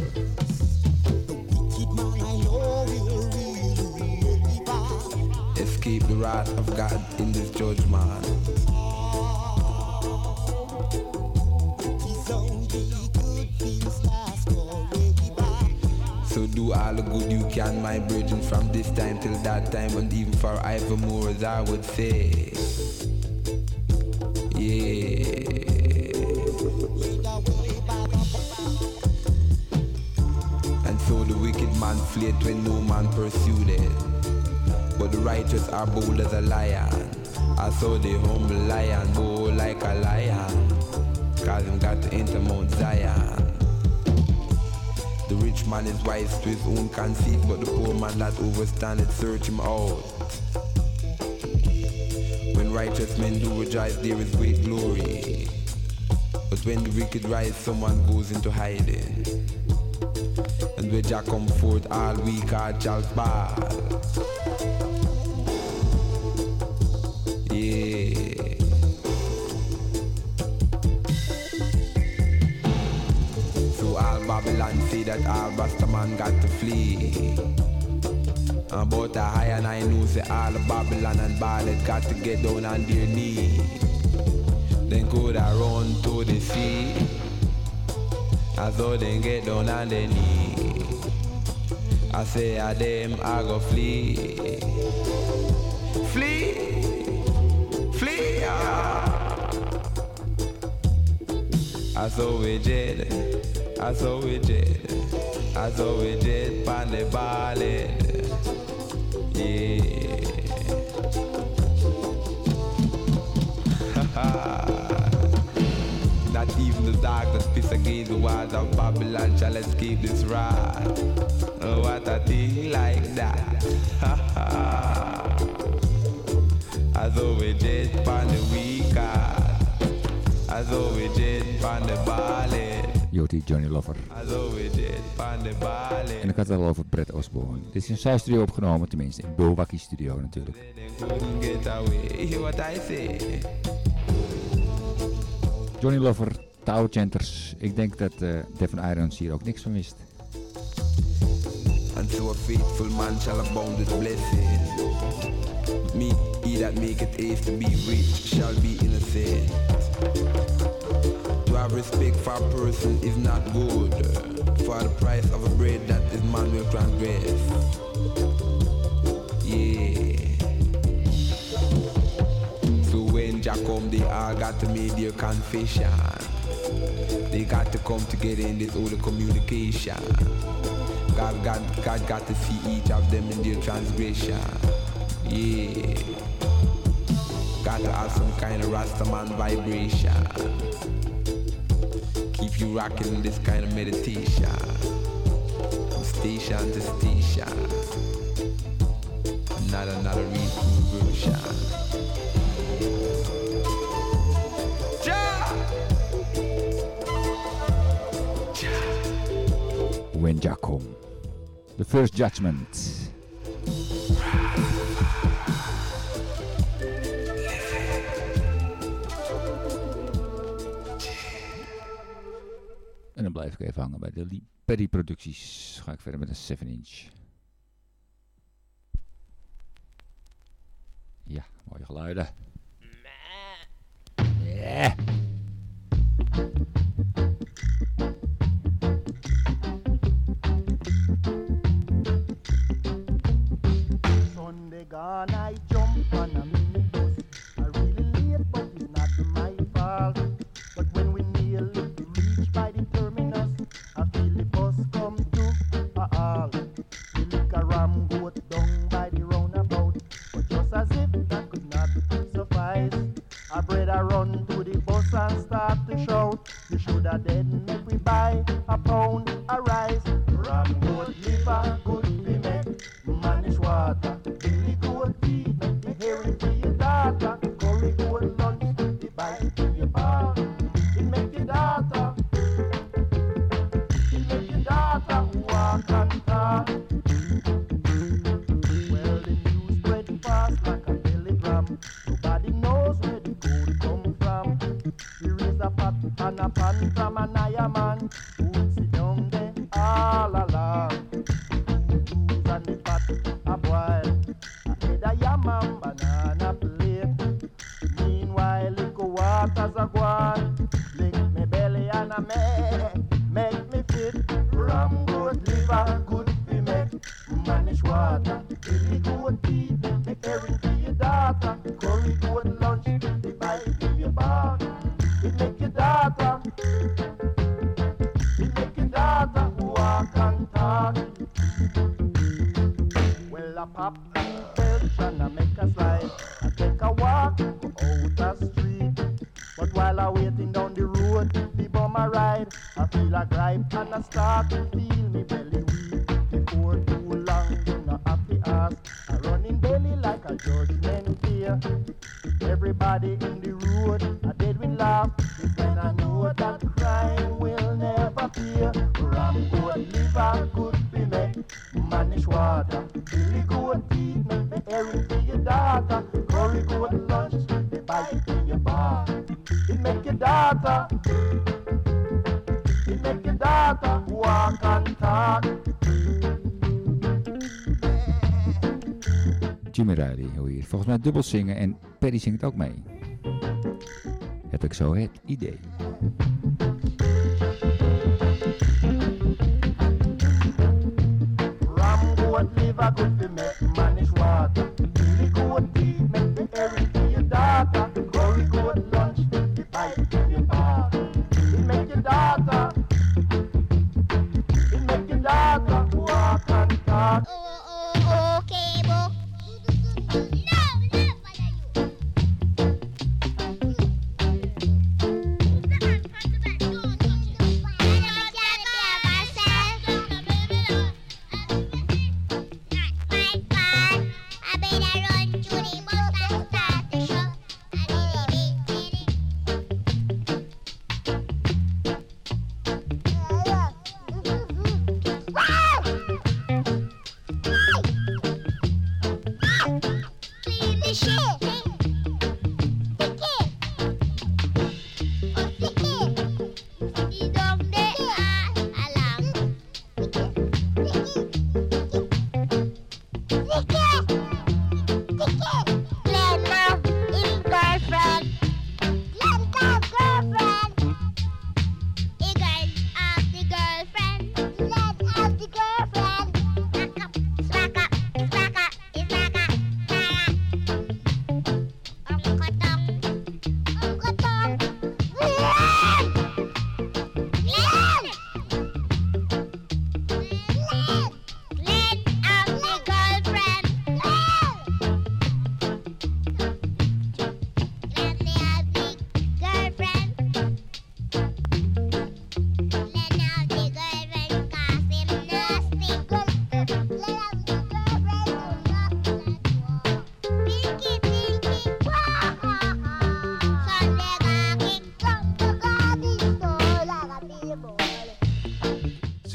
Escape the wrath of God in this judgment. So do all the good you can, my brethren, from this time till that time, and even forevermore, as I would say. Yeah. And so the wicked man fled when no man pursued it, but the righteous are bold as a lion. I saw the humble lion bold like a lion, cause him got to enter Mount Zion. The rich man is wise to his own conceit, but the poor man that overstandeth search him out. When righteous men do rejoice, there is great glory. But when the wicked rise, someone goes into hiding. And when Jah come forth, all weak heart shall fall. Yeah. Babylon say that all Rasta man got to flee. About a high and I know say all Babylon and Baaled got to get down on their knee. Then go da run to the sea, as though they get down on their knee. I say a them I go flee, flee, flee. Ah. I saw we dead. I saw we jet, I saw we jet pan the Baaled, yeah. Not even the darkness piss against away the walls of Babylon shall escape this wrath. Oh, what a thing like that. Ha ha. As though we did on the weekend. As though we did on the ballad. Joti Johnny Lover. As though we did on the ballad. En ik had het al over Brett Osborne. Dit is in zijn studio opgenomen, tenminste in Bulwacky Studio natuurlijk. Couldn't get away. Hear what I say. Johnny Lover, Tower Chanters. Ik denk dat uh, Devon Irons hier ook niks van wist. And so a faithful man shall abound with blessing. Me, he that maketh haste to be rich shall be innocent. To have respect for a person is not good. For the price of a bread that this man will transgress. Yeah. So when Jah come, they all got to make their confession. They got to come together in this holy communication. God, God, God got to see each of them in their transgression. Yeah. Got to have some kind of Rastaman vibration. Keep you rocking in this kind of meditation. From station to station. Another, another reversion. When Jah come. The First Judgment. En dan blijf ik even hangen bij de Perry producties. Ga ik verder met een seven inch. Ja, mooie geluiden. Yeah. Sunday gone, I jump on a minibus. I really late, but it's not my fault. But when we nearly reach by the terminus, I feel the bus come to a halt. We look a ram goat down by the roundabout, but just as if that could not suffice, our brother run to the bus and start to shout. You should have dead make we buy a pound of rice. Ram goat liver good be make, manish water. Billy goat feed make the herring for your daughter. Curry goat lunch the bite to your bar. It make your daughter, it make your daughter walk and talk. Well, the news spread fast like a telegram. Nobody knows where the gold come from. Here is a pot and a pan from an iron man who sit down there all along. Booze and the pot a boil. I had a yam and banana plate. Meanwhile, liquor waters a gone. Lick me belly and a make, make me fit. Ram goat liver good be make. Manish water, Billy goat feed, make herring for your daughter. Curry goat lunch, the bite to your bar. It make your daughter, it make your daughter walk and talk. Well, I pop and belch and I make a slide. I take a walk out the street. But while I waiting down the road, the bum a ride. I feel a gripe and I start to feel me belly weak. Before too long, you know have to ask. I run in belly like a judgment here. Everybody in the road, I did we laugh. It's when I know that crime will never fear. Ram goat liver could be made. Manish water, Billy goat feed, make the herring for your daughter. Curry goat lunch, they bite in your bar. It make your daughter, it make your daughter walk and talk. Jimmy Riley hoor hier. Volgens mij dubbel zingen en Perry zingt ook mee. Heb ik zo het idee. Ram goat liver good to make manish water. Billy goat feed, make the herring for your daughter. Curry goat lunch, the bite to your bar. It make your daughter, it make your daughter walk and talk. Okay, book. No, no,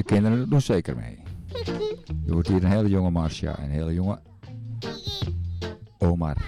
kinderen doen zeker mee. Je hoort hier een hele jonge Marcia en een hele jonge Omar.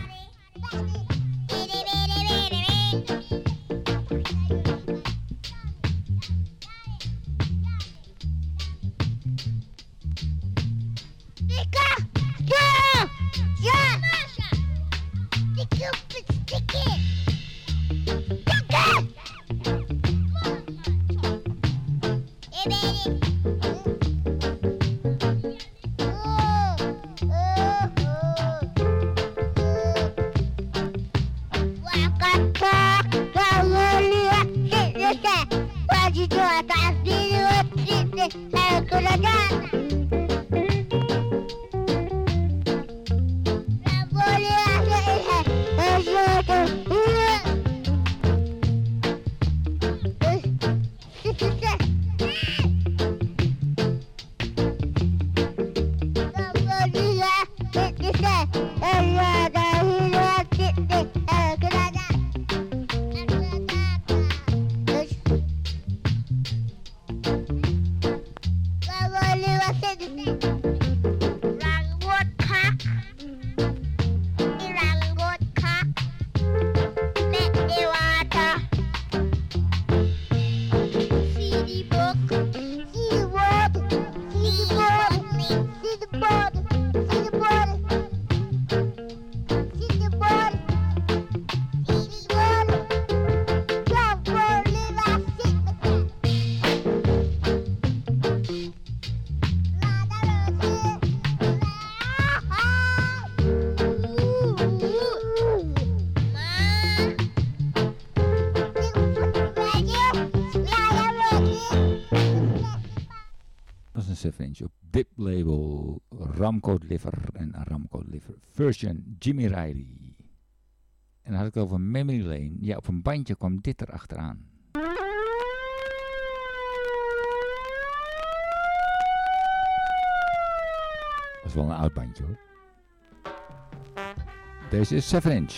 zeven inch op Dip label, Ramco Liver en Ramco Liver version Jimmy Riley. En dan had ik het over Memory Lane. Ja, op een bandje kwam dit er achteraan. Dat is wel een oud bandje hoor. Deze is zeven inch.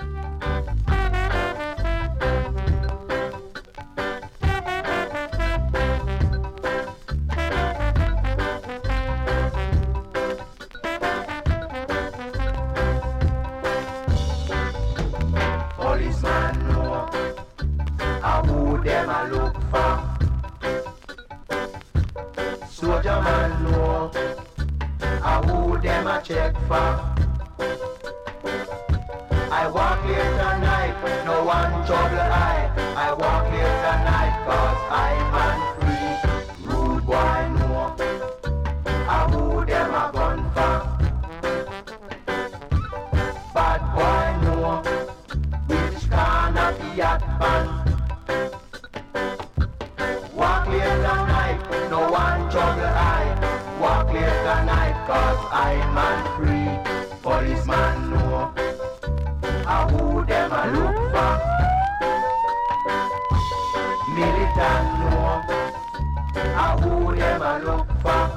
Check for. I walk here tonight, no one trouble I. I walk here tonight cause I'm man free. Rude boy no, I who them a gun for. Bad boy no, which can a be at man. Walk here tonight, no one trouble I. Walk here tonight cause I'm man free. Policeman know I who them a look for. Militant know I who them a look for.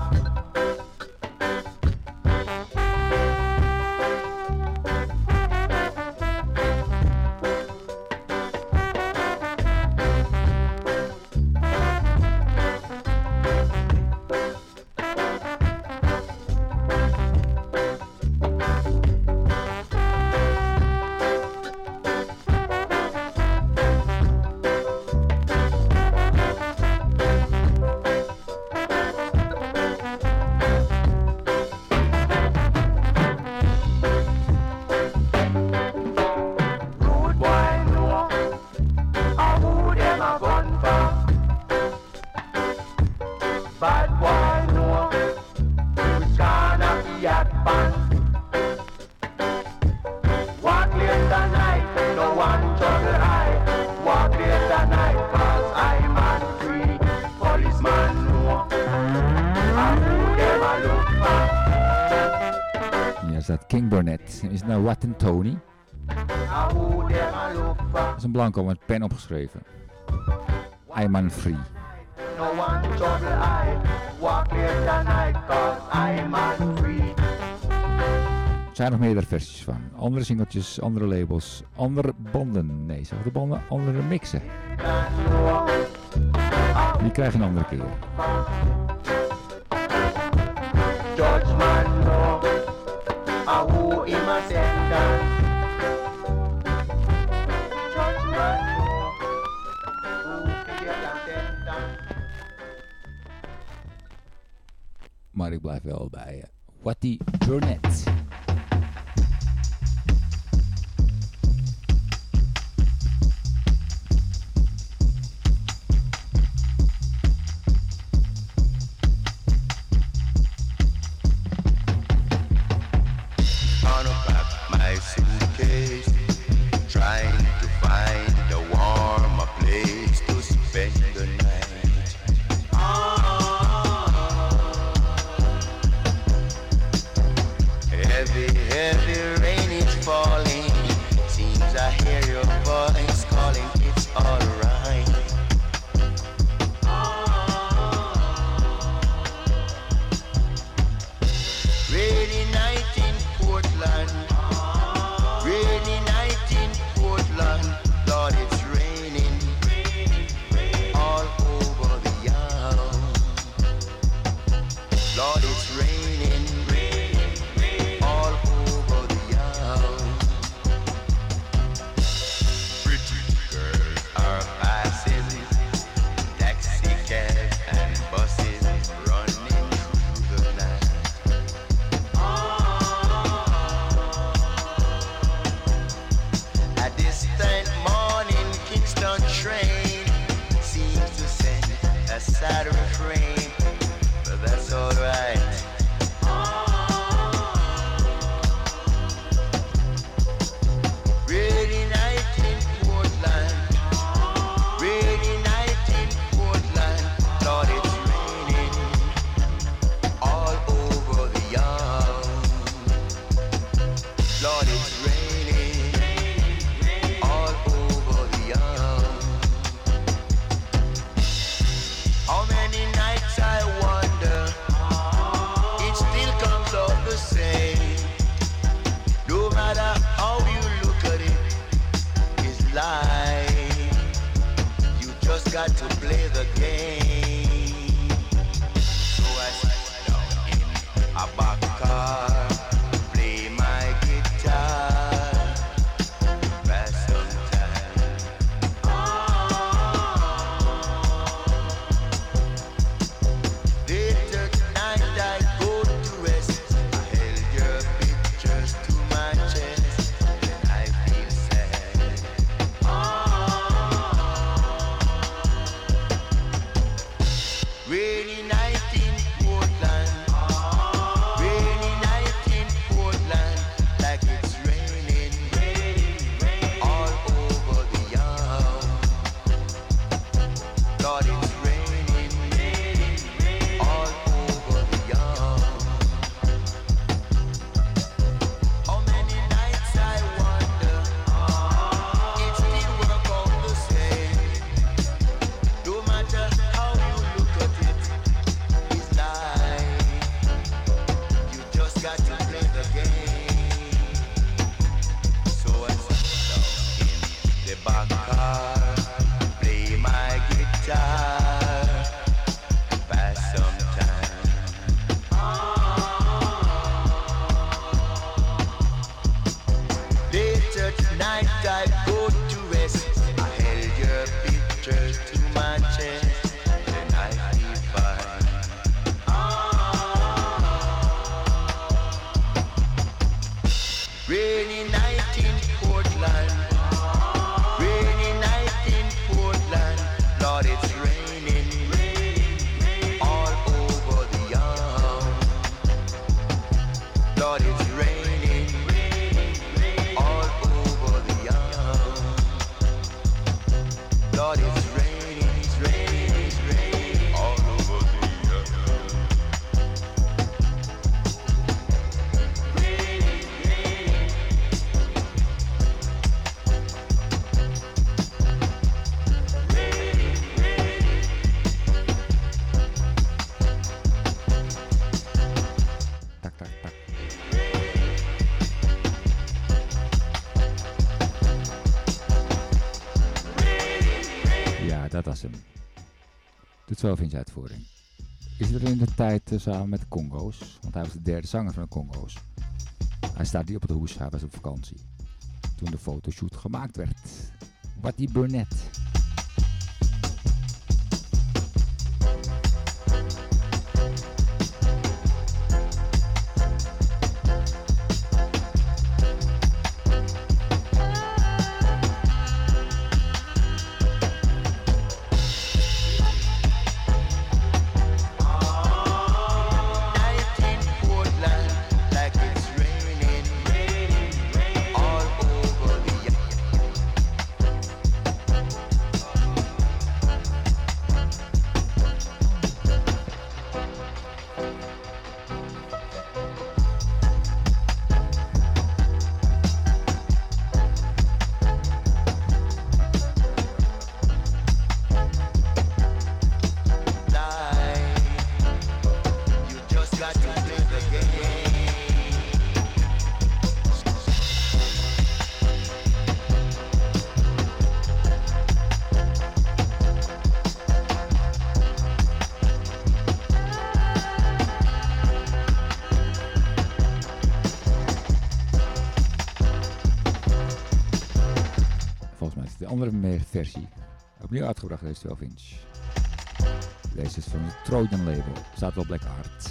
Is het nou Wat en Tony? Dat is een blanco met pen opgeschreven. I'm on free. No one trouble I. Walk here tonight cause I'm on free. Er zijn nog meerdere versies van. Andere singeltjes, andere labels, andere banden. Nee, zeg de banden, andere mixen. Die krijg je een andere keer. judgment know a who him a sentence. Judgment know who fi get a sentence. Maar ik blijf wel bij uh, Watty Burnett. Unpack my suitcase, trying to find a warmer place to spend the night. Heavy, heavy rain is falling. Seems I hear your voice calling. It's alright. Rainy night in Portland. Rainy night in Portland. Lord, it's raining all over the yard. Lord, it's raining all over the yard. Pretty girls are passing, taxi cabs and buses running through the night. A distant morning Kingston train seems to send a sad refrain, but that's alright. Rainy night in Portland. Rainy night in Portland. Lord, it's raining all over the yard. Lord, it's raining all over the yard. How many nights I wonder, it still comes out the same. No matter how you look at it, it's life. You just got to play the game. So I sit down in a back car, play my guitar, pass some time. Late at night I go to rest. I held your pictures to my chest, and I feel sad. Rainy night in Portland. Rainy night in Portland. Like it's raining all over the yard. Lord, it's raining all over the yard. How many nights I wonder, it still work out the same. No matter how you look at it, it's life. You just got to play the game. So I sit down in the back car, play my guitar, pass some time. Late at night I go to rest. I held your pictures to my chest, and I feel fine. Rainy night in Portland. Rainy night in Portland. Lord, it's raining all over the yard. Lord, it's raining all over the yard. Lord, it's raining, it's raining, it's raining all over the yard. Raining, raining. Raining, raining. Tak, tak, tak. Ja, dat was hem. Tot zover in zijn uitvoering. is er in de tijd uh, samen met de Congo's. Want hij was de derde zanger van de Congo's. Hij staat hier op het hoes, hij was op vakantie. Toen de fotoshoot gemaakt werd. Wattie Burnett. De andere versie, opnieuw uitgebracht, deze twaalf inch. Deze is van het Trojan label, staat wel Black Art.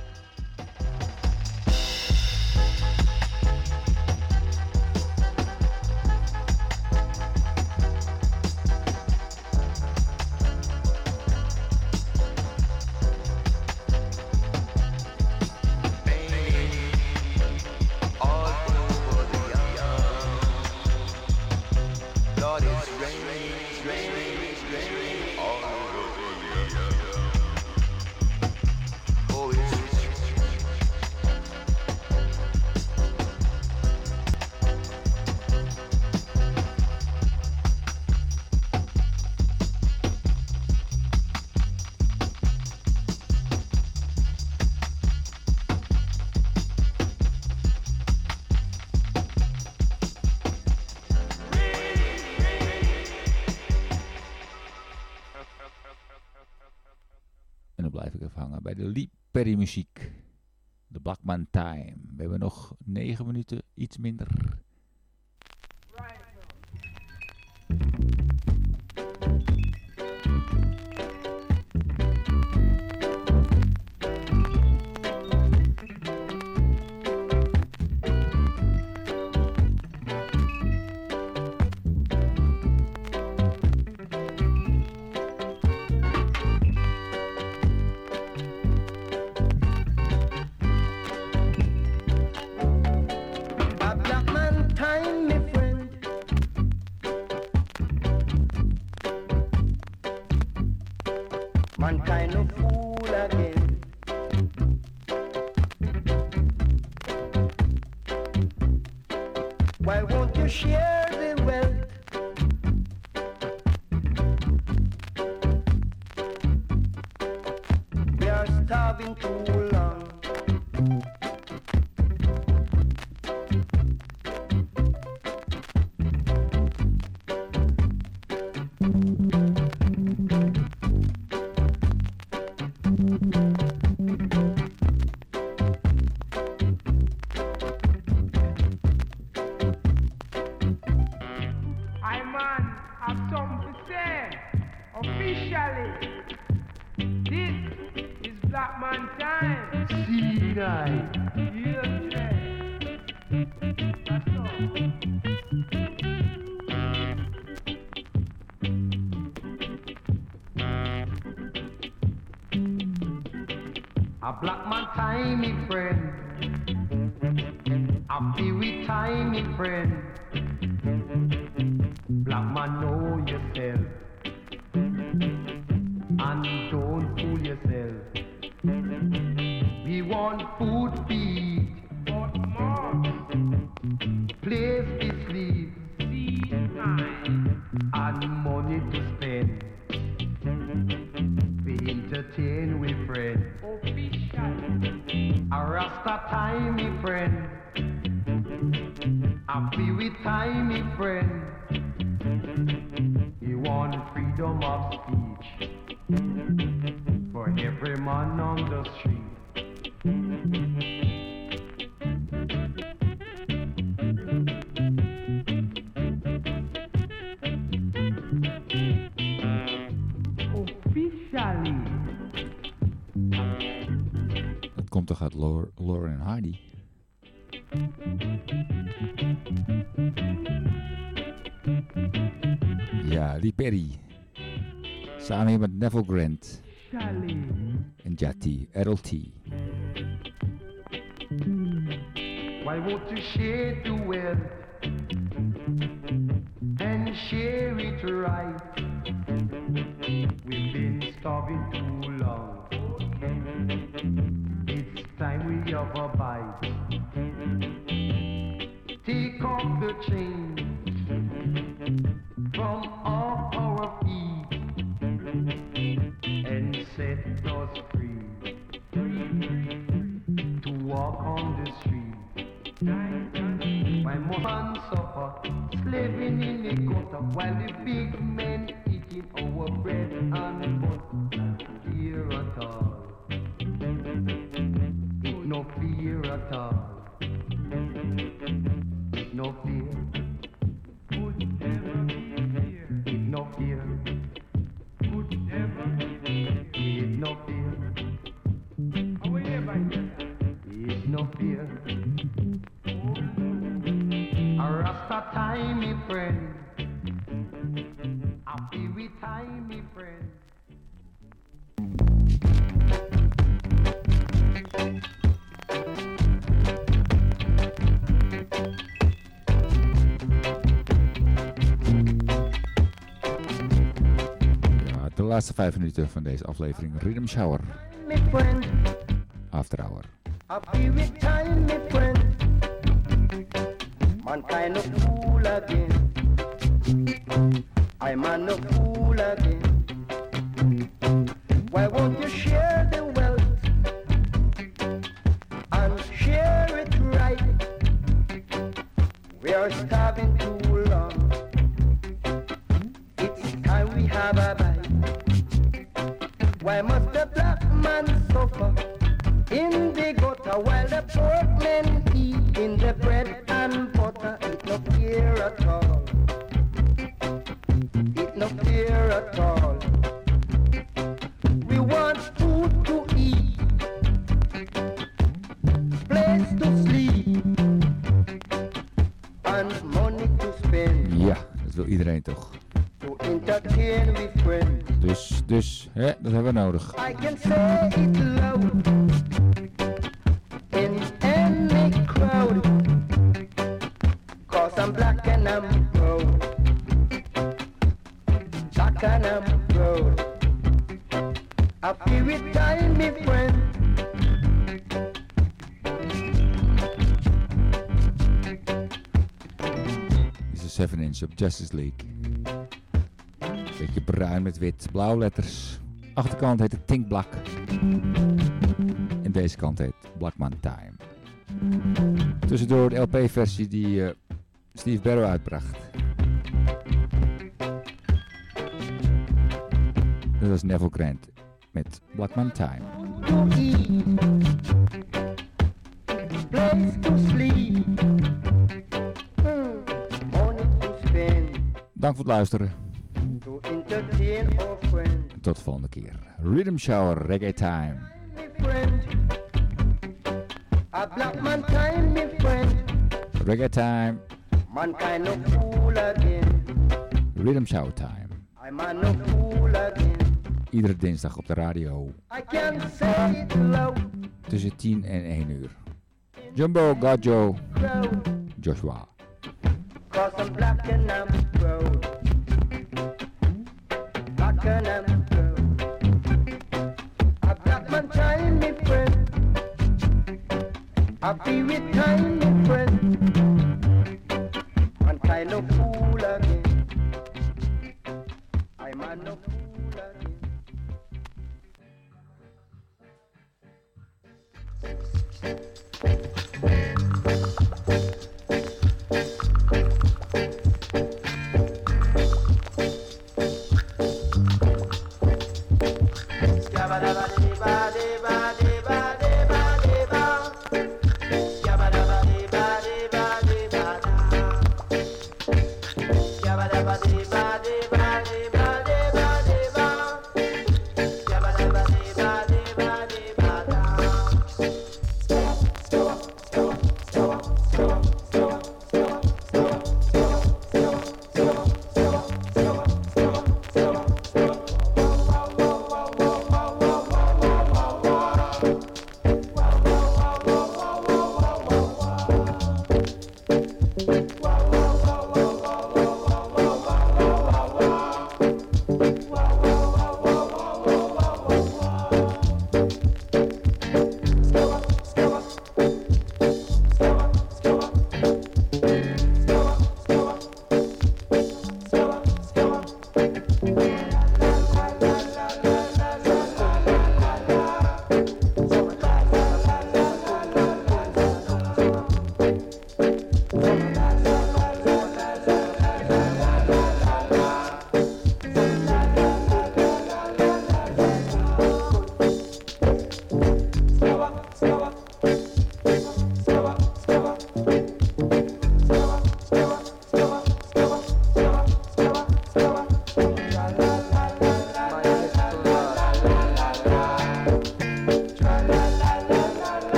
Bij de Lee Perry muziek. De Blackman Time. We hebben nog negen minuten, iets minder. A black man time, me friend. A peewee time, me friend. Black man, know yourself and don't fool yourself. We want food to eat, but more place to sleep, seed and money to spend. We entertain with friends. A Rasta time, me friend. A peewee time, me friend. You want freedom of speech for every man komt toch uit Laur- Laurel en Hardy? Ja, Lee Perry. Samen hier met Neville Grant. En Jati, Errol T. Why won't you share the wealth and share it right? We've been starving too long. It's time we have a bite. Take off the chains from off our feet and set us free to walk on the street. My mother suffer, slaving in the gutter, while the big men eating our bread and butter. Fear at all, it no fear at all, it no fear, could never be fear, it no fear, could never be fear, it no fear, it no fear. A Rasta time, me friend. Happy with time, me friend. Ja, de laatste vijf minuten van deze aflevering Rhythm Shower. Me friend. After Hour. Happy with time, me friend. Mankind a fool again. I'm a fool again. Why won't you share the wealth and share it right? We are starving too long. It's time we have a bite. Why must the black man suffer in the gutter while the poor men eat in the bread and butter? It no fear at all. It no fear at all. We want food to eat, place to sleep, and money to spend. Ja, dat wil iedereen toch. To entertain with friends. Dus, dus, hè, dat hebben we nodig. I can say it loud in any crowd, 'cause I'm black and I'm proud. Black and I'm proud. I feel it time, me friend. Dit is een seven inch op Justice League. Beetje bruin met wit, blauwe letters. Achterkant heet het Think Black. En deze kant heet Blackman Time. Tussendoor de L P-versie die uh, Steve Barrow uitbracht. Dat was Neville Grant met Blackman Time. To eat, place to sleep, hmm, money to spend. Dank voor het luisteren. To entertain our friends. Tot de volgende keer. Rhythm Shower, Reggae Time. Me friend, a black man time, me friend. Reggae Time. Mankind no fool again. Rhythm Shower Time. I'm a no fool again. Iedere dinsdag op de radio. I can say it loud. Tussen tien en één uur. Jumbo, Gajo, Crowd. Joshua. 'Cause I'm black and I'm proud. Black and I'm proud. A black man time, me friend. Happy with time, me friend. One kind of fool again. I'm a no fool again. Yabba dabba dee ba dee ba dee ba dee ba. Yabba dabba dee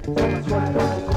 So much money don't